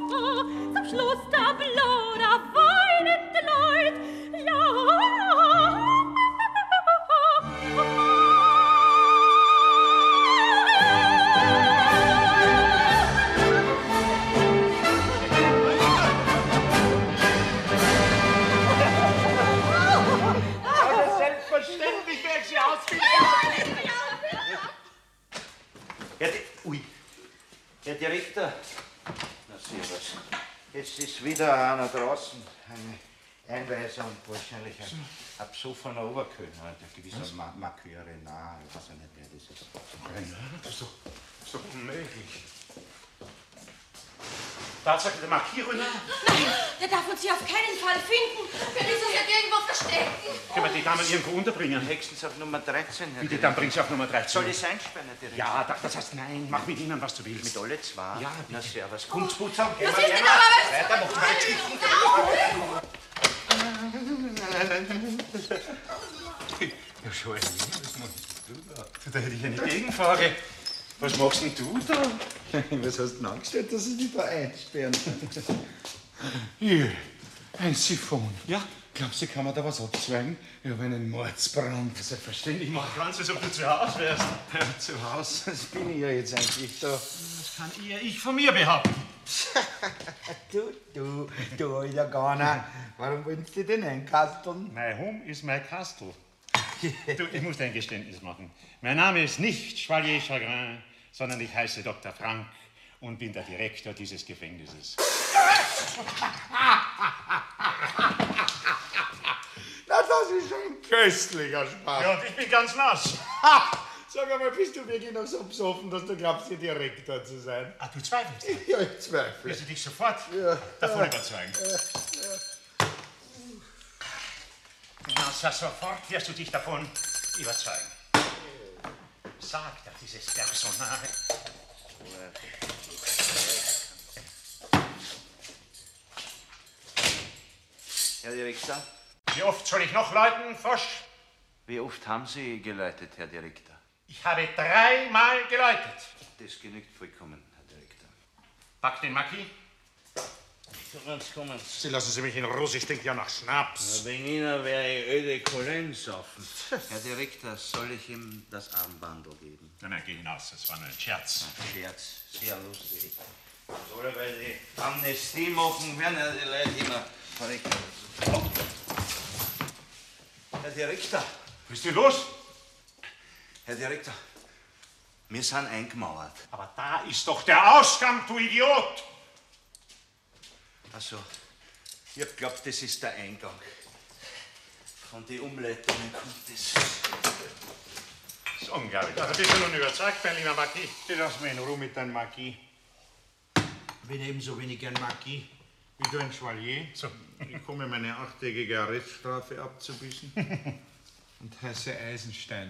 zum Schluss der Blau, da weinen die Leute, ja. Selbstverständlich werde ich sie ausfinden. Herr, Di Ui. Herr Direktor. Na, servus. Jetzt ist wieder einer draußen. Eine Einweisung, wahrscheinlich ein, ein besoffener Oberkölner, ein gewisser Ma Marquis Renard. Ich weiß ja nicht, wer das ist. Renard? Das ist doch, das ist doch unmöglich. Tatsache, der Marquis Renard? Nein, der darf uns hier auf keinen Fall finden. Wir müssen uns ja irgendwo verstecken. Können wir die Damen irgendwo unterbringen? Höchstens auf Nummer dreizehn, Herr Bitte, dann bring sie auf Nummer dreizehn. Soll ich einsperren, Herr Direktor? Ja, das heißt nein. Mach mit ihnen, was du willst. Mit alle zwei? Ja, na servus. Kommt's gut zusammen? Was ist denn aber was? Weiter, mach mal Geschichten. Ja, schon ein was machst du da? Da hätte ich eine Gegenfrage. Was machst denn du da? Was hast du denn angestellt, dass sie dich da einsperren? Hier, ein Siphon. Ja? Glaubst du, kann man da was abzweigen? Ich habe einen Mordsbrand. Selbstverständlich, mach ganz, als ob du zu Hause wärst. Ja, zu Hause, das bin ich ja jetzt eigentlich da. Das kann eher ich von mir behaupten. Du, du, du alter Gauner. Warum willst du denn einkasteln? My home is my castle. Du, ich muss dir ein Geständnis machen. Mein Name ist nicht Chevalier Chagrin, sondern ich heiße Doktor Frank und bin der Direktor dieses Gefängnisses. Na, das ist ein köstlicher Spaß. Ja, und ich bin ganz nass. Ha! Sag einmal, bist du wirklich noch so besoffen, dass du glaubst, der Direktor zu sein? Ah, du zweifelst? Ja, ich zweifle. Willst du dich sofort ja. davon ja. überzeugen? Ja. Ja. Na, so sofort wirst du dich davon überzeugen. Sag doch dieses Personal. Herr Direktor? Wie oft soll ich noch läuten, Frosch? Wie oft haben Sie geläutet, Herr Direktor? Ich habe dreimal geläutet. Das genügt vollkommen, Herr Direktor. Pack den Marquis. Kommen Sie, kommen Sie. Sie lassen Sie mich in Ruhe, ich stinke ja nach Schnaps. Na, wegen Ihnen wäre ich öde Kolen saufen. Herr Direktor, soll ich ihm das Armbandel geben? Nein, nein, geh hinaus, das war nur ein Scherz. Ein Scherz, sehr lustig. Oder weil die Amnestie machen, werden ja die Leute immer verrückt. Oh. Herr Direktor. Was ist denn los? Herr Direktor, wir sind eingemauert. Aber da ist doch der Ausgang, du Idiot! Also, ich hab glaubt, das ist der Eingang. Von den Umleitungen kommt das. Das ist unglaublich. Also bist du nun überzeugt, mein lieber Marquis? Lass mich in Ruhe mit deinem Marquis. Ich bin ebenso wenig ein Marquis wie du ein Chevalier. So. Ich komme meine achttägige Arreststrafe abzubüßen und heiße Eisenstein.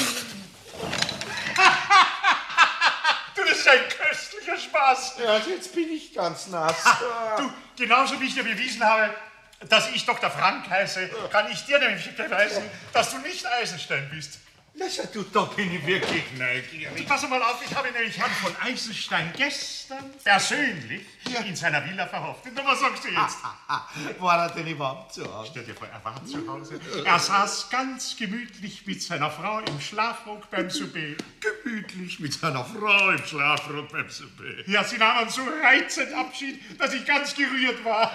Du, das ist ein köstlicher Spaß. Ja, jetzt bin ich ganz nass. Du, genauso wie ich dir bewiesen habe, dass ich Doktor Frank heiße, kann ich dir nämlich beweisen, dass du nicht Eisenstein bist. Lass du, da bin ich wirklich neugierig. Pass mal auf, ich habe nämlich Herrn von Eisenstein gestern persönlich ja. in seiner Villa verhaftet. Und was sagst du jetzt? War er denn überhaupt zu Hause? Stell dir vor, er war zu Hause. Er saß ganz gemütlich mit seiner Frau im Schlafrock beim Souper. Gemütlich mit seiner Frau im Schlafrock beim Souper. Ja, sie nahmen so reizend Abschied, dass ich ganz gerührt war.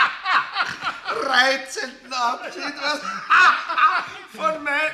Reizenden Abschied? Was? Von mir?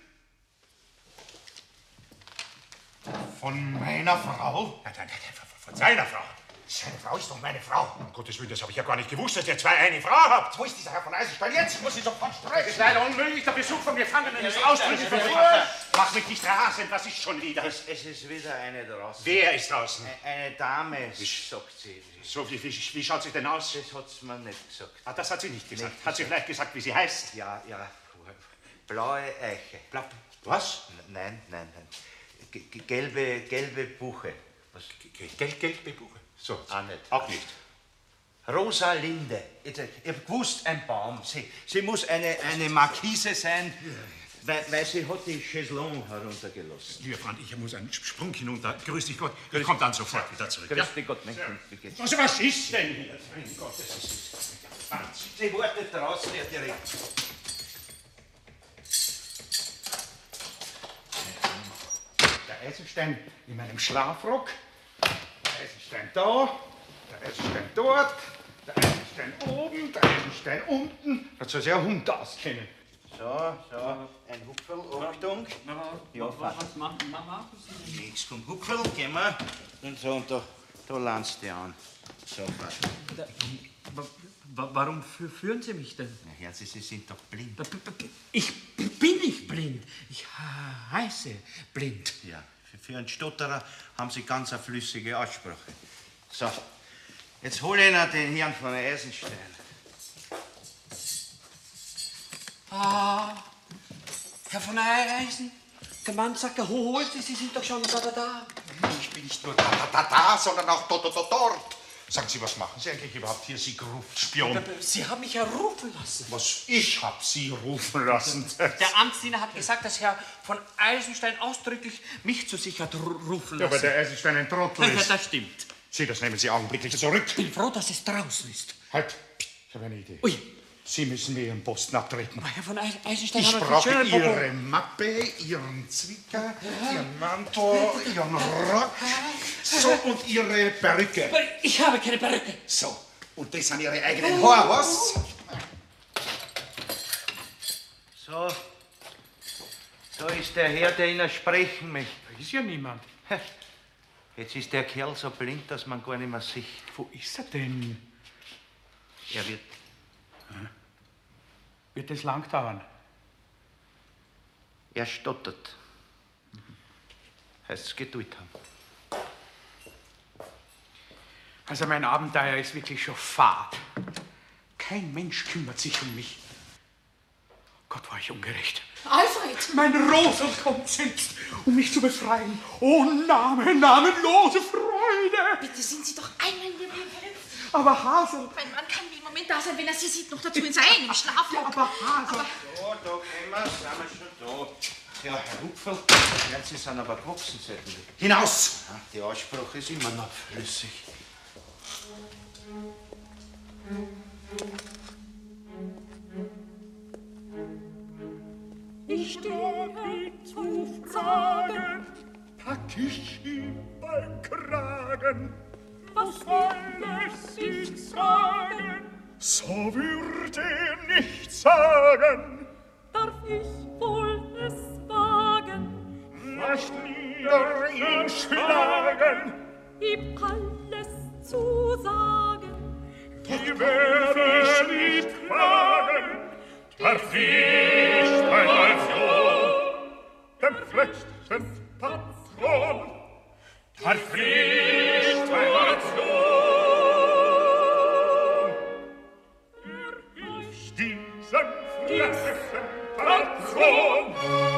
Von meiner Frau? Nein, nein, nein, von seiner Frau. Seine Frau ist doch meine Frau. Um Gottes Willen, das habe ich ja gar nicht gewusst, dass ihr zwei eine Frau habt. Wo ist dieser Herr von Eisenstein jetzt? Ich muss ihn sofort sprechen. Das ist leider unmöglich. Der Besuch vom Gefangenen ist ausdrücklich verboten. Mach mich nicht rasend, was ist schon wieder? Es, es ist wieder eine draußen. Wer ist draußen? Eine Dame, sagt sie. So, wie, wie, wie schaut sie denn aus? Das hat sie mir nicht gesagt. Ah, das hat sie nicht gesagt. Nicht hat sie vielleicht gesagt, wie sie heißt? Ja, ja. Blaue Eiche. Blau. Was? Nein, nein, nein. G gelbe, gelbe Buche. Was? Gel gelbe Buche? So. Auch nicht. Auch nicht. Rosa Linde. Ich hab gewusst, ein Baum. Sie, sie muss eine, eine Markise sein. Weil, weil sie hat die Chaiselong heruntergelassen. Lieber Freund, ich muss einen Sprung hinunter. Grüß dich Gott. Ich komme dann sofort wieder zurück. Grüß ja? dich Gott, mein Kind. Wie geht's? Also, was ist denn hier? Mein Gott, das ist Wahnsinn. Sie wartet draußen, Herr Direktor. Der Eisenstein in meinem Schlafrock. Der Eisenstein da. Der Eisenstein dort. Der Eisenstein oben. Der Eisenstein unten. Das soll sich ein Hund auskennen. So, so, ein Hupferl, Achtung. Ja, was machen Mama? Nichts vom Hupferl, gehen wir. Und so, und da, da landst du an. So, Vater. Warum führen Sie mich denn? Na, Herr, Sie, Sie sind doch blind. Ich bin nicht blind. Ich heiße blind. Ja, für, für einen Stotterer haben Sie ganz eine flüssige Aussprache. So, jetzt hole ich Ihnen den Herrn von Eisenstein. Ah, Herr von Eisen, der Mann sagt, er holt Sie, Sie sind doch schon da, da, da. Ich bin nicht nur da, da, da, da, sondern auch dort, dort, dort. Sagen Sie, was machen Sie eigentlich überhaupt hier, Sie Gruftspion? Sie haben mich ja rufen lassen. Was? Ich hab Sie rufen lassen? Der Amtsdiener hat gesagt, dass Herr von Eisenstein ausdrücklich mich zu sich hat rufen lassen. Ja, aber der Eisenstein ein Trottel ist. Ja, das stimmt. Sie, das nehmen Sie augenblicklich zurück. Ich bin froh, dass es draußen ist. Halt, ich habe eine Idee. Ui. Sie müssen mir Ihren Posten abtreten. Aber Herr von Eisenstein... Ich brauche Ihre Mappe, Ihren Zwicker, ja. Ihren Mantel, Ihren Rock, so, und Ihre Perücke. Ich habe keine Perücke. So, und das sind Ihre eigenen Haare, was? So, so ist der Herr, der Ihnen sprechen möchte. Da ist ja niemand. Jetzt ist der Kerl so blind, dass man gar nicht mehr sieht. Wo ist er denn? Er wird... Wird das lang dauern? Er stottert. Heißt es Geduld haben. Also mein Abenteuer ist wirklich schon fad. Kein Mensch kümmert sich um mich. Gott, war ich ungerecht. Alfred! Mein Rosel kommt selbst, um mich zu befreien. Oh, Name, namenlose Freude! Bitte sind Sie doch einmal in Ihrem Leben. Aber Hasel... Mein Mann kann im Moment da sein, wenn er Sie sieht, noch dazu in seinem Schlafrock. Ja, aber Hasel... Aber So, da gehen wir, sind wir schon da. Ja, Herr Hupferl, ja, Sie sind aber gewachsen seitdem. Hinaus! Ja, die Aussprache ist immer noch flüssig. Ich stehe zu fragen, pack ich ihm beim Kragen. Was soll es ihm sagen? So würde er nicht sagen. Darf ich wohl es wagen? Nicht nieder ihn schlagen, ihm alles zu sagen. Die werde ich nicht klagen. Darf ich einmal so dem schlechten Patron, darf ich einmal so ich diesen schlechten Patron.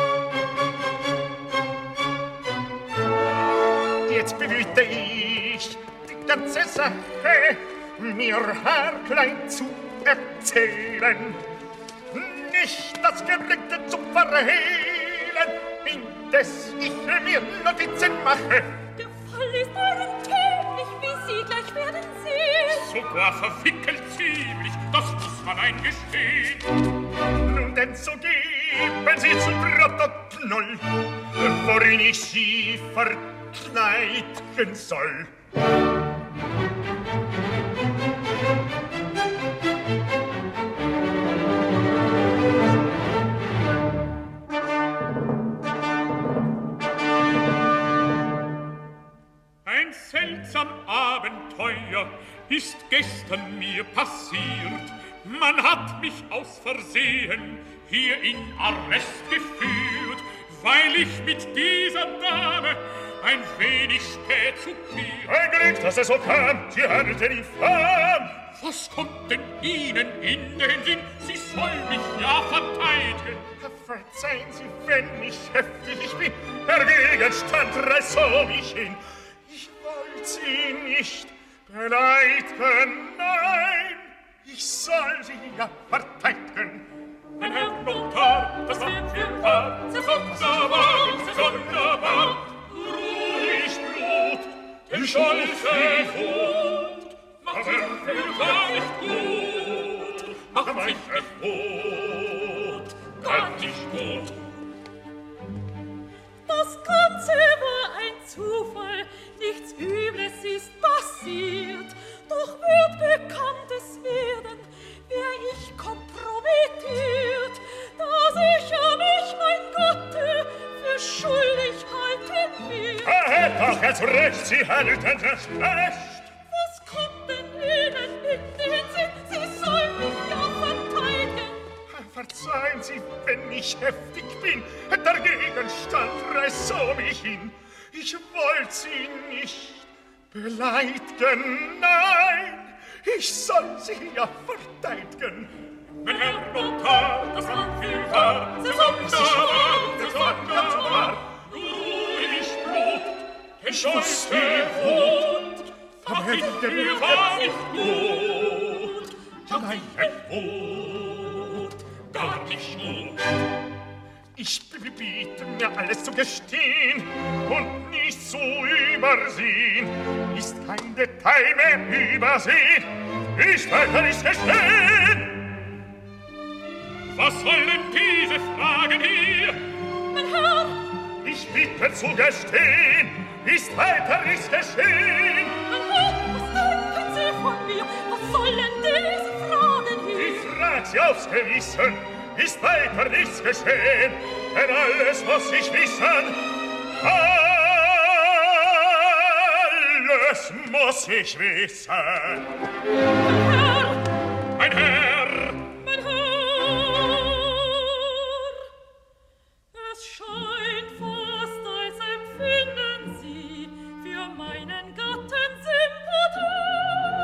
Jetzt bemühte ich die ganze Sache, mir haarklein zu erzählen. Nicht das Gelübde zu verhehlen, indes ich mir Notizen mache. Der Fall ist unkenntlich, wie Sie gleich werden sehen. Sogar verwickelt ziemlich, das muss man eingestehen. Nun denn so geben Sie zu Protokoll, worin ich Sie verkleiden soll. Ein seltsam Abenteuer ist gestern mir passiert. Man hat mich aus Versehen hier in Arrest geführt, weil ich mit dieser Dame ein wenig spät zu mir. Ein Glück, dass es so kam, Sie handelten infam. Was kommt denn Ihnen in den Sinn? Sie soll mich ja verteidigen. Verzeihen Sie, wenn ich heftig ich bin, der Gegenstand reißt so mich hin. Ich wollt Sie nicht beleidigen, nein, ich soll Sie ja verteidigen. Mein Herr Notar, das wird für Paar, sehr sonderbar, sehr sonderbar. Ruhig Blut, den Scholze Wut, macht sich für gar nicht gut, macht sich für gut, gar nicht gut. Das Ganze war ein Zufall, nichts Übles ist passiert. Doch wird Bekanntes werden, wär ich kompromittiert, dass ich an mich mein Gatte für schuldig halten wird. Erhält doch jetzt recht, Sie halten das Recht. Was kommt denn Ihnen in den Sinn? Sie sollen mich ja verteidigen. Verzeihen Sie, wenn ich heftig bin, der Gegenstand reißt so mich hin. Ich wollt Sie nicht beleidigen, nein, ich soll Sie ja verteidigen. Mein Herr Notar, das Anführer, sehr sonderbar, sehr sonderbar. Ruhig Blut, den Schutz der Wut, mach ich dir war nicht gut, ja meine Wut, gar nicht gut. Ich biete mir alles zu gestehen und nicht zu übersehen. Ist kein Detail mehr übersehen, ist weiter nicht gestehen. Was sollen diese Fragen hier? Mein Herr! Ich bitte zu gestehen, ist weiter nicht geschehen. Mein Herr, was denken Sie von mir? Was sollen diese Fragen hier? Ich frag Sie aufs Gewissen, ist weiter nichts geschehen, denn alles muss ich wissen, alles muss ich wissen. Mein Herr! Mein Herr! Mein Herr! Es scheint fast, als empfinden Sie für meinen Gatten Sympathie.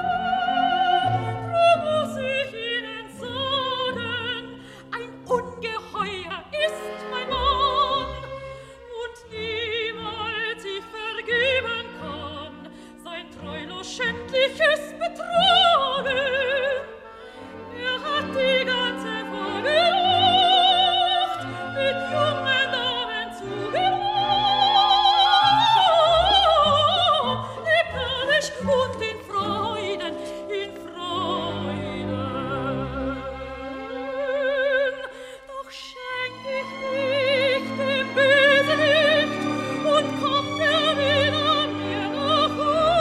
Drum muss ich Ihnen sagen, ein Ungeheuer ist mein Mann und niemals ich vergeben kann sein treulos schändliches Betragen. Er hat die ganze Vorgelucht mit jungen Damen zugebracht, lieblich und in Freuden, in Freuden. Doch schenk ich nicht dem Bösen nicht und kommt er wieder mir nach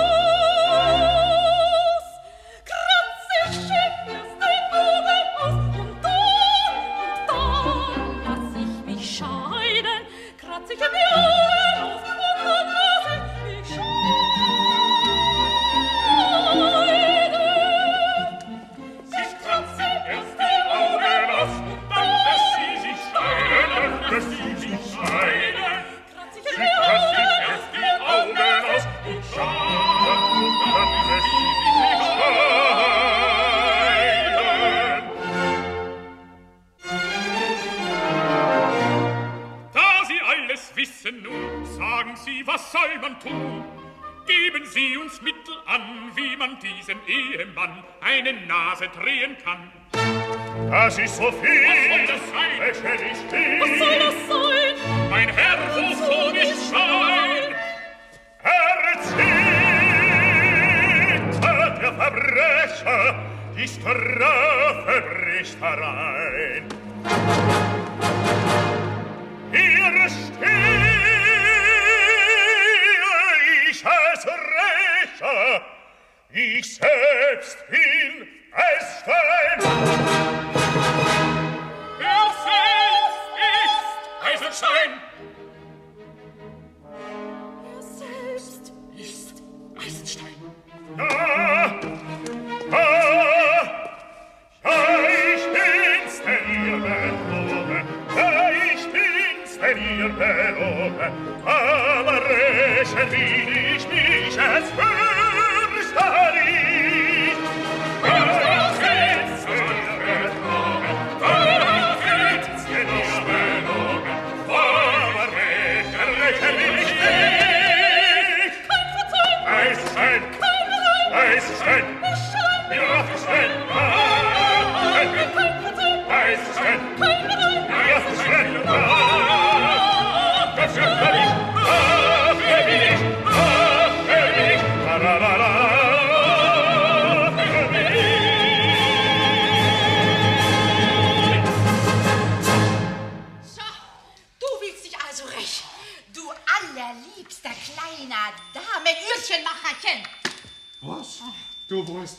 Haus. Kratz ich ihm erst den Buben aus und dann, und dann lass ich mich scheiden. Kratz ich ihm die Augen aus und dann lass ich mich scheiden. Ich kratze erst die Augen aus, dann lässt sie sich scheiden, dann lässt sie sich scheiden. Kratz ich Sie ihm die kratzt sich Augen erst die Augen aus und scheiden, dann lässt sie sich scheiden. Da Sie alles wissen nun, sagen Sie, was soll man tun? Geben Sie uns Mittel an, wie man diesem Ehemann eine Nase drehen kann. Das ist so viel. Was soll das sein? Lächerlich viel. Was soll das sein? Mein Herr, wovon ist sein? Erzittert der Verbrecher, die Strafe bricht herein. Hier stehe ich als Rächer, ich selbst bin Eisenstein. Er selbst ist Eisenstein. Er selbst ist Eisenstein. Ja, ja, ja, ich bin's, denn ihr belogen. Ja, ich bin's, denn ihr belogen. Aber rächen will ich mich als Fürsterin. Ja, ich bin's, denn ihr belogen. Ja, ich bin's, denn ihr belogen. Aber rächen, rächen will ich nicht. Kein Verzeihung! Eisenstein! Eisenstein! Ich schein! Ja, Eisenstein! Kein Verzeihung! Eisenstein! Kein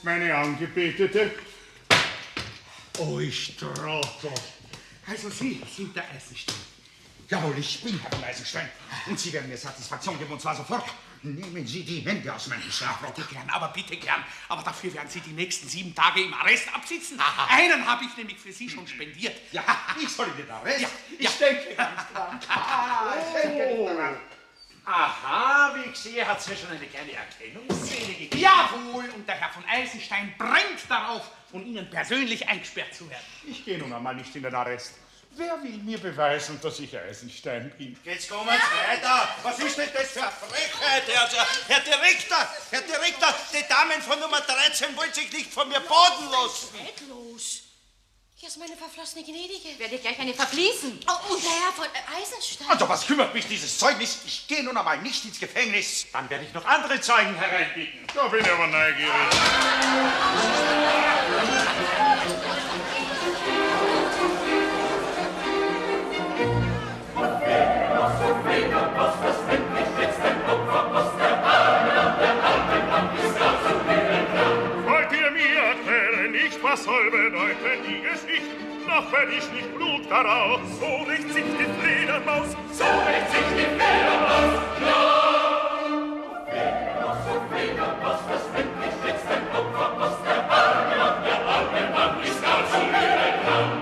Meine Angebetete. Oh, ich Trottel. Also Sie sind der Eisenstein. Jawohl, ich bin Herr von Eisenstein. Und Sie werden mir Satisfaktion geben, und zwar sofort. Nehmen Sie die Hände aus meinem Schlafrock. Bitte gern, aber bitte gern. Aber dafür werden Sie die nächsten sieben Tage im Arrest absitzen. Aha. Einen habe ich nämlich für Sie schon spendiert. Ja, ich soll in den Arrest? Ja, ich ja. denke ganz dran. Ah, ich denke nicht daran. Aha, wie ich sehe, hat es ja schon eine kleine Erkennungsszene gegeben. Jawohl, und der Herr von Eisenstein brennt darauf, von Ihnen persönlich eingesperrt zu werden. Ich gehe nun einmal nicht in den Arrest. Wer will mir beweisen, dass ich Eisenstein bin? Jetzt kommen Sie weiter. Was ist denn das für eine Frechheit, Herr, Herr Direktor? Herr Direktor, die Damen von Nummer dreizehn wollen sich nicht von mir boden lassen. Nicht los. Hier ist meine verflossene Gnädige. Werde ich gleich eine verfließen. Oh, und der Herr von äh, Eisenstein. Also, was kümmert mich dieses Zeugnis? Ich gehe nun einmal nicht ins Gefängnis. Dann werde ich noch andere Zeugen hereinbitten. Da bin ich aber neugierig. Wollt ihr mir erklären, nicht was soll bedeuten die Geschichte? Noch werd ich nicht Blut daraus. So rächt sich die Fledermaus, so rächt sich die Fledermaus. Ja! So Fledermaus, das endlich jetzt ein Opfer aus der Arme und der arme Mann ist gar zu ihrer Kram.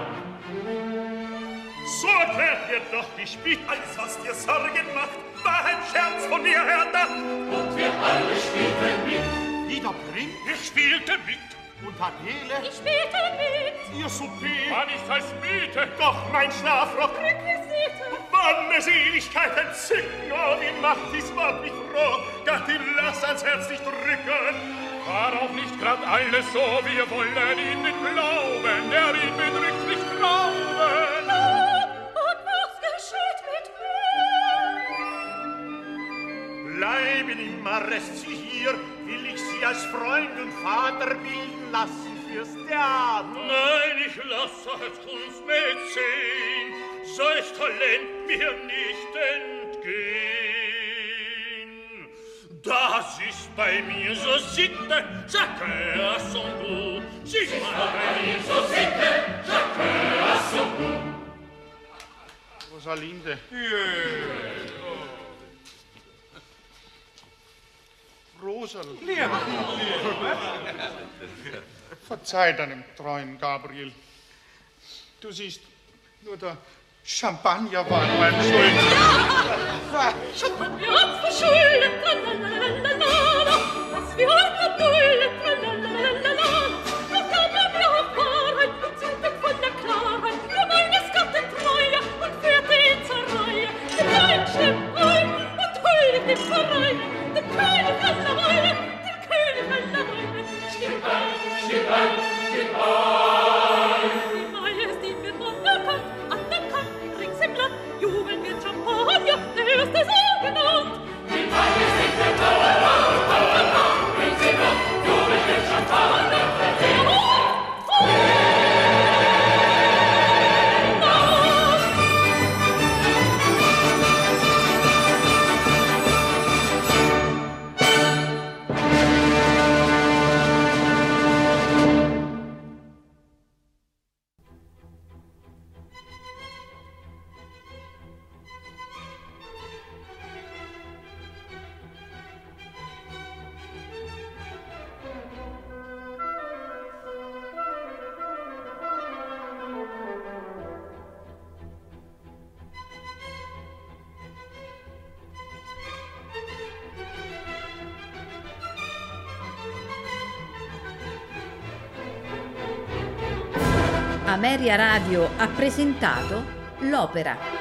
So erklärt ihr doch die Spiel, alles was dir Sorgen macht, war ein Scherz von mir herdacht. Und wir alle spielten mit. Wieder Prim? Ich spielte mit. Und Adele? Ich spielte mit. Ihr Souper war nicht als Miete, doch mein Schlafrock. Requisite. Wann es Seligkeit entzücken, oh, wie macht dies Wort mich froh. Gattin, lass ans Herz nicht drücken. War auch nicht grad alles so, wir wollen ihn mit Glauben, der ihn bedrückt, nicht glauben. Und was geschieht mit mir? Bleiben im Arrest Sie hier, will ich Sie als Freund und Vater bilden lassen fürs Theater. Nein, ich lasse als Kunstmäzen solch Talent mir nicht entgehen. Das ist bei mir so Sitte, chacun à son goût. Sie ist bei mir so Sitte, chacun à son goût. Rosalinde. Rosal. Verzeih deinem treuen Gabriel. Du siehst, nur der Champagner war nur ein Schuld. Ja! Champagner hat's verschuldet, tralalalala, was wir heute dulden, tralalalala. Doch gab er mir auf Wahrheit, bezüglich von der Klarheit, für meines Gatten Treue und führte ihn zur Reihe. Der König schleppt ein und huldigt im Verein. Der König aller Weile, der König aller Weile. Stimmt ein, stimmt ein, stimmt ein. Die Majestin wird anerkannt, anerkannt, rings im Land jubeln wird Champagner, der erste so genannt. Die Majestin wird anerkannt, anerkannt, rings im Land jubeln wird Champagner, der erste so Ameria Radio ha presentato l'opera